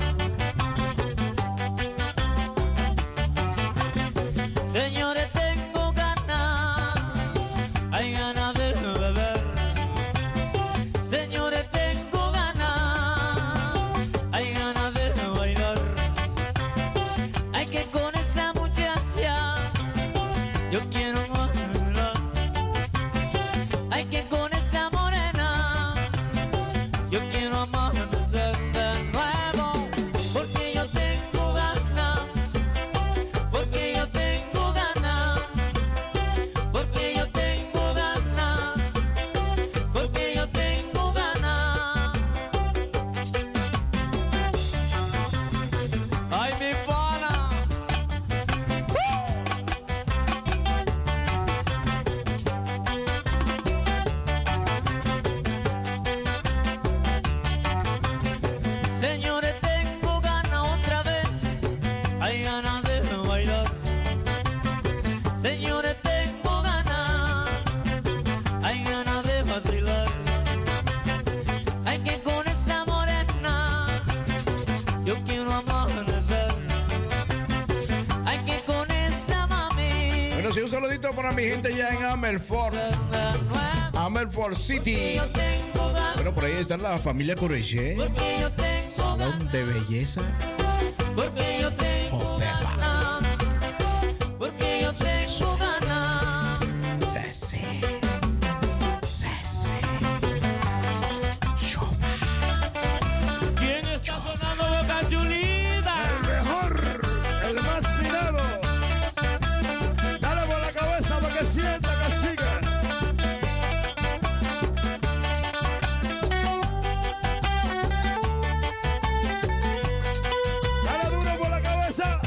Señores, tengo ganas, hay ganas de beber. Señores, tengo ganas, hay ganas de bailar. Hay que con esa muchacha, yo quiero bailar. Hay que con esa morena, yo quiero amanecer de nuevo, porque yo tengo ganas, porque yo tengo ganas, porque yo tengo ganas, porque yo tengo ganas. Ay, mi pana. Señores, tengo ganas otra vez, hay ganas de bailar. Señores, tengo ganas, hay ganas de vacilar. Hay que con esa morena, yo quiero amanecer. Hay que con esa mami. Bueno, sí, un saludito para mi gente ya en Amelford, Amelford City. Bueno, por ahí está la familia Coreche, salón de belleza. Porque yo tengo ganas, porque yo tengo ganas. Ceci, ¿Quién está sonando Boca Chulita? El mejor, el más pirado. Dale por la cabeza para que sienta que siga. Dale duro por la cabeza.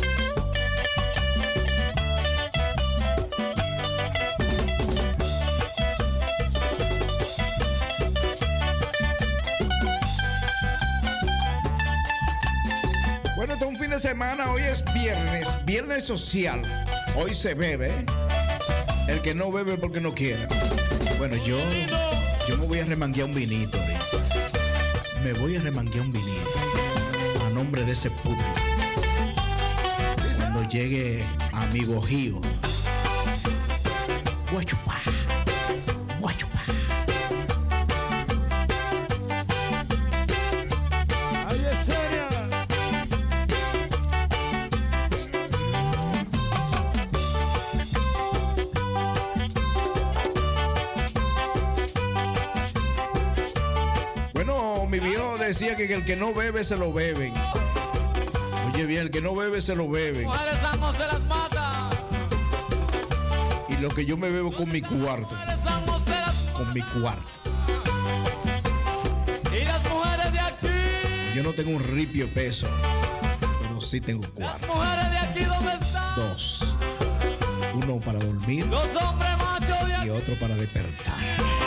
Bueno, este es un fin de semana, hoy es viernes, viernes social. Hoy se bebe. El que no bebe porque no quiere. Bueno, yo, yo me voy a remanguear un vinito ahorita. Me voy a remanguear un vinito a nombre de ese público. Cuando llegue amigo Gio. Voy a chupar. Voy a chupar. Ay, Yesenia. Bueno, mi viejo decía que el que no bebe se lo beben. Oye bien, el que no bebe se lo beben. Mujeres ambos se las mata. Y lo que yo me bebo con mi cuarto. Mujeres ambos se las Con mi cuarto. Y las mujeres de aquí. Yo no tengo un ripio peso, pero sí tengo cuarto. Mujeres de aquí, ¿dónde están? Dos. Uno para dormir Los hombres machos de aquí. y otro para despertar.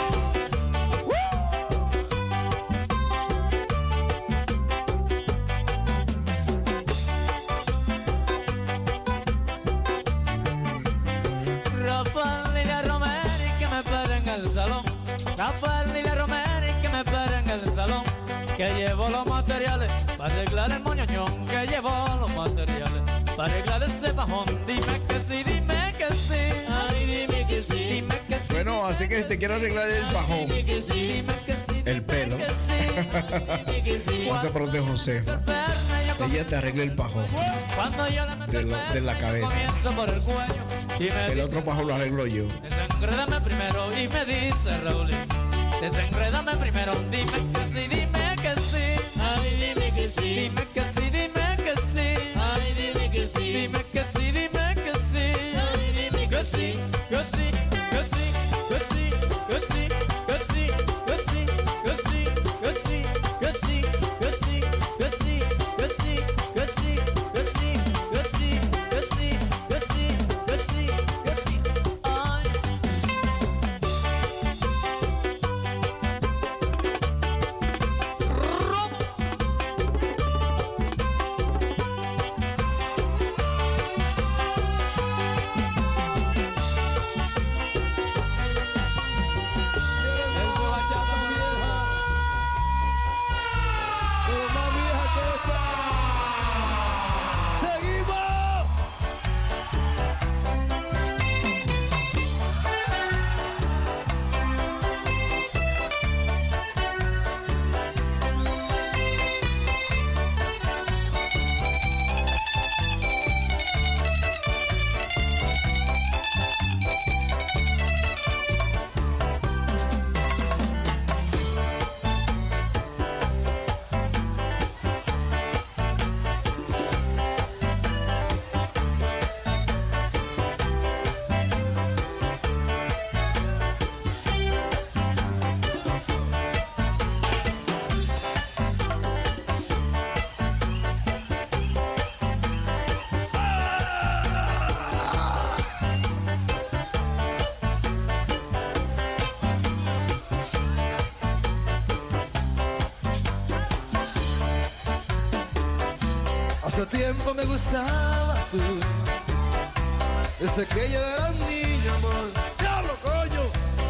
Rafael, dile a Romero que me espere en el salón. Rafael, dile a Romero que me espere en el salón. Que llevo los materiales para arreglar el moñoñón. Que llevo los materiales para arreglar ese bajón. Dime que sí, dime que sí. Ay, dime que sí, dime que sí. Bueno, así que si te quiero arreglar el bajón, Dime que sí, dime que sí. el pelo, pasa por donde José. Ella te arregla el pajón Cuando yo le meto de, el lo- de la cabeza. comienzo por el cuello. Y me El otro pajón lo arreglo yo. dicen Desenrédame primero y me dice Raulín. Desenrédame primero, dime que sí, dime que sí. Ay, dime que sí. Dime que sí, dime que sí. Ay, dime que sí. Dime que sí, dime que sí. Ay, dime que sí. Que sí, que sí, que sí, que sí, que sí, que sí, que sí, que sí, que sí, que sí, que sí, que sí, que sí, que sí, que sí, que sí, que sí, que sí, que sí. Ay. Pero más vieja que esa. ¡Seguimos! Hace tiempo me gustaba tú, desde que yo era un niño, amor. ¡Diablo, coño!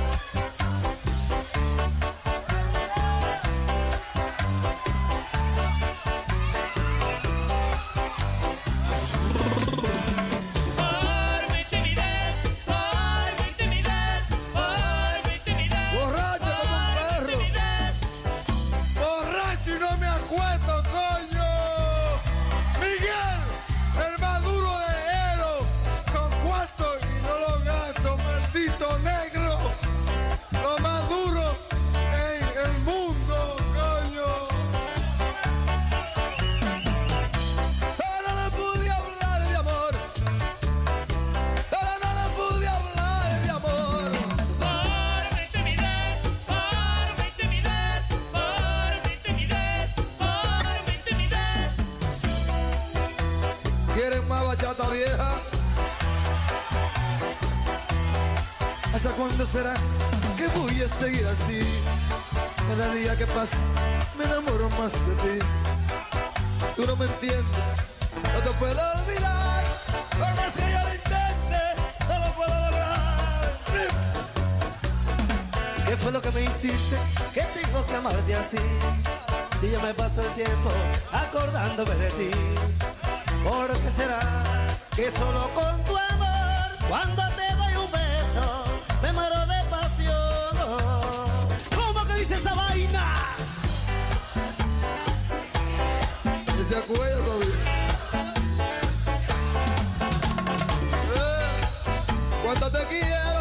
Por mi timidez, por mi timidez, por mi timidez. Borracho como un perro. Borracho y no me acuesto, coño. Miguel, el más duro de Ero, con cuarto y no lo gasto, maldito negro. Lo más duro en el mundo, coño. Pero no pude hablar de amor. Pero no le pude hablar de amor. Por mi timidez, por mi timidez, por mi timidez, por mi timidez. ¿Quieren más bachata vieja? ¿Hasta cuándo será que voy a seguir así? Cada día que pasa me enamoro más de ti. Tú no me entiendes, no te puedo olvidar. Por más que yo lo intente, no lo puedo lograr. ¿Qué fue lo que me hiciste? Que tengo que amarte así. Si yo me paso el tiempo acordándome de ti. ¿Por qué será que solo con tu amor, cuando te doy un beso, me muero de pasión? ¿Cómo que dice esa vaina? ¿Y se acuerda todavía? Eh, ¿Cuánto te quiero?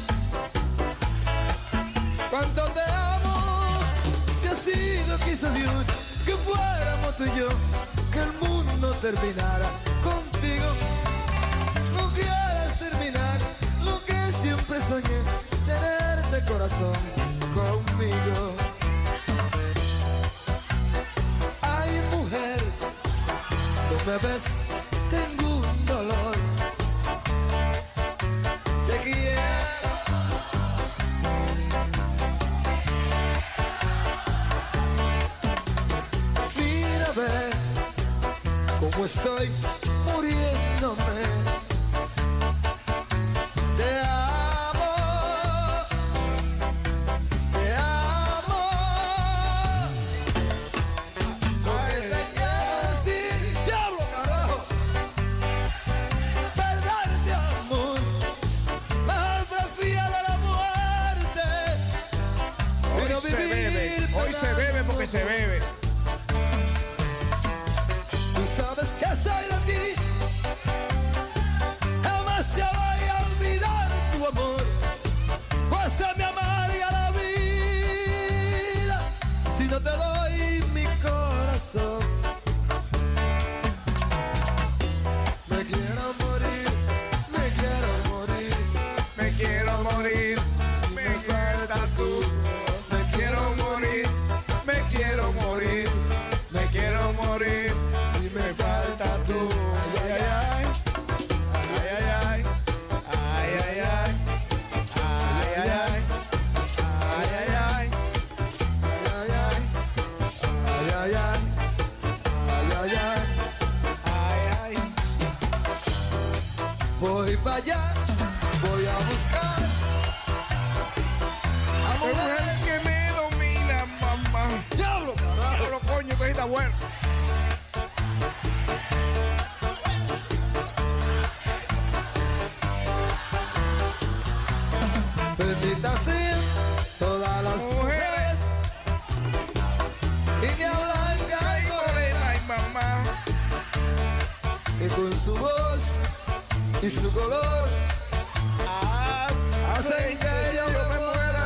¿Cuánto te amo? Si así lo quiso Dios, que fuéramos tú y yo, que el mundo terminara contigo. No quieras terminar lo que siempre soñé, tenerte corazón conmigo. Ay, mujer, tú me ves, tengo un dolor. Te quiero. Mira, ve cómo estoy muriéndome. Te amo, te amo. Lo que te quiero decir, diablo, carajo. Perderte, amor, mejor prefiero la muerte. Y no Hoy se vivir bebe, hoy se bebe porque se bebe. Tú sabes que soy de ti, me falta tú. Ay, ay, ay. Ay, ay, ay. Ay, ay, ay. Ay, ay, ay. Ay, ay, ay. Ay, ay, ay. Ay, ay, ay. Ay, ay, ay. Ay, ay. Voy para allá, voy a buscar a mujer que me domina, mamá. Diablo, carajo. Diablo, coño, que está bueno. Bendita sean todas las mujeres, India blanca y morena y mamá, y con su voz y su color hacen que yo me muera.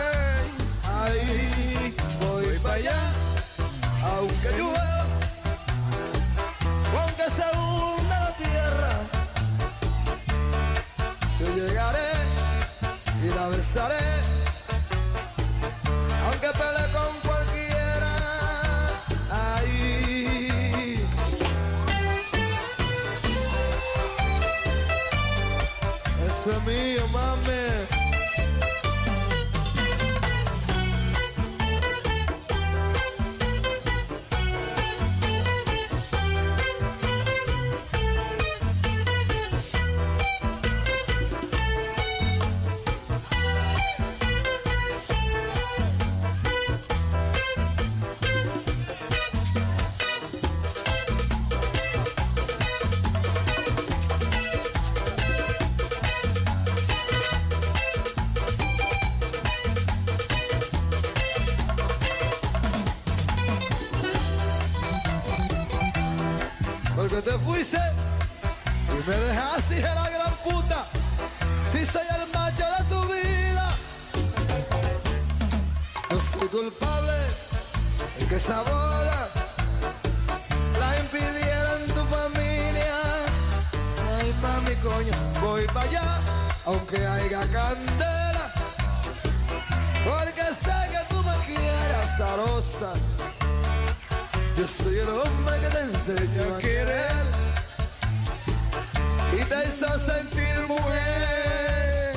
Ahí voy para allá, aunque llueva, aunque se hunda la tierra, yo llegaré y la besaré, aunque pelee con cualquiera. Ahí eso es mío, mami. Porque te fuiste y me dejaste, dije la gran puta, si soy el macho de tu vida. No soy culpable de que esa boda la impidieran tu familia. Ay, mami, coño, voy para allá, aunque haya candela, porque sé que tú me quieres, zarosa. Yo soy el hombre que te enseñó a querer y te hizo sentir mujer.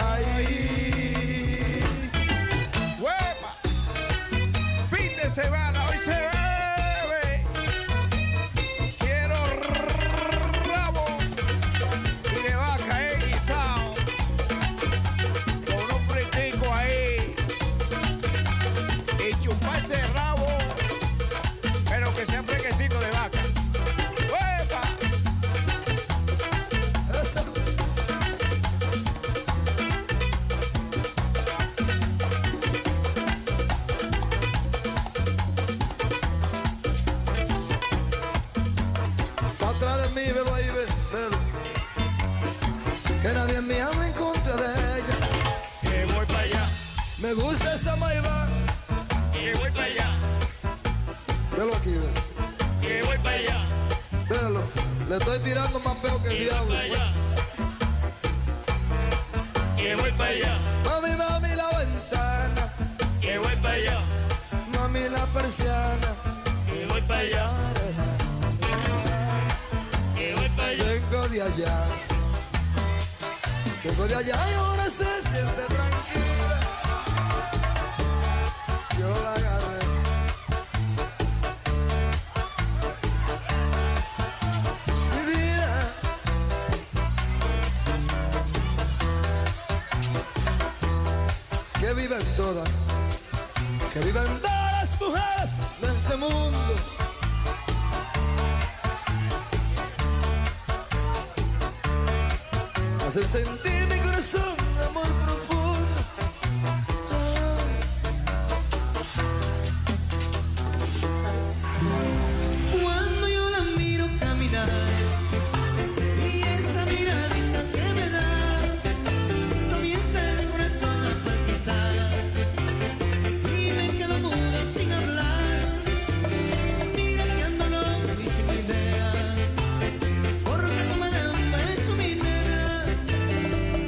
Ahí. ¡Huepa! Fin de semana, hoy se bebe. Quiero rabo y de vaca eh, guisado, con un fritico ahí y chuparse el rabo, pero que sea fresquecito de vaca. ¡Uepa! Está atrás de mí, velo ahí, ve, velo. Que nadie en mí habla en contra de ella. Que voy para allá. Me gusta esa maiva. Que voy para allá. Velo aquí, velo. Que voy para allá. Velo, le estoy tirando más peo que el diablo. Que voy para allá. Mami, mami, la ventana. Que voy para allá. Mami, la persiana. Que voy para allá. Que voy para allá. Vengo de allá. Vengo de allá y ahora se siente tranquila. Yo la agarré. Que viven todas, que viven todas las mujeres de este mundo. Hacen sentir mi corazón de amor profundo. Cuando yo la miro caminar y esa miradita que me da, comienza el corazón a palpitar y me quedo mudo sin hablar. Mira que ando loco y sin idea, porque tú me das un beso, mi nena.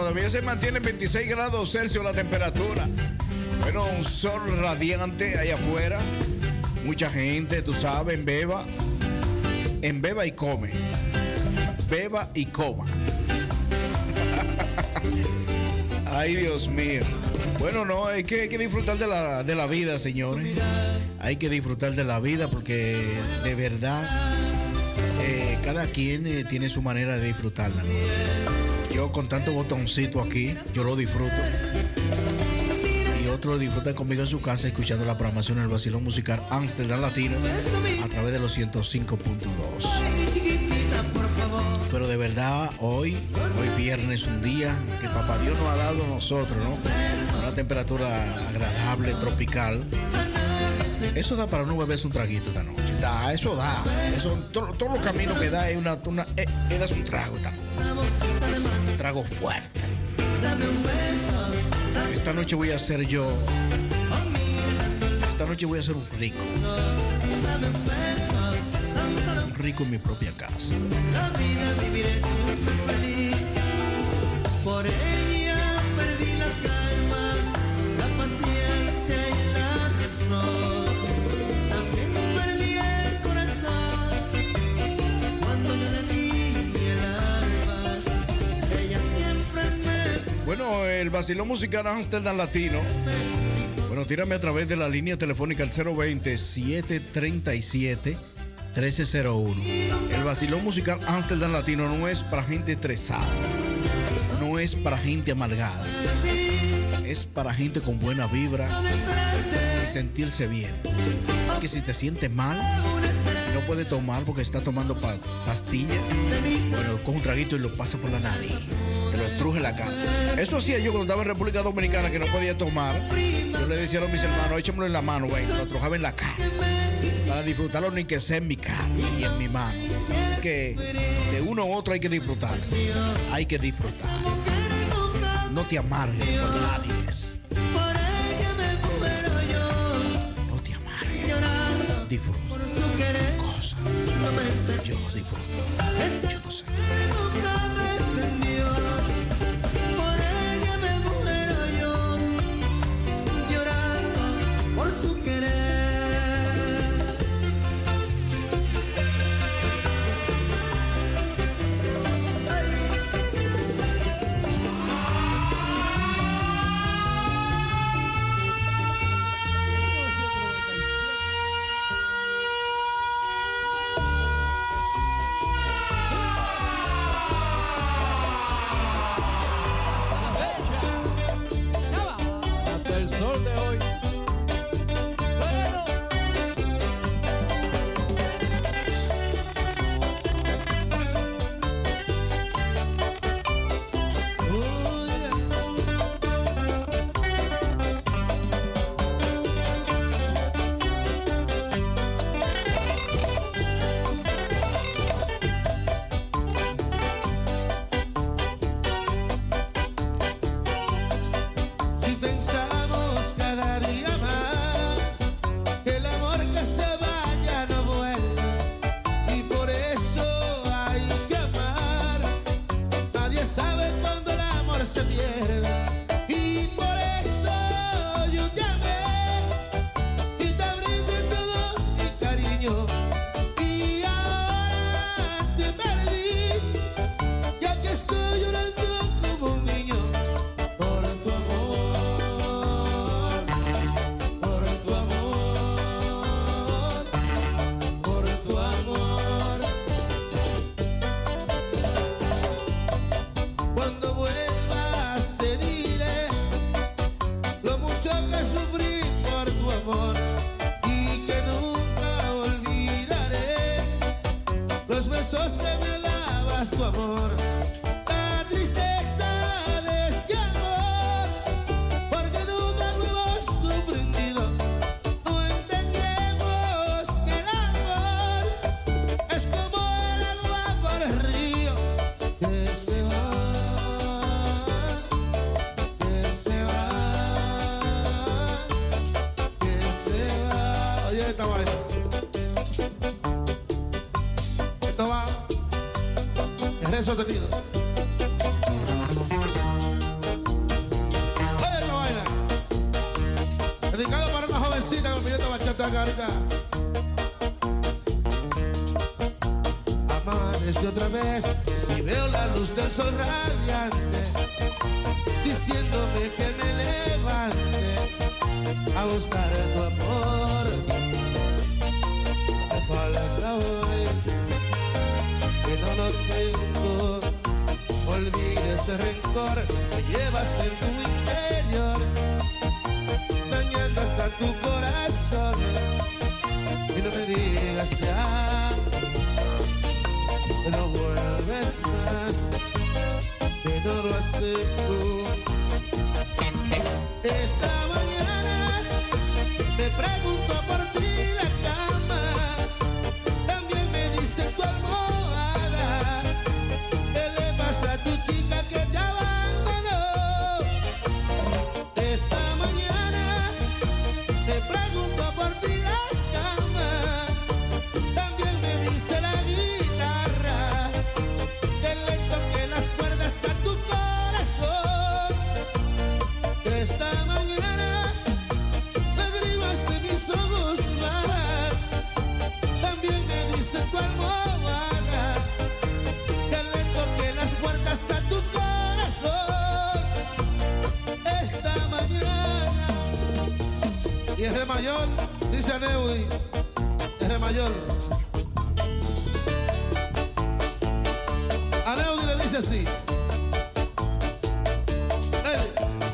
todavía se mantiene en veintiséis grados Celsius la temperatura. Bueno, un sol radiante ahí afuera. Mucha gente, tú sabes, en Beba. En Beba y come. Beba y coma. Ay, Dios mío. Bueno, no, hay que, hay que disfrutar de la, de la vida, señores. Hay que disfrutar de la vida porque de verdad eh, cada quien eh, tiene su manera de disfrutarla, ¿no? Yo con tanto botoncito aquí, yo lo disfruto. Y otros disfrutan conmigo en su casa escuchando la programación del vacilón musical Amsterdam Latino a través de los ciento cinco punto dos. Pero de verdad, hoy, hoy viernes, un día que Papá Dios nos ha dado a nosotros, ¿no? Una temperatura agradable, tropical. Eso da para uno beberse un traguito esta noche. Da, eso da. Eso, todos todo los caminos que da es una, una eh, es un trago esta noche. Un trago fuerte. Esta noche voy a ser yo. Esta noche voy a ser un rico. Un rico en mi propia casa. La vida viviré siempre feliz. Por ella perdí la calma, la paciencia y la razón. También perdí el corazón cuando yo le di el alma. Ella siempre me... Bueno, el vacilón musical Amsterdam Latino. Bueno, tírame a través de la línea telefónica al cero veinte, siete treinta y siete, trece cero uno. El vacilón musical Amsterdam Latino no es para gente estresada, no es para gente amargada, es para gente con buena vibra y sentirse bien. Así que si te sientes mal, no puedes tomar porque está tomando pa pastillas, bueno, coge un traguito y lo pasa por la nariz, te lo estruje la cara. Eso hacía yo cuando estaba en República Dominicana, que no podía tomar. Yo le decía a mis hermanos, échamelo en la mano, güey, lo trujaba en la cara, para disfrutarlo ni que sea en mi cara y en mi mano. Así que de uno u otro hay que disfrutar. Hay que disfrutar. No te amargues por nadie. No te amargues. Disfruta. Cosa. Yo disfruto. Yo no sé. Por ella me muero yo, llorando por su querer. El sol de hoy. Si pensamos cada día más, el amor que se vaya no vuelve, y por eso hay que amar. Nadie sabe cuándo el amor se pierde, y por eso yo llamé y te brindé todo mi cariño. Y ahora te perdí, y aquí estoy llorando como un niño. Por tu amor, por tu amor, por tu amor. Cuando vuelvas te diré lo mucho que sufrí por tu amor, y que nunca olvidaré los besos que me dabas, tu amor. La tristeza de este amor, porque nunca lo hemos comprendido. No entendemos que el amor es como el agua por el río, que se va, que se va, que se va. Oye esta vaina. Esto va en re sostenido. Vargas. Amanece otra vez y veo la luz del sol radiante, diciéndome que me levante a buscar tu amor. Me falta hoy que no lo tengo. Olvide ese rencor que llevas en tu interior, dañando hasta tu corazón. Y no me digas ya, no vuelves más, que no lo acepto. Esta mañana me pregunto por ti la cama, también me dice tu almohada. ¿Qué le pasa a tu chica que te abandonó? Esta mañana me pregunto por ti la cama, también me dice la guitarra que le toque las cuerdas a tu corazón. Esta mañana lágrimas de mis ojos bajan, también me dice tu almohada que le toque las puertas a tu corazón. Esta mañana. Y es re mayor, dice a Neudi, es re mayor. A Neudi le dice así. Neudi.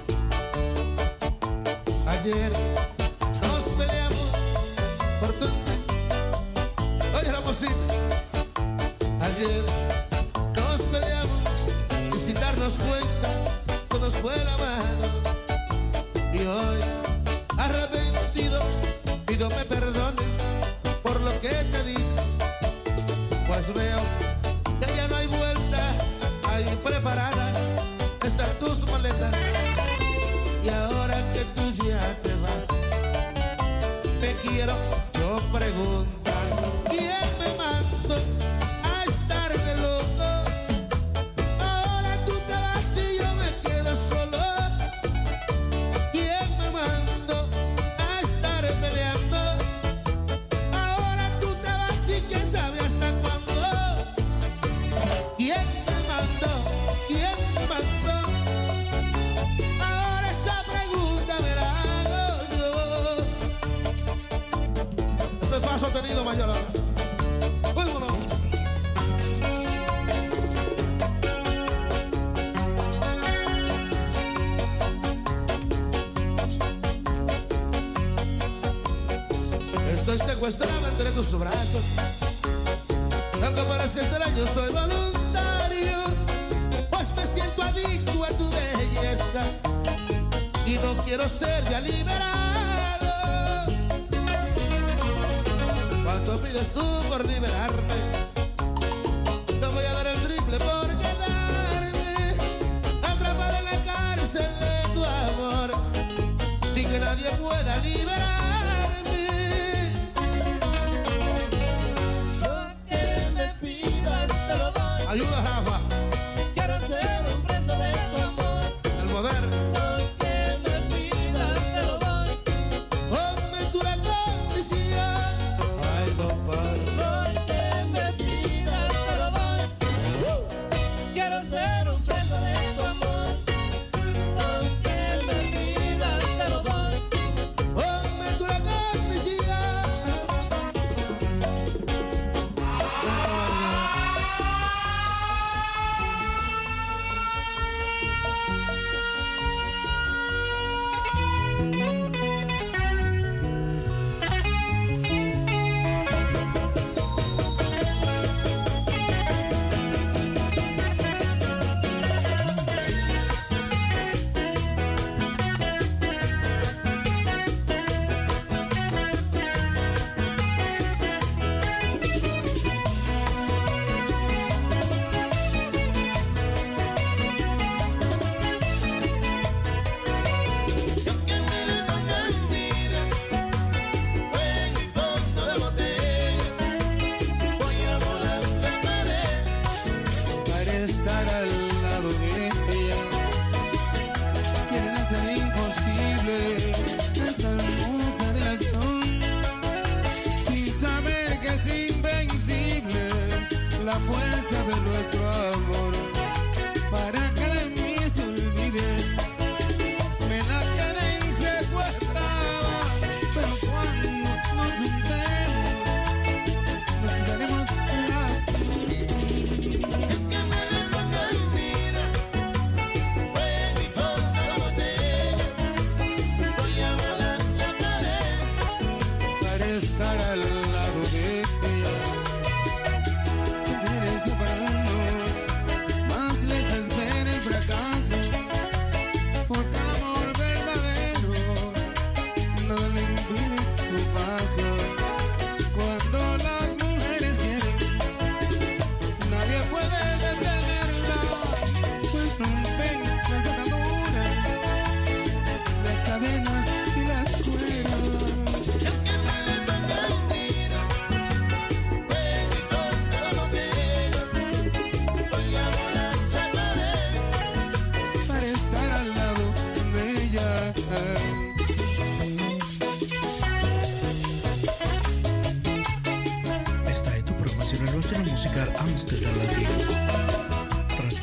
Ayer nos peleamos por tu... Oye, Ramosito. Ayer nos peleamos y sin darnos cuenta se nos fue la mano. Y hoy, arrepentido, pido me perdones por lo que te di. Pues veo que ya no hay vuelta, ahí preparadas están tus maletas. Y ahora que tú ya te vas, te quiero yo preguntar, ¿quién me mandó a estar de loco? Ahora tú te vas y yo me quedo solo. ¿Quién me mandó a estar peleando? Ahora tú te vas y quién sabe hasta cuándo. ¿Quién me mandó? ¿Quién me mandó? Ahora esa pregunta me la hago yo. Esto es más sostenido, mayor ahora. Vámonos. Estoy secuestrado entre tus brazos, aunque parezca extraño soy voluntario, pues me siento adicto a tu belleza y no quiero ser ya liberado. ¿Cuánto pides tú por liberarme? Te voy a dar el triple por quedarme atrapado en la cárcel de tu amor, sin que nadie pueda liberarme. Ayuda, Rafa. Quiero ser un preso de tu amor. El poder. Lo que me pidas te lo doy. Ponme tú la condición. Ay, compadre. Lo que me pidas te lo doy. Quiero ser un preso de tu amor. Lo que me pidas te lo doy. Ponme tú la condición.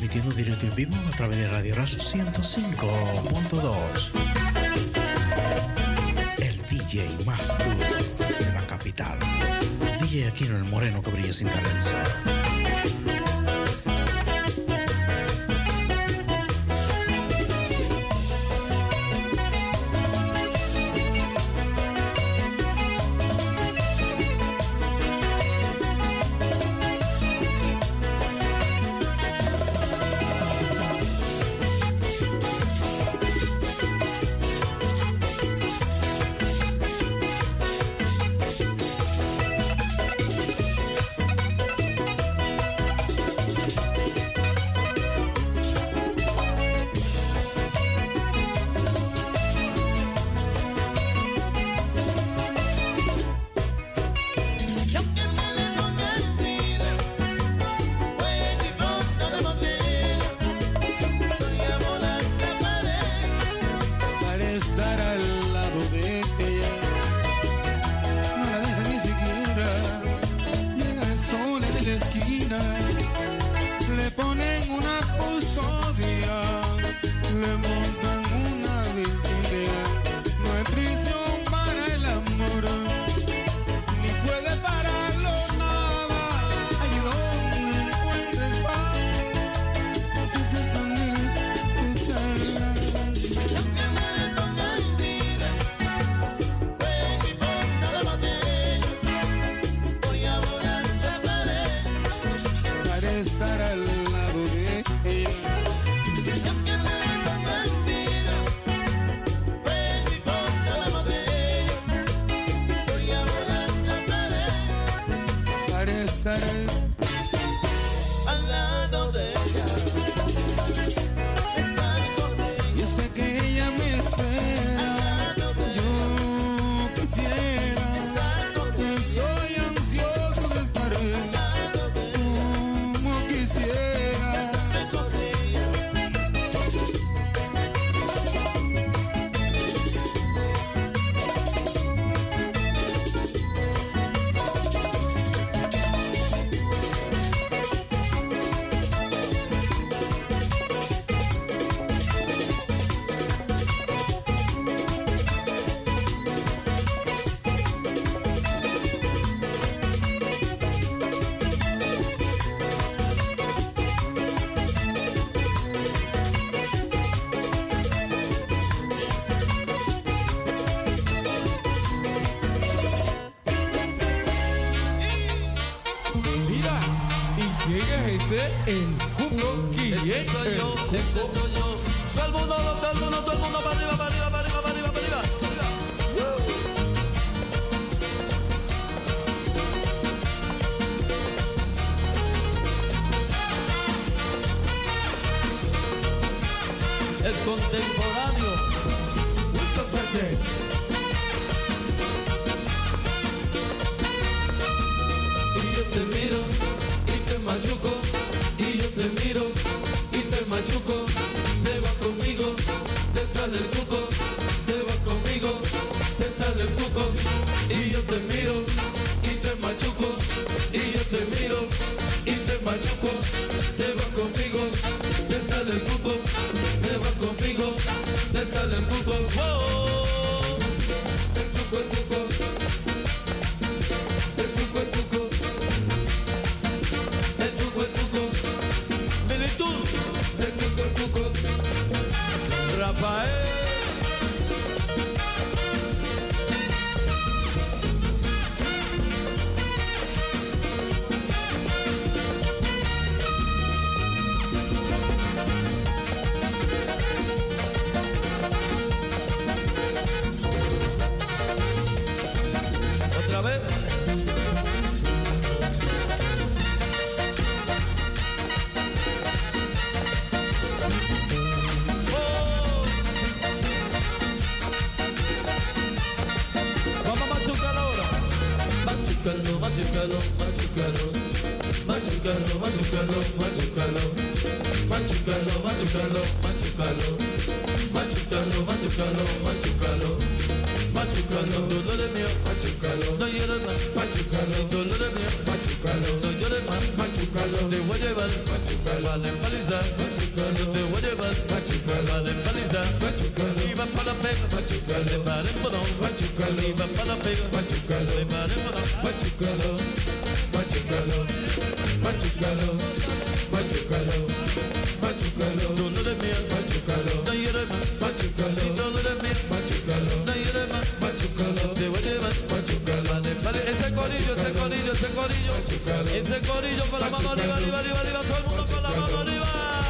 transmitiendo directo en vivo a través de Radio Razo ciento cinco punto dos. El D J más duro de la capital. D J Aquino el Moreno que brilla sin talento. El Cuco Guille. Ese soy yo, ese soy yo. Todo el mundo, todo el mundo, todo el mundo para arriba, para arriba, para arriba, para arriba, para arriba. El contemporáneo. Y yo te miro y te machuco. Y yo te miro y te machuco. Te vas conmigo, te sale el cuco. Te vas conmigo, te sale el cuco. Y yo te miro y te machuco. Y yo te miro y te machuco. Te vas conmigo, te sale el cuco. Te vas conmigo, te sale el cuco. ¡Wow! El cuco, el cuco. El cuco, el cuco. El cuco, el cuco. Militud. El cuco, el cuco. Rafael. Otra vez. Oh. Vamos a machucarlo ahora. Machucarlo, machucarlo, machucarlo. Machucarlo, machucarlo, machucarlo. Machucarlo, machucarlo, machucarlo. Machucarlo, machucarlo, machucarlo. Machucarlo, dolores mío, machucarlo. No llores más, machucarlo. Dolores mío, machucarlo. No llores más, machucarlo. machucalo, te voy a llevar, machucalo, vale paliza, machucalo, te voy a llevar, machucalo, vale paliza, machucalo, iba para la pega, machucalo, le pare en bodón, machucalo, iba para la pega, machucalo, le pare en bodón, machucalo, machucalo, machucalo, machucalo, machucalo, tú no eres mía, machucalo, no eres más, machucalo, tú no eres mía, machucalo, no eres más, machucalo, te voy a llevar, machucalo, vale, vale, ese corillo, ese corillo, ese corillo, ese corillo con la mano arriba, arriba, arriba, arriba, todo el mundo con la mano arriba.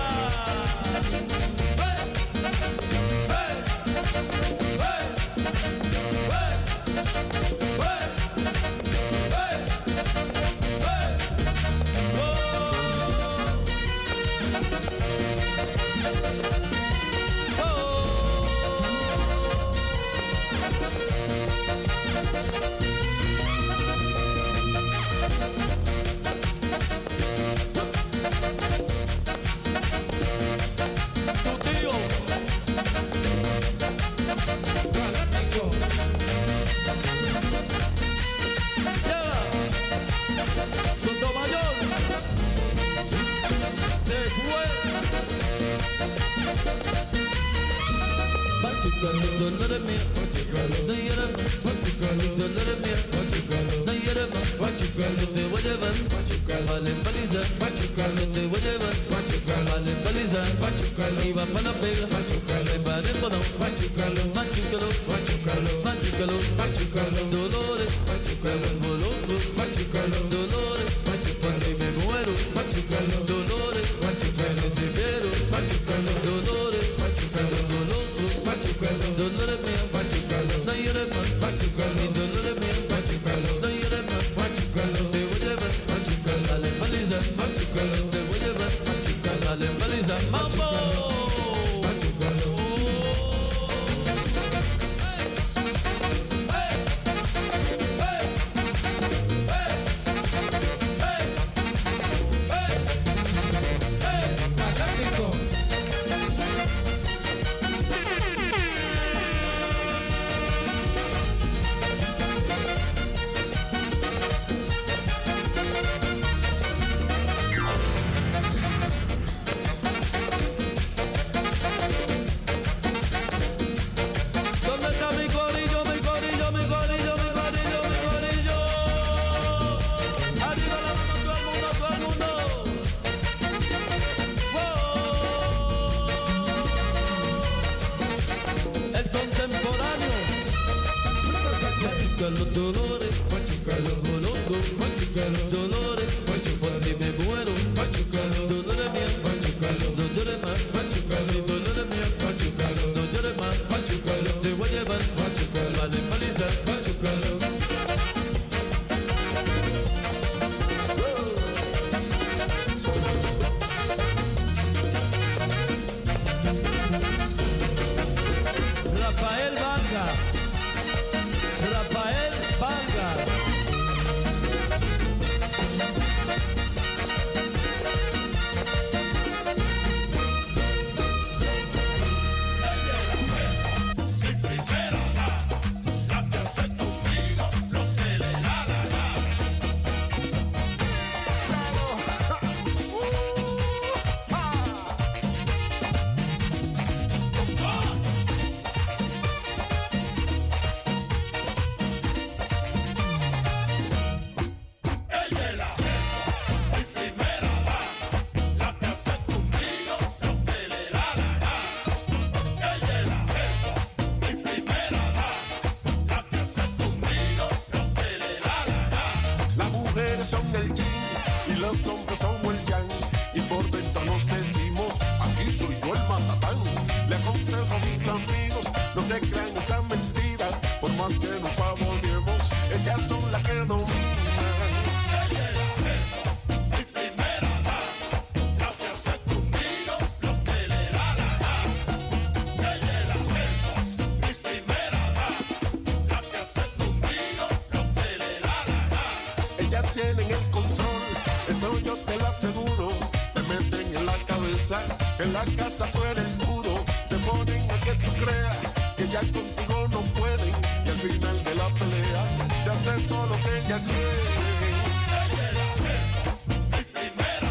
En la casa fuera el duro, te ponen a que tú creas que ya contigo no pueden. Y al final de la pelea se hace todo lo que ella quiere. Mi primera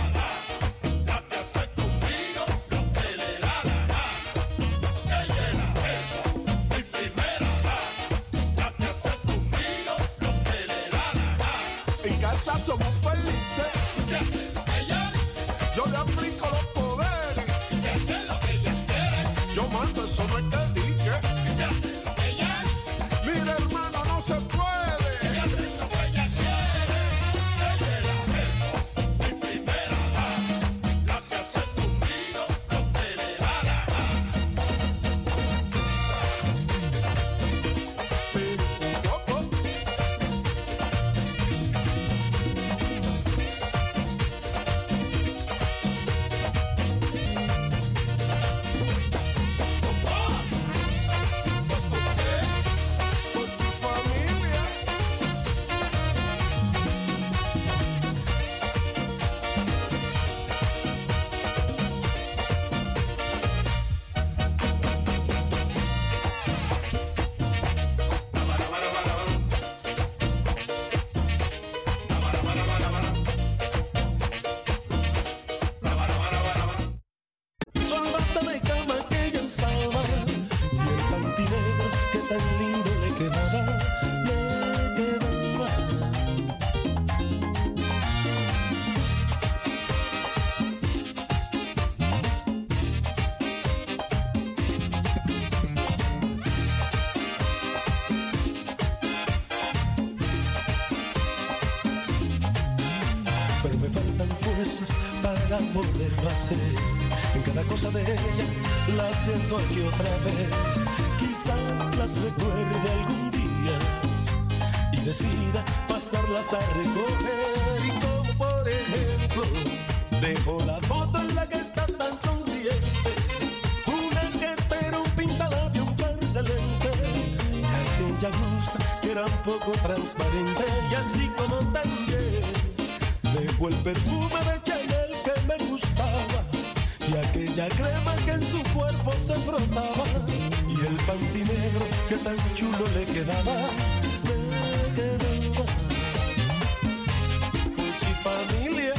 cosas para poderlo hacer. En cada cosa de ella la siento aquí otra vez. Quizás las recuerde algún día y decida pasarlas a recoger. Y como por ejemplo, dejo la foto en la que estás tan sonriente, una que pero un pintalabio, un par de lentes, y aquella blusa que era un poco transparente. Y así como también dejo el perfume de Chanel que me gustaba, y aquella crema que en su cuerpo se frotaba, y el panty negro que tan chulo le quedaba, me quedaba. Puchi familia.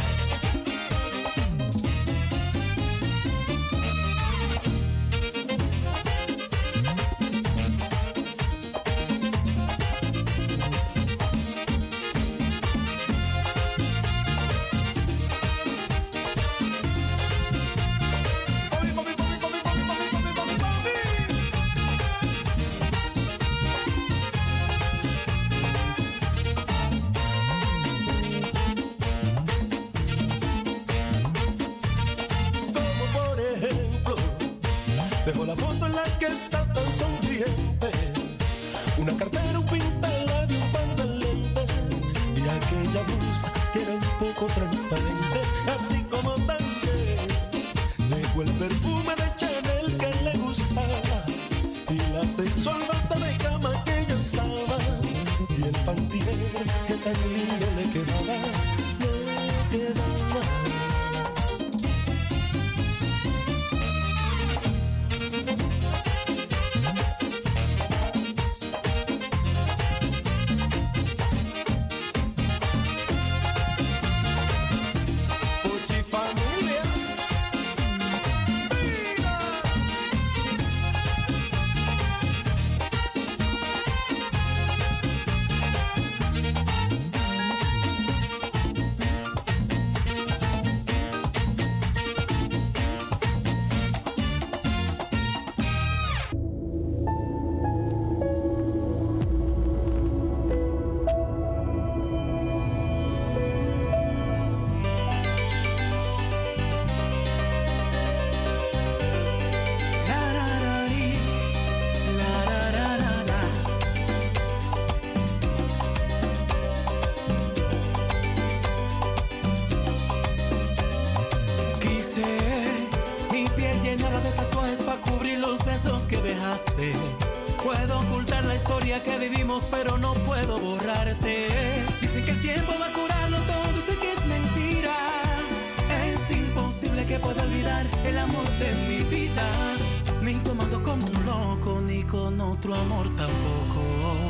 Dejo la foto en la que está tan sonriente, una cartera, un pintalabio, un par de lentes, y aquella blusa que era un poco transparente. Así como también dejo el perfume de Chanel que le gustaba, y la sensual bata de cama que ella usaba, y el panty negro que tan lindo le quedaba, le quedaba. Puedo ocultar la historia que vivimos, pero no puedo borrarte. Dicen que el tiempo va a curarlo todo, sé que es mentira. Es imposible que pueda olvidar el amor de mi vida, ni tomando como un loco, ni con otro amor tampoco.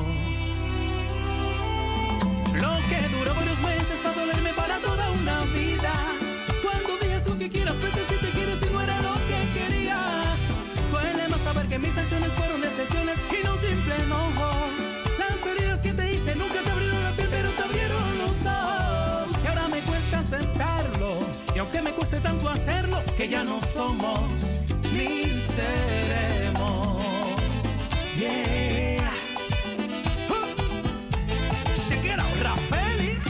Lo que duró varios meses va a dolerme para toda una vida. Cuando digas lo que quieras, vete si te quieres y no era lo que quería. Duele más saber que mis acciones fueron decepciones y no un simple enojo. Las heridas que te hice nunca te abrieron la piel, pero te abrieron los ojos. Y ahora me cuesta aceptarlo, y aunque me cueste tanto hacerlo, que ya no somos ni seremos. Yeah. Uh. Check it out, Rafaeli.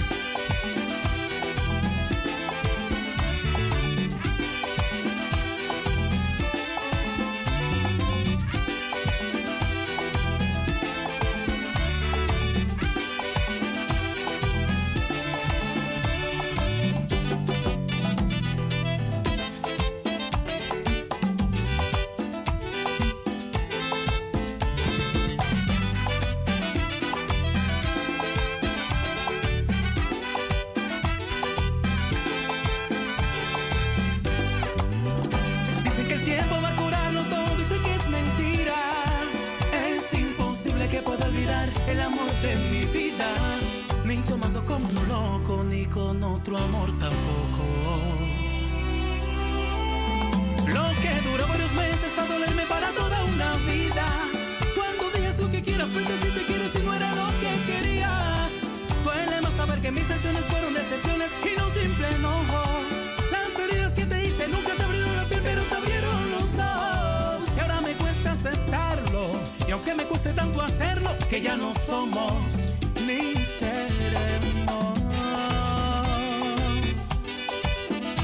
El amor de mi vida, ni tomando como un loco, ni con otro amor tampoco. Lo que duró varios meses va a dolerme para toda una vida. Cuando digas lo que quieras, vete si te quieres y no era lo que quería. Duele más saber que mis acciones fueron decepciones y no un simple enojo. Las heridas que te hice nunca te abrieron la piel, pero te abrieron los ojos. Y ahora me cuesta aceptarlo, y aunque me cueste tanto hacerlo, que ya no somos ni seremos.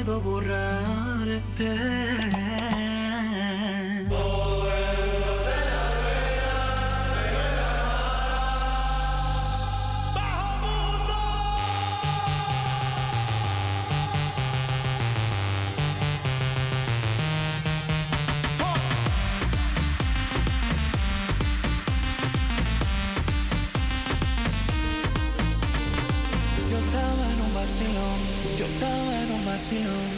puedo borrarte. Yo estaba en un vacilón.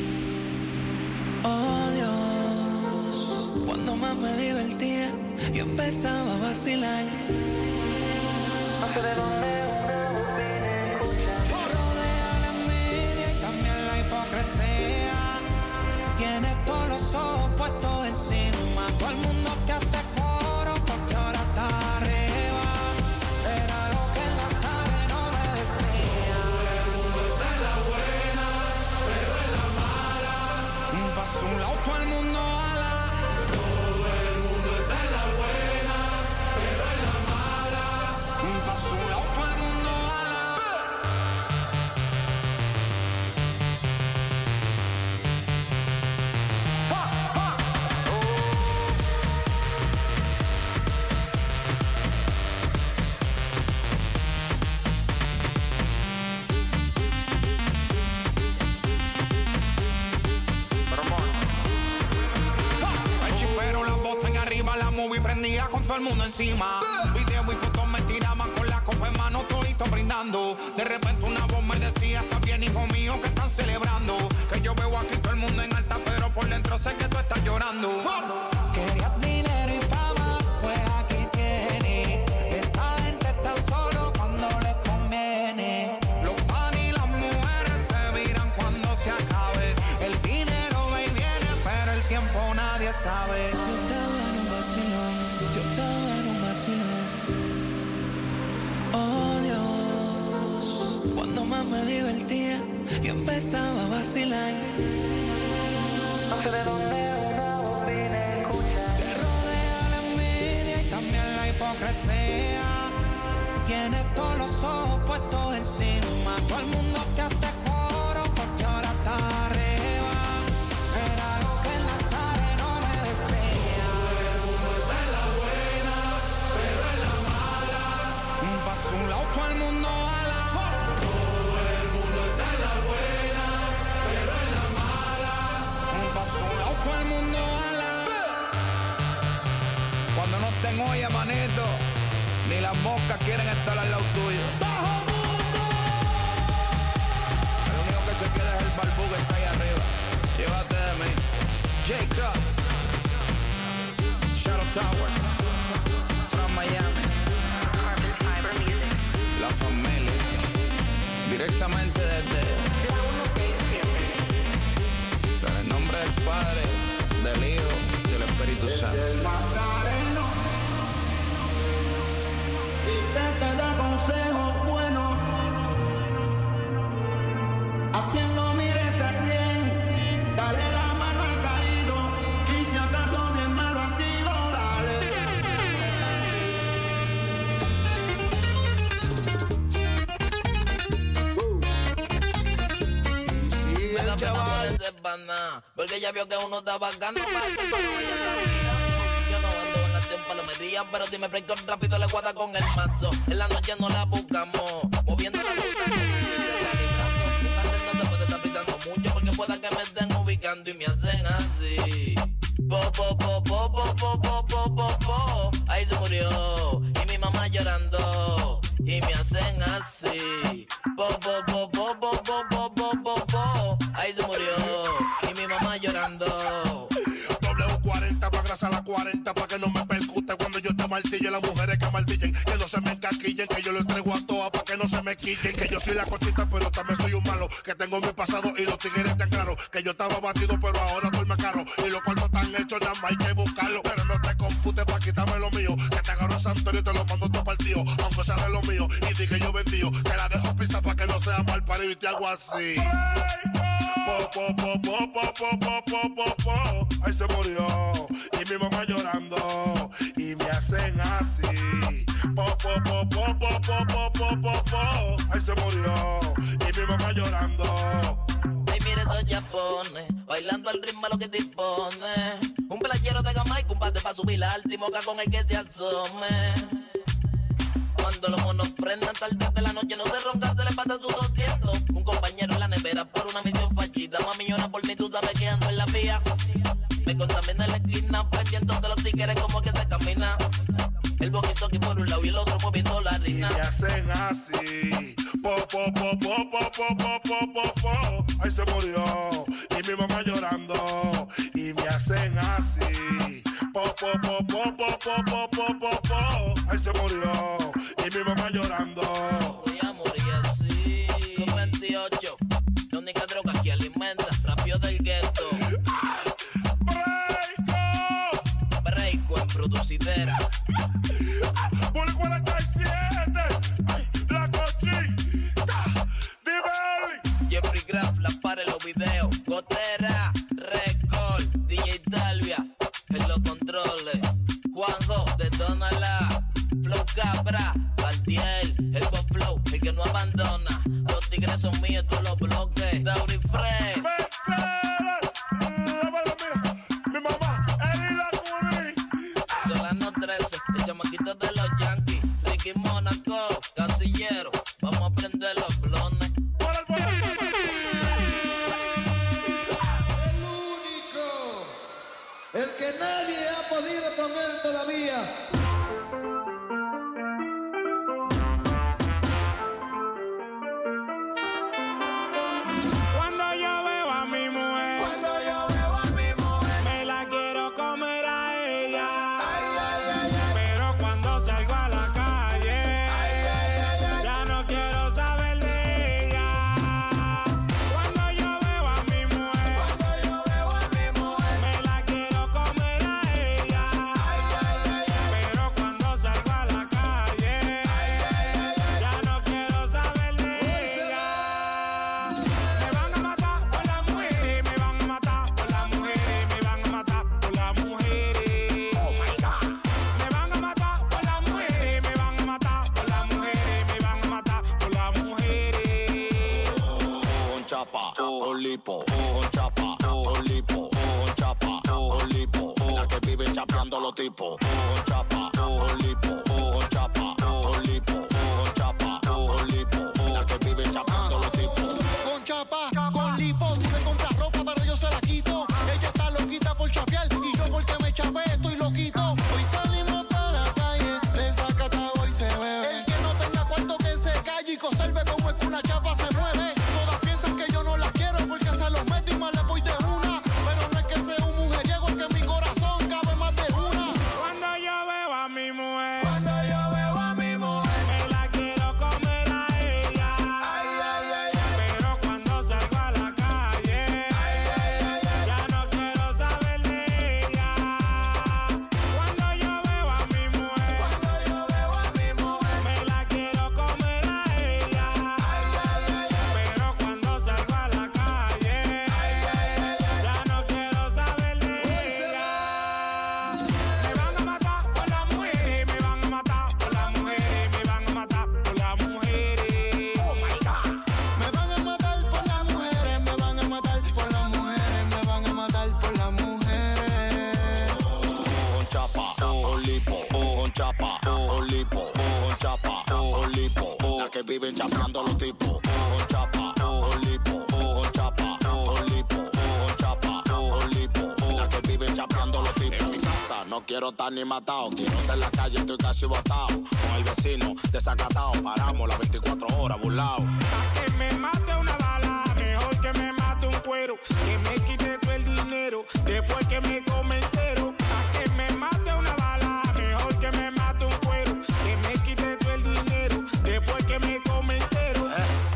Oh Dios, cuando más me divertía, yo empezaba a vacilar. No sé de dónde una bobina escucha. Rodea la envidia y también la hipocresía. Tienes todos los ojos puestos encima. Todo el mundo te hace coro porque ahora está arriba. Era lo que el Nazareno me decía. Paso un lado, todo el mundo ala. Todo el mundo está en la buena, pero en la mala. Paso un lado, todo el mundo ala. ¡Ja, ja! La movie prendía con todo el mundo encima. Video y fotos me tiraban con la copa en mano, todito brindando. De repente una voz me decía: está bien, hijo mío, que están celebrando. Que yo veo aquí todo el mundo en alta, pero por dentro sé que tú estás llorando. Querías dinero y fama, pues aquí tienes. Esta gente está solo cuando les conviene. Los pan y las mujeres se viran cuando se acabe. El dinero va y viene, pero el tiempo nadie sabe. Yo estaba en un vacilón. Oh Dios, cuando más me divertía, yo empezaba a vacilar. No sé de dónde una bobina escucha. Te rodea la envidia y también la hipocresía. Tienes todos los ojos puestos encima. Todo el mundo te hace coro porque ahora está arriba. Era lo que el Nazareno me decía. Paso un lado, todo el mundo ala. Todo el mundo está en la buena, pero en la mala. Paso un lado, todo el mundo ala. Cuando no estén olla, manito, ni las moscas quieren estar al lado tuyo. ¡Bajo mundo! El único que se queda es el barbú que está ahí arriba. Llévate de mí. J-Cross, Shadow Towers, from Miami. La familia, directamente desde en el nombre del Padre, del Hijo y del Espíritu Santo. Y te, te da consejos buenos a quien lo mires a quien, dale la mano al caído y si acaso bien malo ha sido, dale. Me da pena por ese pana, porque ella vio que uno está bacano, pero ella está mía. Yo no ando en el tiempo a la medida, pero si me break rápido le guarda con el mazo. En la noche no la buscamos, moviendo la luz, calibrando. Antes no te puede estar pisando mucho, porque pueda que me estén ubicando y me hacen así. Po, po, po, po, po, po, po, po, po, po. Ahí se murió, y mi mamá llorando, y me hacen así. Po, po, po, po, po, po, po, po, po, po. Ahí se murió, y mi mamá llorando. W cuarenta pa' grasa la cuarenta pa' que no me percute cuando yo te martillo. Las mujeres que martillen, que no se me encaquillen, que yo lo entrego a todas pa' que no se me quillen. Que yo soy la cosita pero también soy un malo, que tengo mi pasado y los tigres tan claros. Que yo estaba batido pero ahora estoy más caro, y los cuartos están hechos, nada más hay que buscarlo. Pero no te computes pa' quitarme lo mío, que te agarro a Santorio y te lo mando todo partido, aunque sea de lo mío, y di que yo vendío. Te la dejo pisa pa' que no sea mal parido y te hago así. Po, po, po, po, po, po, po, po, po, po. Ahí se murió, y mi mamá llorando, y me hacen así. Po, po, po, po, po, po, po, po, po, po. Ahí se murió, y mi mamá llorando. Ay, mire, chapones, bailando al ritmo lo que dispone. Un playero de Jamaica, un bate pa' subir la alta y moca con el que se asome. Cuando los monos prendan tarde de la noche, no se ronca, se le pasa su doscientos. Un compañero en la nevera por una misión fallida. Mami, llora por mí, tú sabes que ando en la vía. Me contamina en la esquina, prendiendo de los tigres como que se camina. El boquito aquí por un lado y el otro moviendo la harina. Y me hacen así, po, po, po, po, po, po, po, po, po, po. Ahí se murió, y mi mamá llorando. Y me hacen así, po, po, po, po, po, po, po, po, po, po. Ahí se murió, y mi mamá llorando. Voy a morir así. Los veintiocho, la única droga que alimenta, rápido del gueto. Breako, Breako en producidera. Por el cuarenta y siete, la cochita, dime. Jeffrey Graff, la para en los videos. Gotera, Record, D J Talvia, en los controles. Juanjo, detónala. Flow Cabra, Cartier, el Bob Flow, el que no abandona. Los tigres son míos, todos los bloques. Dauri Frey. Mi mamá, Eli la Curry. Solano trece, el chamaquito de los Yankees. Ricky Mónaco, Casillero. Vamos a prender los blones. El único, el que nadie ha podido con él todavía. Cuando yo veo a mi mujer, cuando yo veo a mi mujer, me la quiero comer a ella. Ay, ay, ay, ay. Pero cuando salgo a la calle, ay, ay, ay, ay, ya no quiero saber de ella. Cuando yo veo a mi mujer, cuando yo veo a mi mujer, me la quiero comer a ella. Ay, ay, ay, ay. Pero cuando salgo a la calle, ay, ay, ay, ay, ya no quiero saber de ella. Me van a matar por las mujeres, me van a matar por las mujeres, me van a matar por las mujeres. Oh my God. Me van a matar por las mujeres, me van a matar por las mujeres, me van a matar por las mujeres. Con chapa, con lipo, con chapa, con lipo, con chapa, con lipo. La que vive chapeando los tipos. Con chapa, con lipo, con chapa, con lipo, con chapa, con lipo. La que vive chapeando los tipos. Con chapa, con lipo, tú le compras ropa pero yo se la quito. Ella está loquita por chapear y yo porque me chapé estoy loquito. Hoy salimos para la calle, desacatado hoy se bebe. El que no tenga cuarto que se calle y conserve como es que una chapa se mueve. Todas piensan que yo no las quiero porque se los meto y más le voy de una. Pero no es que sea un mujeriego, es que en mi corazón cabe más de una. Cuando yo veo a mi mujer, Cuando yo veo a mi mujer, me la quiero comer a ella. ay, ay, ay, ay. Pero cuando salgo a la calle, Ay, ay, ay, ay. ya no quiero saber de ella. Cuando yo veo a mi mujer, Cuando yo veo a mi mujer, me la quiero comer a ella. ay, ay, ay, ay. Pero cuando salgo a la calle, Ay, ay, ay, ay. ya no quiero saber de ella. Me van a matar por las mujeres, me van a matar por las mujeres, me van a matar por las mujeres. Oh my God. Me van a matar por las mujeres, me van a matar por las mujeres, me van a matar por las mujeres. Con chapa, con lipo, con chapa, con lipo, con chapa, con lipo. La que vive chapeando los tipos. Con chapa, con lipo, con chapa, con lipo, con chapa, con lipo. La que vive chapeando los tipos. En mi casa no quiero estar ni matado, quiero estar en la calle, estoy casi botado. Con el vecino desacatado, paramos las veinticuatro horas burlao. Que me mate una bala, mejor que me mate un cuero. Que me quite todo el dinero, después que me come entero. A que me mate una bala, mejor que me mate un cuero. Que me quite todo el dinero, después que me come entero.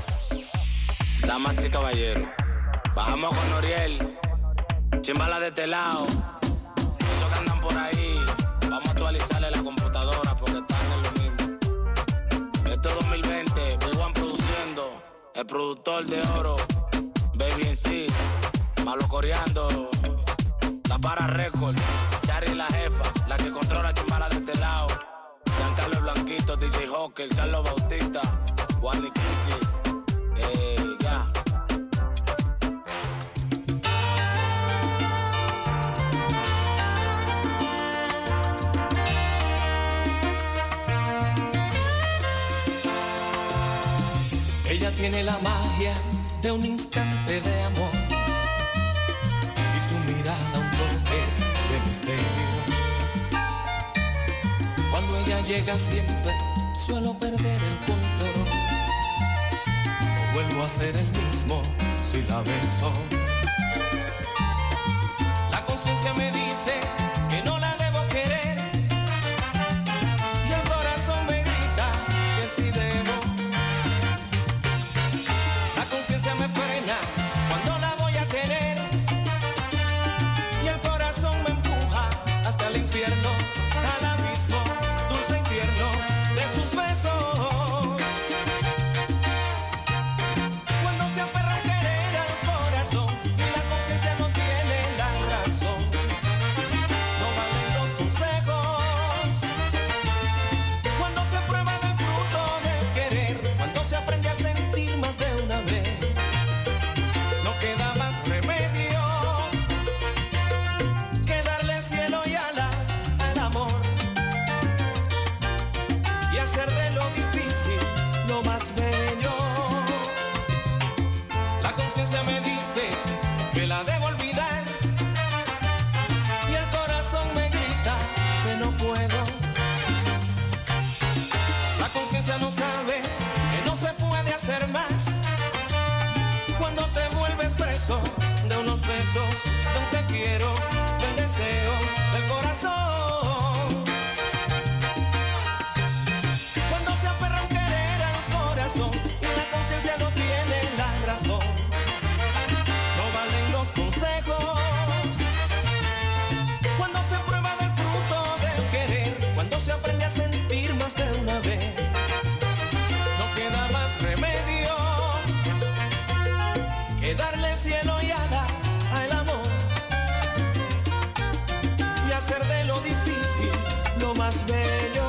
Damas y caballeros, bajamos con Noriel, chimbala de este lado. Esos que andan por ahí, vamos a actualizarle la computadora porque están en lo mismo. Esto es dos mil veinte, Big One produciendo, el productor de oro, Baby en sí, malo coreando, la para record, Charry la jefa, la que controla chimbala de este lado. Giancarlo Blanquito, D J Hawker, Carlos Bautista, Juan y Kiki, eh, ya. Ella tiene la magia de un instante de amor y su mirada un toque de misterio. Cuando ella llega siempre suelo perder el control. No vuelvo a ser el mismo si la beso. La conciencia me dice que no la debo querer y el corazón me grita que sí debo. La conciencia me frena cuando la voy a tener y el corazón me empuja hasta el infierno, al abismo dulce infierno de sus besos. Cuando se aferra a querer al corazón y la conciencia no tiene la razón, no valen los consejos. Cuando se prueba del fruto del querer, cuando se aprende a sentir más de una vez, no queda más remedio que darle cielo y alas al amor y hacer de lo difícil lo más bello. La conciencia me dice que la debo olvidar y el corazón me grita que no puedo. La conciencia no sabe que no se puede hacer más cuando te vuelves preso de unos besos, de un te quiero, del deseo, del corazón. Cuando se aferra a un querer al corazón y la conciencia no tiene la razón, no valen los consejos. Cuando se prueba del fruto del querer, cuando se aprende a sentir más de una vez, no queda más remedio que darle cielo y alas al amor y hacer de lo difícil lo más bello.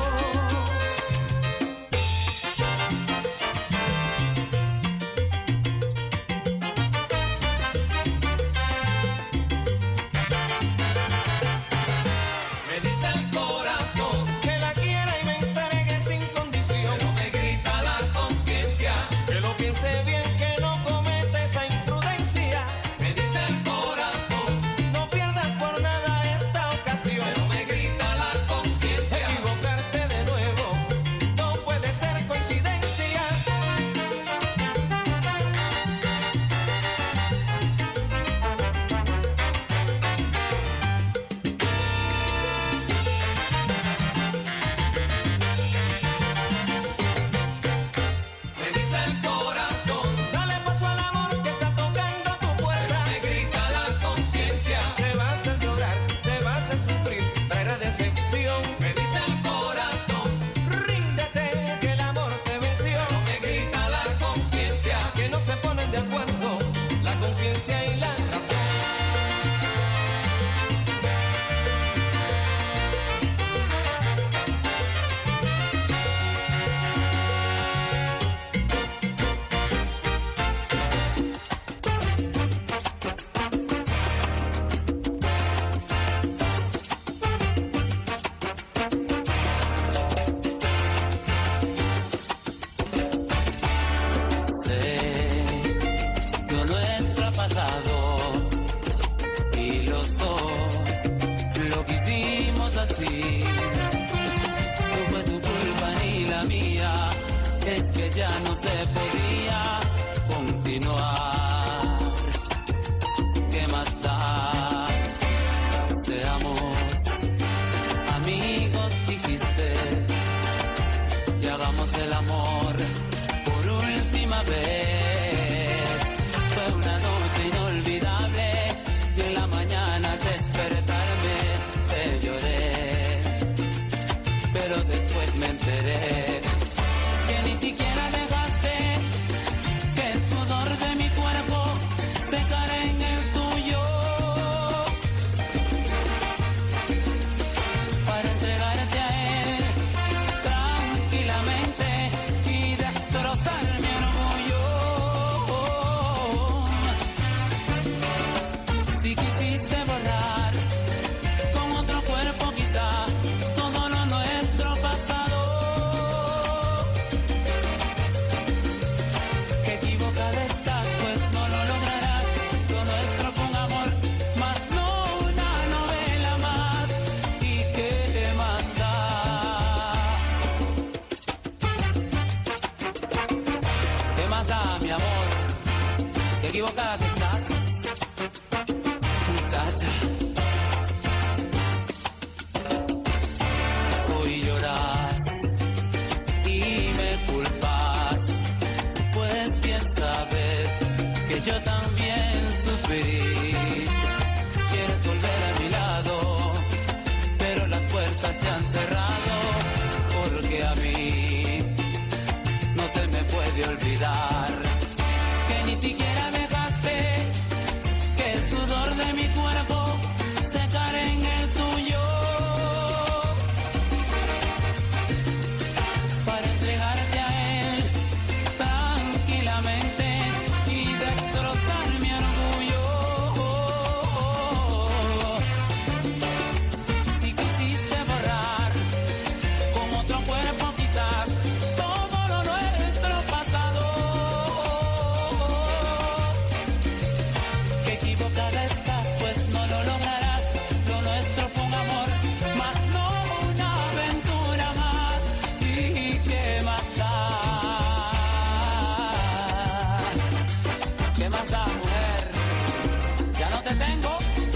Me dice el corazón Que la quiera y me entregue sin condición, pero me grita la conciencia. que lo piense bien, que no cometa esa imprudencia. Me dice el corazón No pierdas por nada esta ocasión, pero me grita la conciencia. equivocarte de nuevo no puede ser coincidencia. Me dice el corazón Dale paso al amor que está tocando tu puerta. me grita la conciencia. Te va a hacer llorar, te va a hacer sufrir, traerá decepción. Me dice el corazón Ríndete que el amor te venció, me grita la conciencia. que no se ponen de acuerdo la conciencia y la razón. Sé que lo nuestro ha pasado y los dos lo quisimos así. No fue tu culpa ni la mía, es que ya no se podía continuar. ¿Qué más da? Seamos amigos, dijiste, y hagamos el amor por última vez. Fue una noche inolvidable y en la mañana al despertarme te lloré, pero después me enteré que ni siquiera dejaste que el sudor de mi cuerpo secara en el tuyo para entregarte a él tranquilamente y destrozar mi orgullo. Si quisiste borrar con otro cuerpo quizá todo lo nuestro pasado, que olvidar que ni siquiera dejaste que el sudor de mi cuerpo secara en el tuyo para entregarte a él tranquilamente y destrozar mi orgullo. Si quisiste borrar con otro cuerpo quizás todo lo nuestro pasado, que equivocada estás, pues no lo lograrás. Lo nuestro fue un amor, más no una aventura más. ¿Y qué más da? ¿Qué más da, mujer? Ya no te tengo.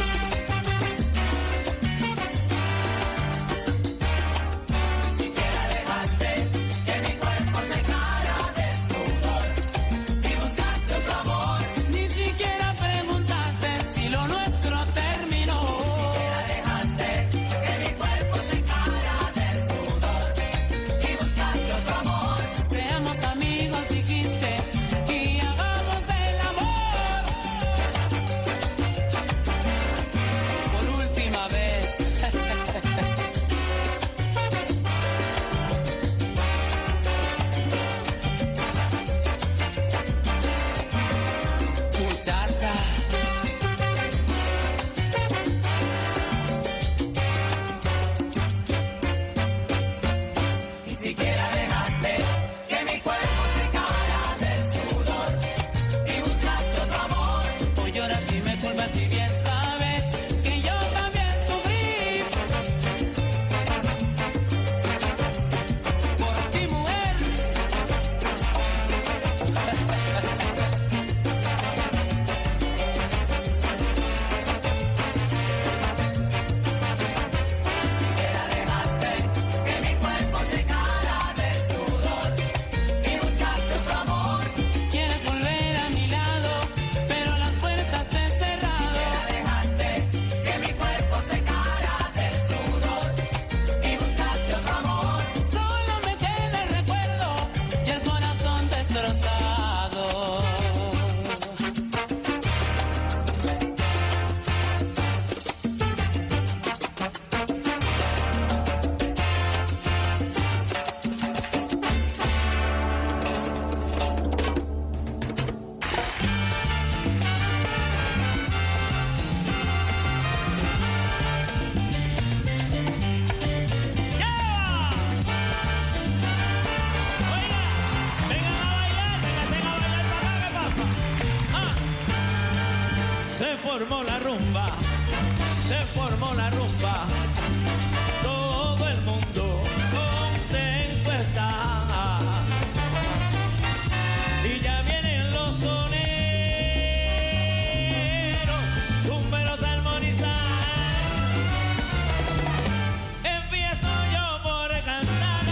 Ni siquiera dejaste que mi cuerpo secara de sudor y buscaste otro amor. Ni siquiera preguntaste si lo nuestro terminó. Ni siquiera dejaste que mi cuerpo secara de sudor y buscaste otro amor. Seamos amigos, dijiste, y hagamos el amor por última vez. Muchacha, ni siquiera dejaste que mi cuerpo secara del sudor y buscaste otro amor. Hoy lloras y me culpas y bien sabes que yo también sufrí por ti, mujer. Siquiera dejaste que mi cuerpo secara del sudor y buscaste otro amor. Quieres volver a mi lado, pero las puertas te he cerrado. Siquiera dejaste que mi cuerpo secara del sudor y buscaste otro amor. Solo me queda el recuerdo y el corazón destrozado. Se formó la rumba, se formó la rumba, todo el mundo contento está. Y ya vienen los soneros, rumberos a armonizar. Empiezo yo por cantar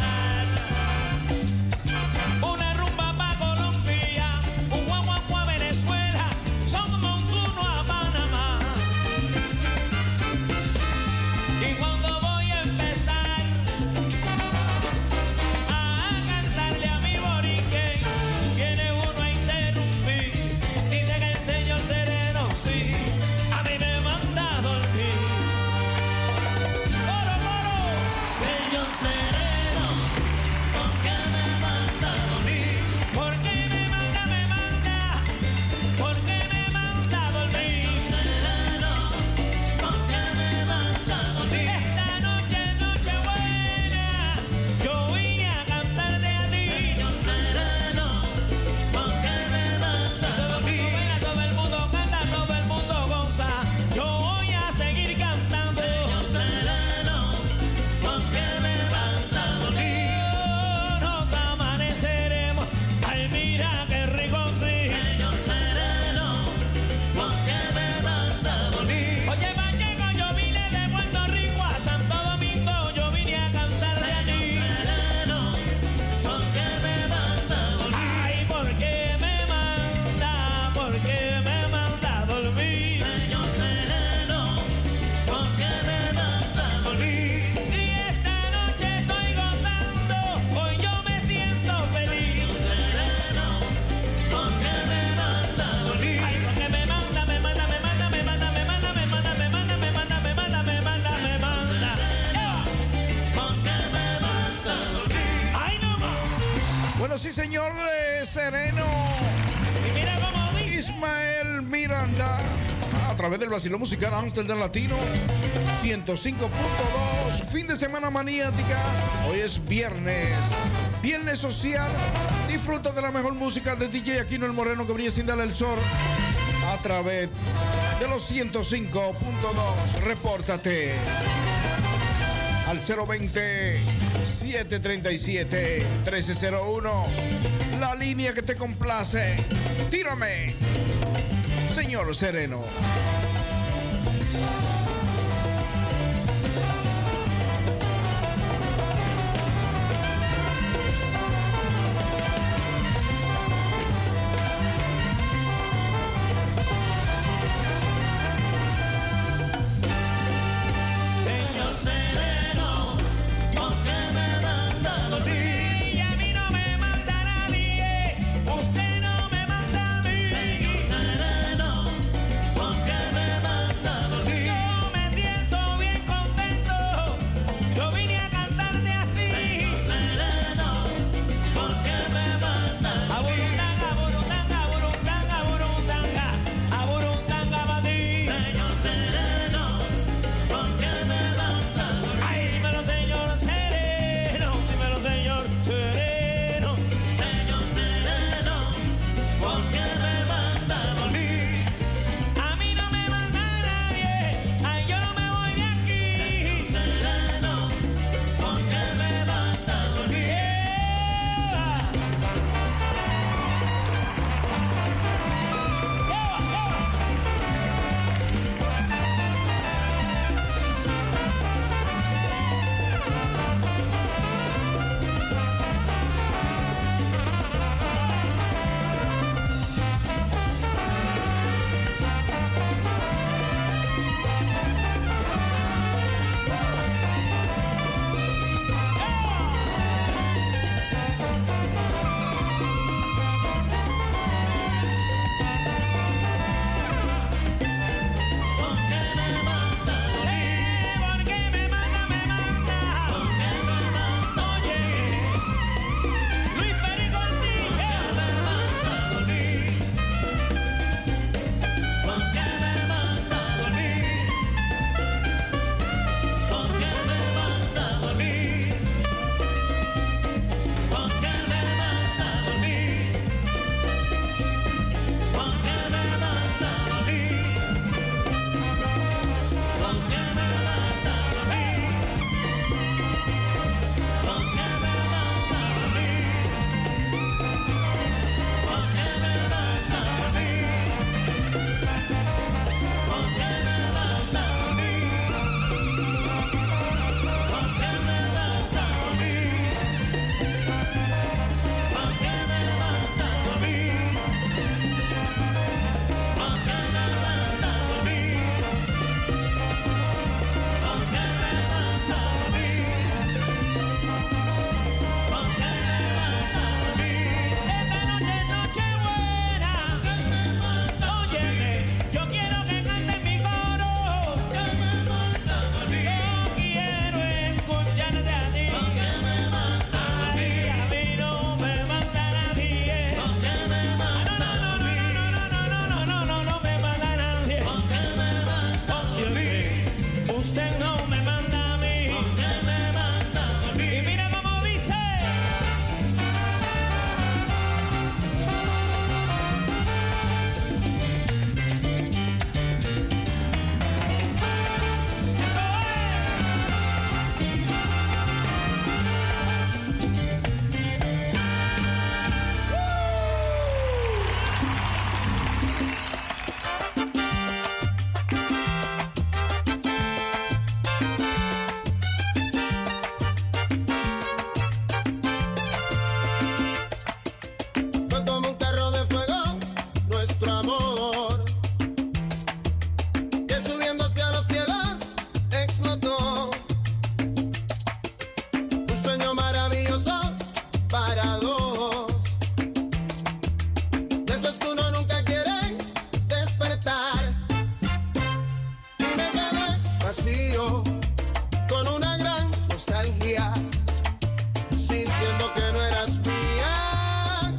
una rumba pa' Colombia, un guaguancó a Venezuela, son como un turno a Panamá. Y cuando voy a empezar a señor eh, Sereno. Y mira cómo dice. Ismael Miranda. A través del vacilón musical Amsterdam Latino ciento cinco punto dos. Fin de semana maniática. Hoy es viernes. Viernes social. Disfruta de la mejor música de D J Aquino el Moreno que brilla sin darle el sol. A través de los ciento cinco punto dos. Repórtate al cero veinte, siete treinta y siete, trece cero uno. La línea que te complace. Tírame, señor Sereno. nostalgia, sintiendo que no eras mía.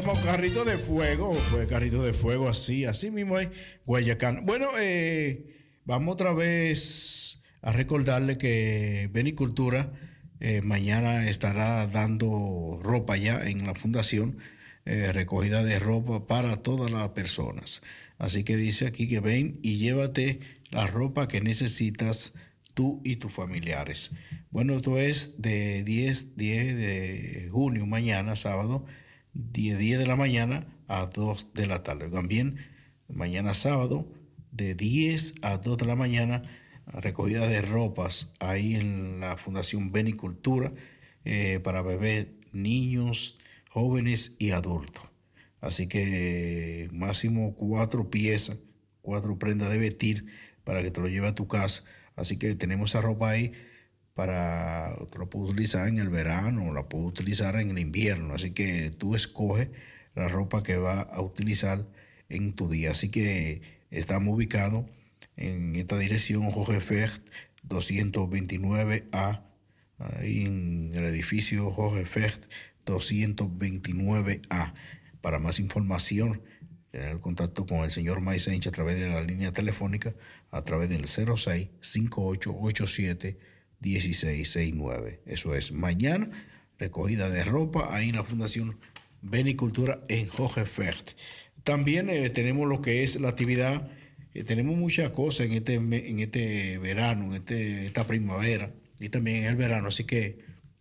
como carrito de fuego, fue carrito de fuego, así, así mismo es Guayacán. Bueno, eh, vamos otra vez a recordarle que Benicultura eh, mañana estará dando ropa ya en la fundación, eh, recogida de ropa para todas las personas. Así que dice aquí que ven y llévate la ropa que necesitas tú y tus familiares. Bueno, esto es de diez, diez de junio, mañana, sábado, diez, diez de la mañana a dos de la tarde. También mañana sábado, de diez a dos de la mañana, recogida de ropas ahí en la Fundación Benicultura eh, para bebés, niños, jóvenes y adultos. Así que máximo cuatro piezas, cuatro prendas de vestir para que te lo lleve a tu casa. Así que tenemos esa ropa ahí para, te lo puedes utilizar en el verano, la puedes utilizar en el invierno. Así que tú escoges la ropa que vas a utilizar en tu día. Así que estamos ubicados en esta dirección, Jorge Fecht doscientos veintinueve A, ahí en el edificio Jorge Fecht doscientos veintinueve A. Para más información, tener contacto con el señor Maisench a través de la línea telefónica, a través del cero seis, cinco ocho ocho siete, uno seis seis nueve. Eso es mañana, recogida de ropa ahí en la Fundación Benicultura en Jorge Fecht. También eh, tenemos lo que es la actividad, eh, tenemos muchas cosas en este, en este verano, en este, esta primavera y también en el verano. Así que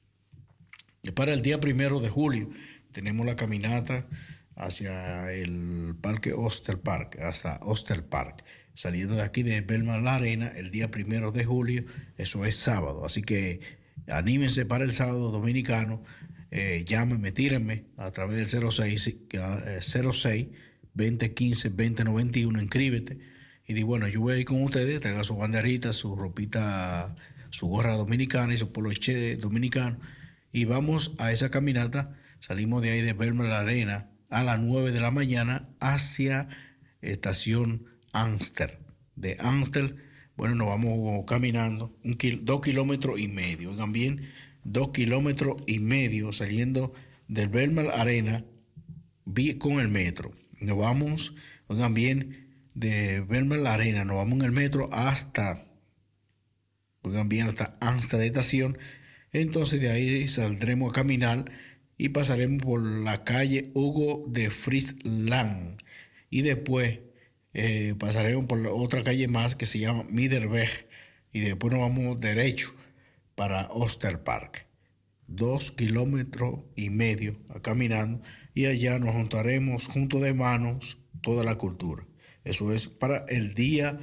para el día primero de julio tenemos la caminata hacia el Parque Oster Park, hasta Oster Park, saliendo de aquí de Belmar La Arena el día primero de julio, eso es sábado. Así que anímense para el sábado dominicano, eh, llámenme, tírenme a través del cero seis, cero seis, veinte quince, veinte noventa y uno, inscríbete y di, bueno, yo voy a ir con ustedes, traigan su banderita, su ropita, su gorra dominicana y su poloche dominicano y vamos a esa caminata. Salimos de ahí de Belmar La Arena a las nueve de la mañana hacia estación Amstel. De Amstel, bueno, nos vamos caminando un kil- dos kilómetros y medio. Oigan bien, dos kilómetros y medio saliendo del Belmar Arena con el metro. Nos vamos, oigan bien, de Belmar La Arena, nos vamos en el metro hasta, oigan bien, hasta Amstel estación. Entonces de ahí saldremos a caminar y pasaremos por la calle Hugo de Friesland y después eh, pasaremos por la otra calle más que se llama Middelweg y después nos vamos derecho para Oster Park. Dos kilómetros y medio caminando y allá nos juntaremos juntos de manos toda la cultura. Eso es para el día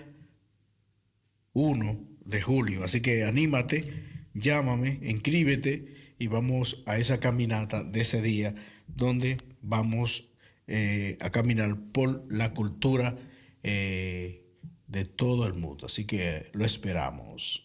uno de julio. Así que anímate, llámame, inscríbete y vamos a esa caminata de ese día donde vamos eh, a caminar por la cultura eh, de todo el mundo. Así que lo esperamos.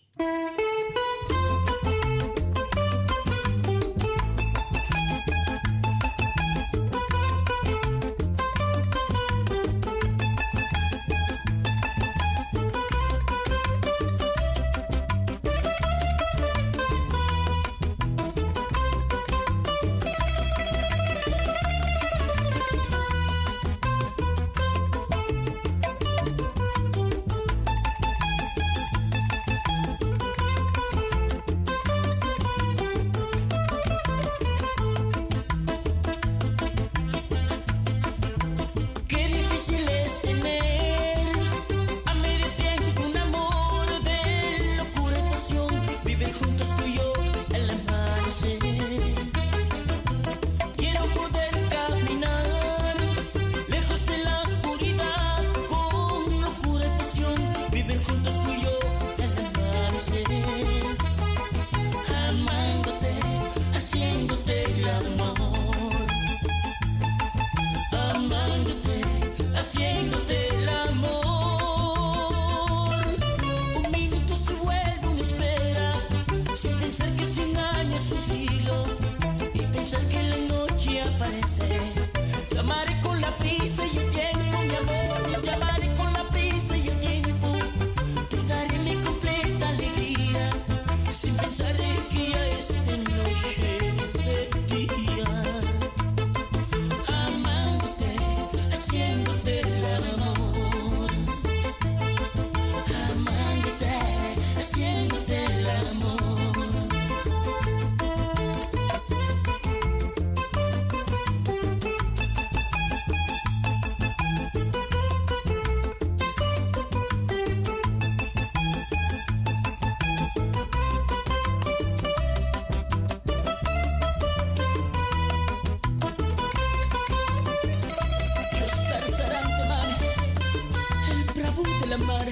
ante la mar.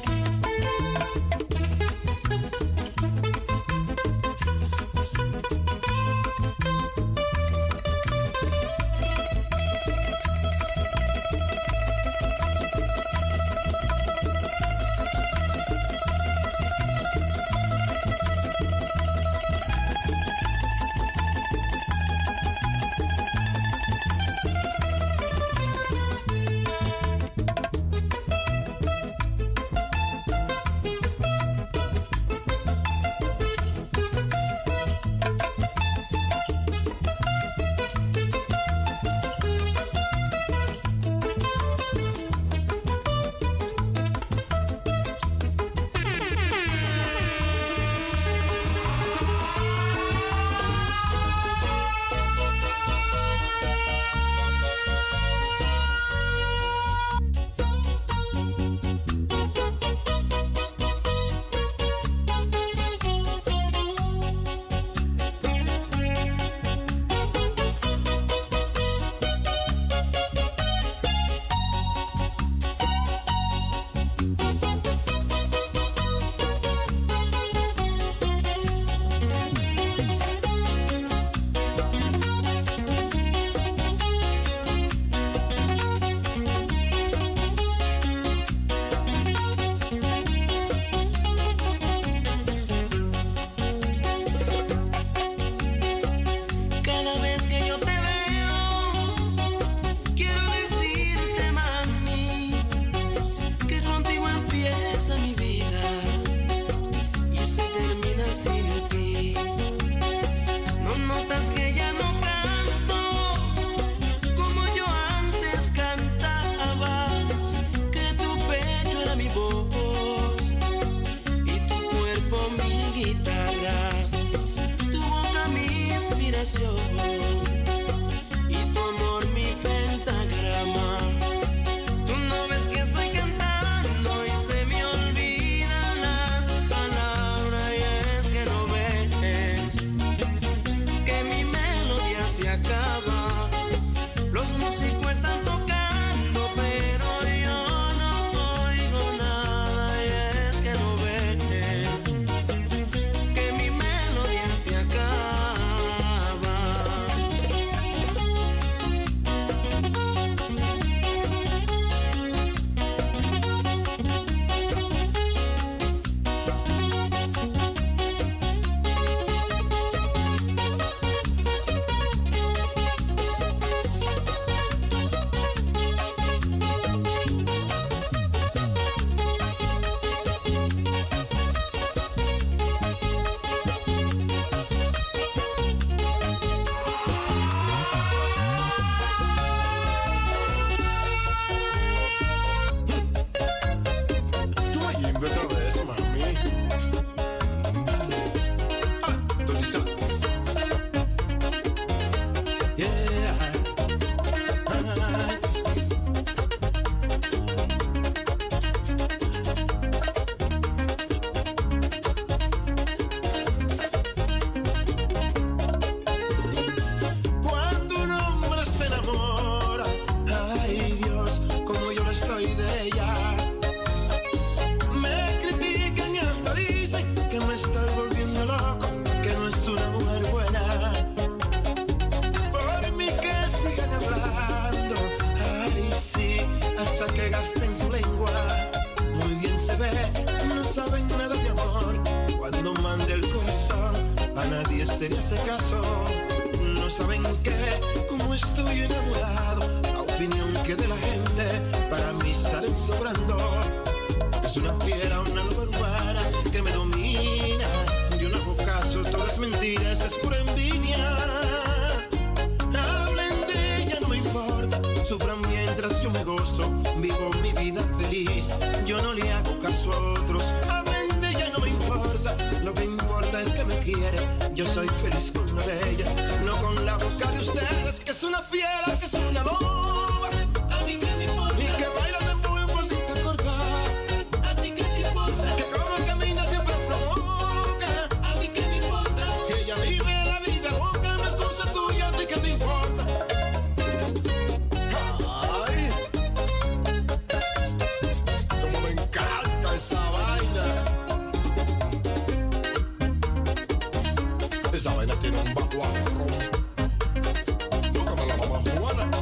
se le hace caso. No saben qué, como estoy enamorado. La opinión que de la gente para mí salen sobrando. Es una fiera, una loba urbana que me domina. Yo no hago caso, todas mentiras, es pura envidia. Hablen de ella, no me importa. Sufran mientras yo me gozo. Vivo mi vida feliz. Yo no le hago caso a otros. Hablen de ella, no me importa. Lo que importa es que me quiere. Yo soy feliz con la de ella, no con la boca de ustedes, que es una fiera, que es una loba. A mí que me importa. Y que baila de muy bonita corta. A ti que te importa. Que como camina siempre provoca. A mí que me importa. Si ella vive la vida loca, no es cosa tuya, a ti que te importa. Ay, como me encanta. esa vaina tiene un baguarrón. Búscame la mamá Juana.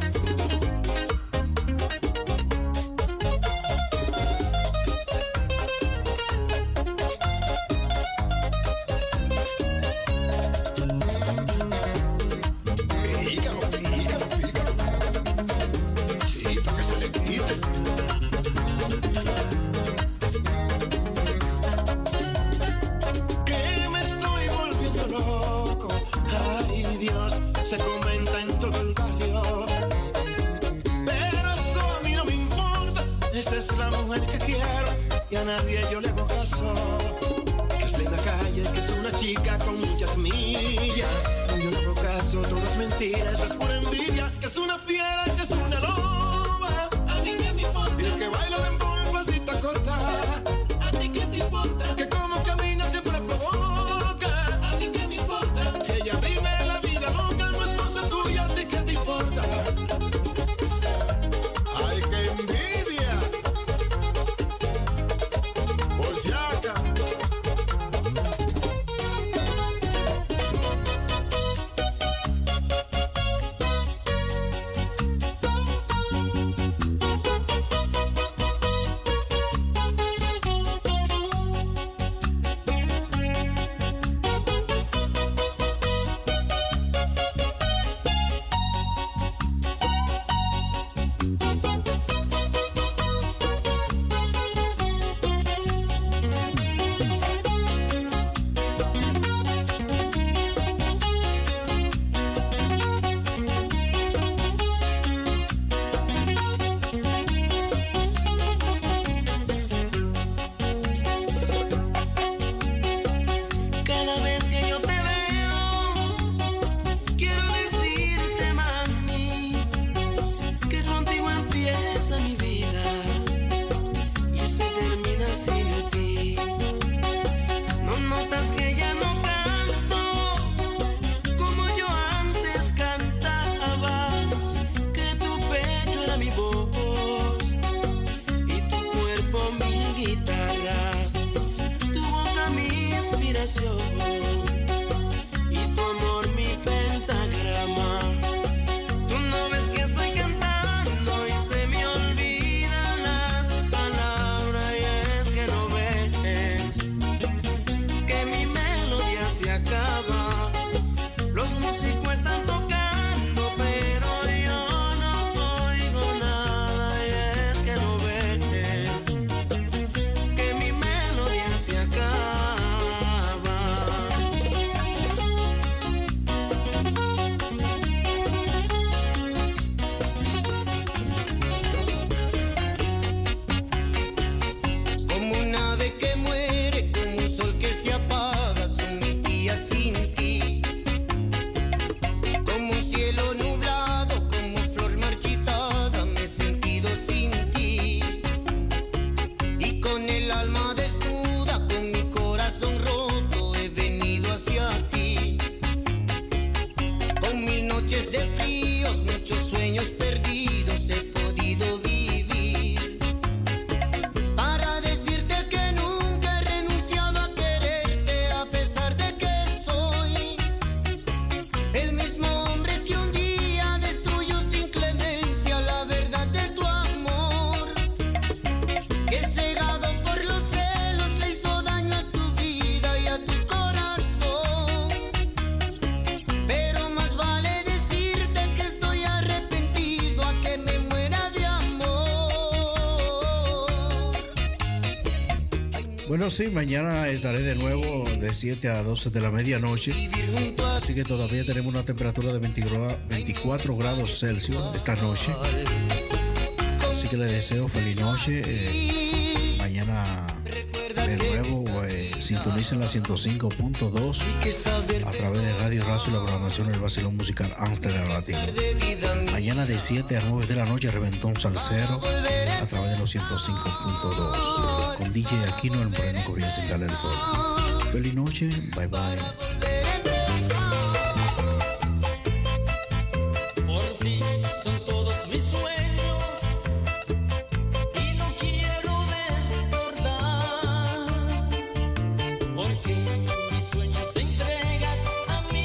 Nadie yo le hago caso, que es de la calle, que es una chica con muchas millas. Yo le hago caso, todo es mentira, eso es pura envidia. Que es una fiera, que es una loba. A mí que me importa. Y el que baila de pasita corta. A ti que te importa. Que como camina siempre provoca. A mí que me importa. Si ella vive la vida loca, no es cosa tuya, a ti que te importa. Ay, qué envidia. Bueno, sí, mañana estaré de nuevo de siete a doce de la medianoche. Así que todavía tenemos una temperatura de veinticuatro grados Celsius esta noche. Así que les deseo feliz noche. Eh, mañana de nuevo eh, sintonicen la ciento cinco punto dos a través de Radio Razo y la programación del Vacilón Musical Amsterdam Latino. Mañana de siete a nueve de la noche, Reventón Salsero a través de los ciento cinco punto dos. Con D J Aquino, el moreno corrió sin darle el sol. Feliz noche, bye bye. Porque mis sueños te entregas a mí.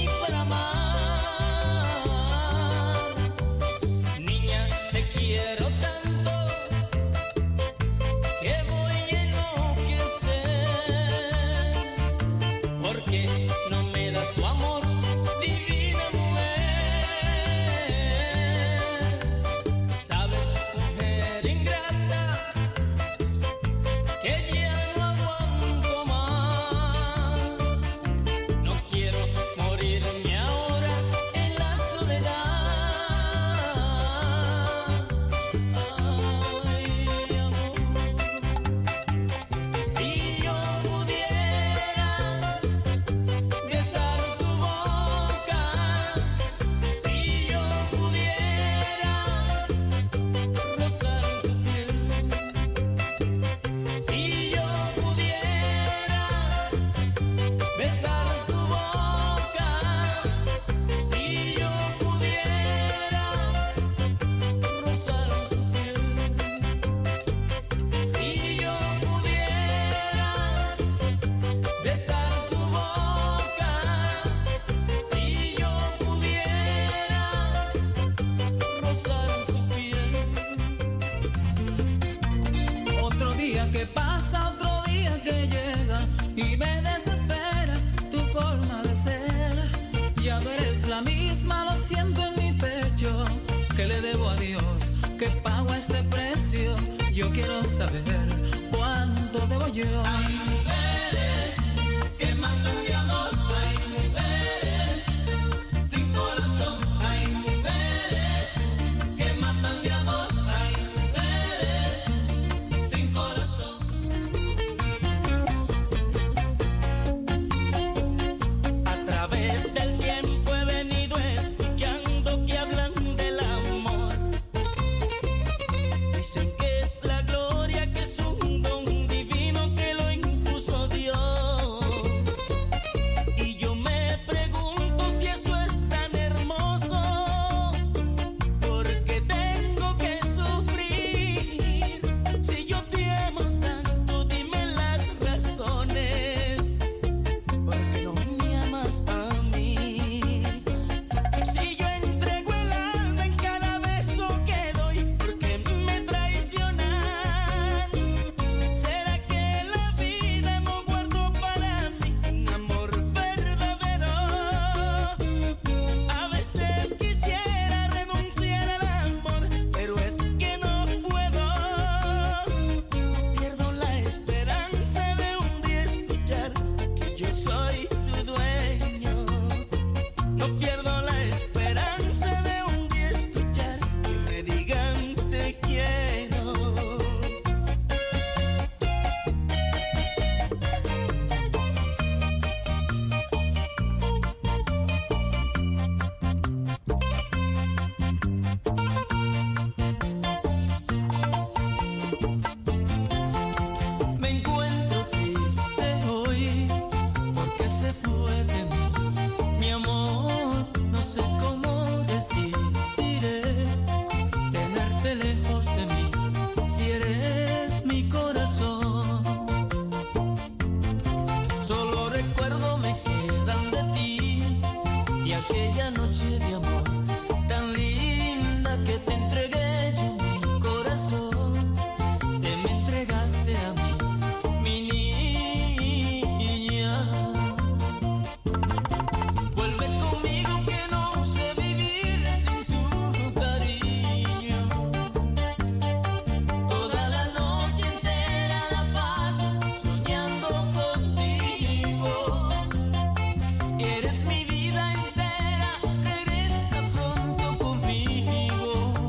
pasa otro día que llega y me desespera tu forma de ser. Ya no eres la misma, lo siento en mi pecho. ¿Qué le debo a Dios? ¿Qué pago a este precio? Yo quiero saber cuánto debo yo. Hay mujeres que matan de amor. Hay mujeres sin corazón. Hay mujeres que matan de amor. Hay mujeres sin corazón. A través del tiempo he venido escuchando que hablan del amor. Dicen que es la gloria, que es un don divino que lo impuso Dios. Y yo me pregunto si eso es tan hermoso. ¿Por qué tengo que sufrir? Si yo te amo tanto, dime las razones. ¿Por qué no me amas a mí? Si yo entrego el alma en cada beso que doy, ¿por qué me traicionan? ¿Será que la vida no guardó para mí un amor verdadero? A veces quisiera renunciar al amor, pero es que no puedo. Pierdo la esperanza de un día escuchar que yo soy tu dueño. No pierdo la esperanza de un día escuchar que me digan te quiero. Me encuentro triste hoy porque se fue de mí mi amor. No sé cómo resistiré tenerte lejos de mí si eres mi corazón. Solo recuerdo me quedan de ti y aquella noche de amor tan linda que te entregué yo mi corazón. Te me entregaste a mí, mi niña. Vuelve conmigo que no sé vivir sin tu cariño. Toda la noche entera la paso soñando contigo. Eres mi vida entera, regresa pronto conmigo.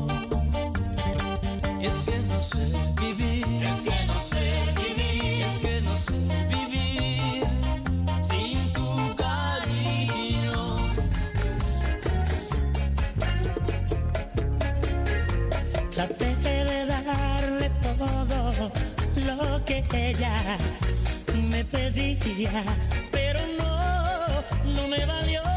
Es que no sé vivir, es que no sé vivir, es que no sé vivir sin tu cariño. Traté de darle todo lo que ella me pedía, pero no, no me valió.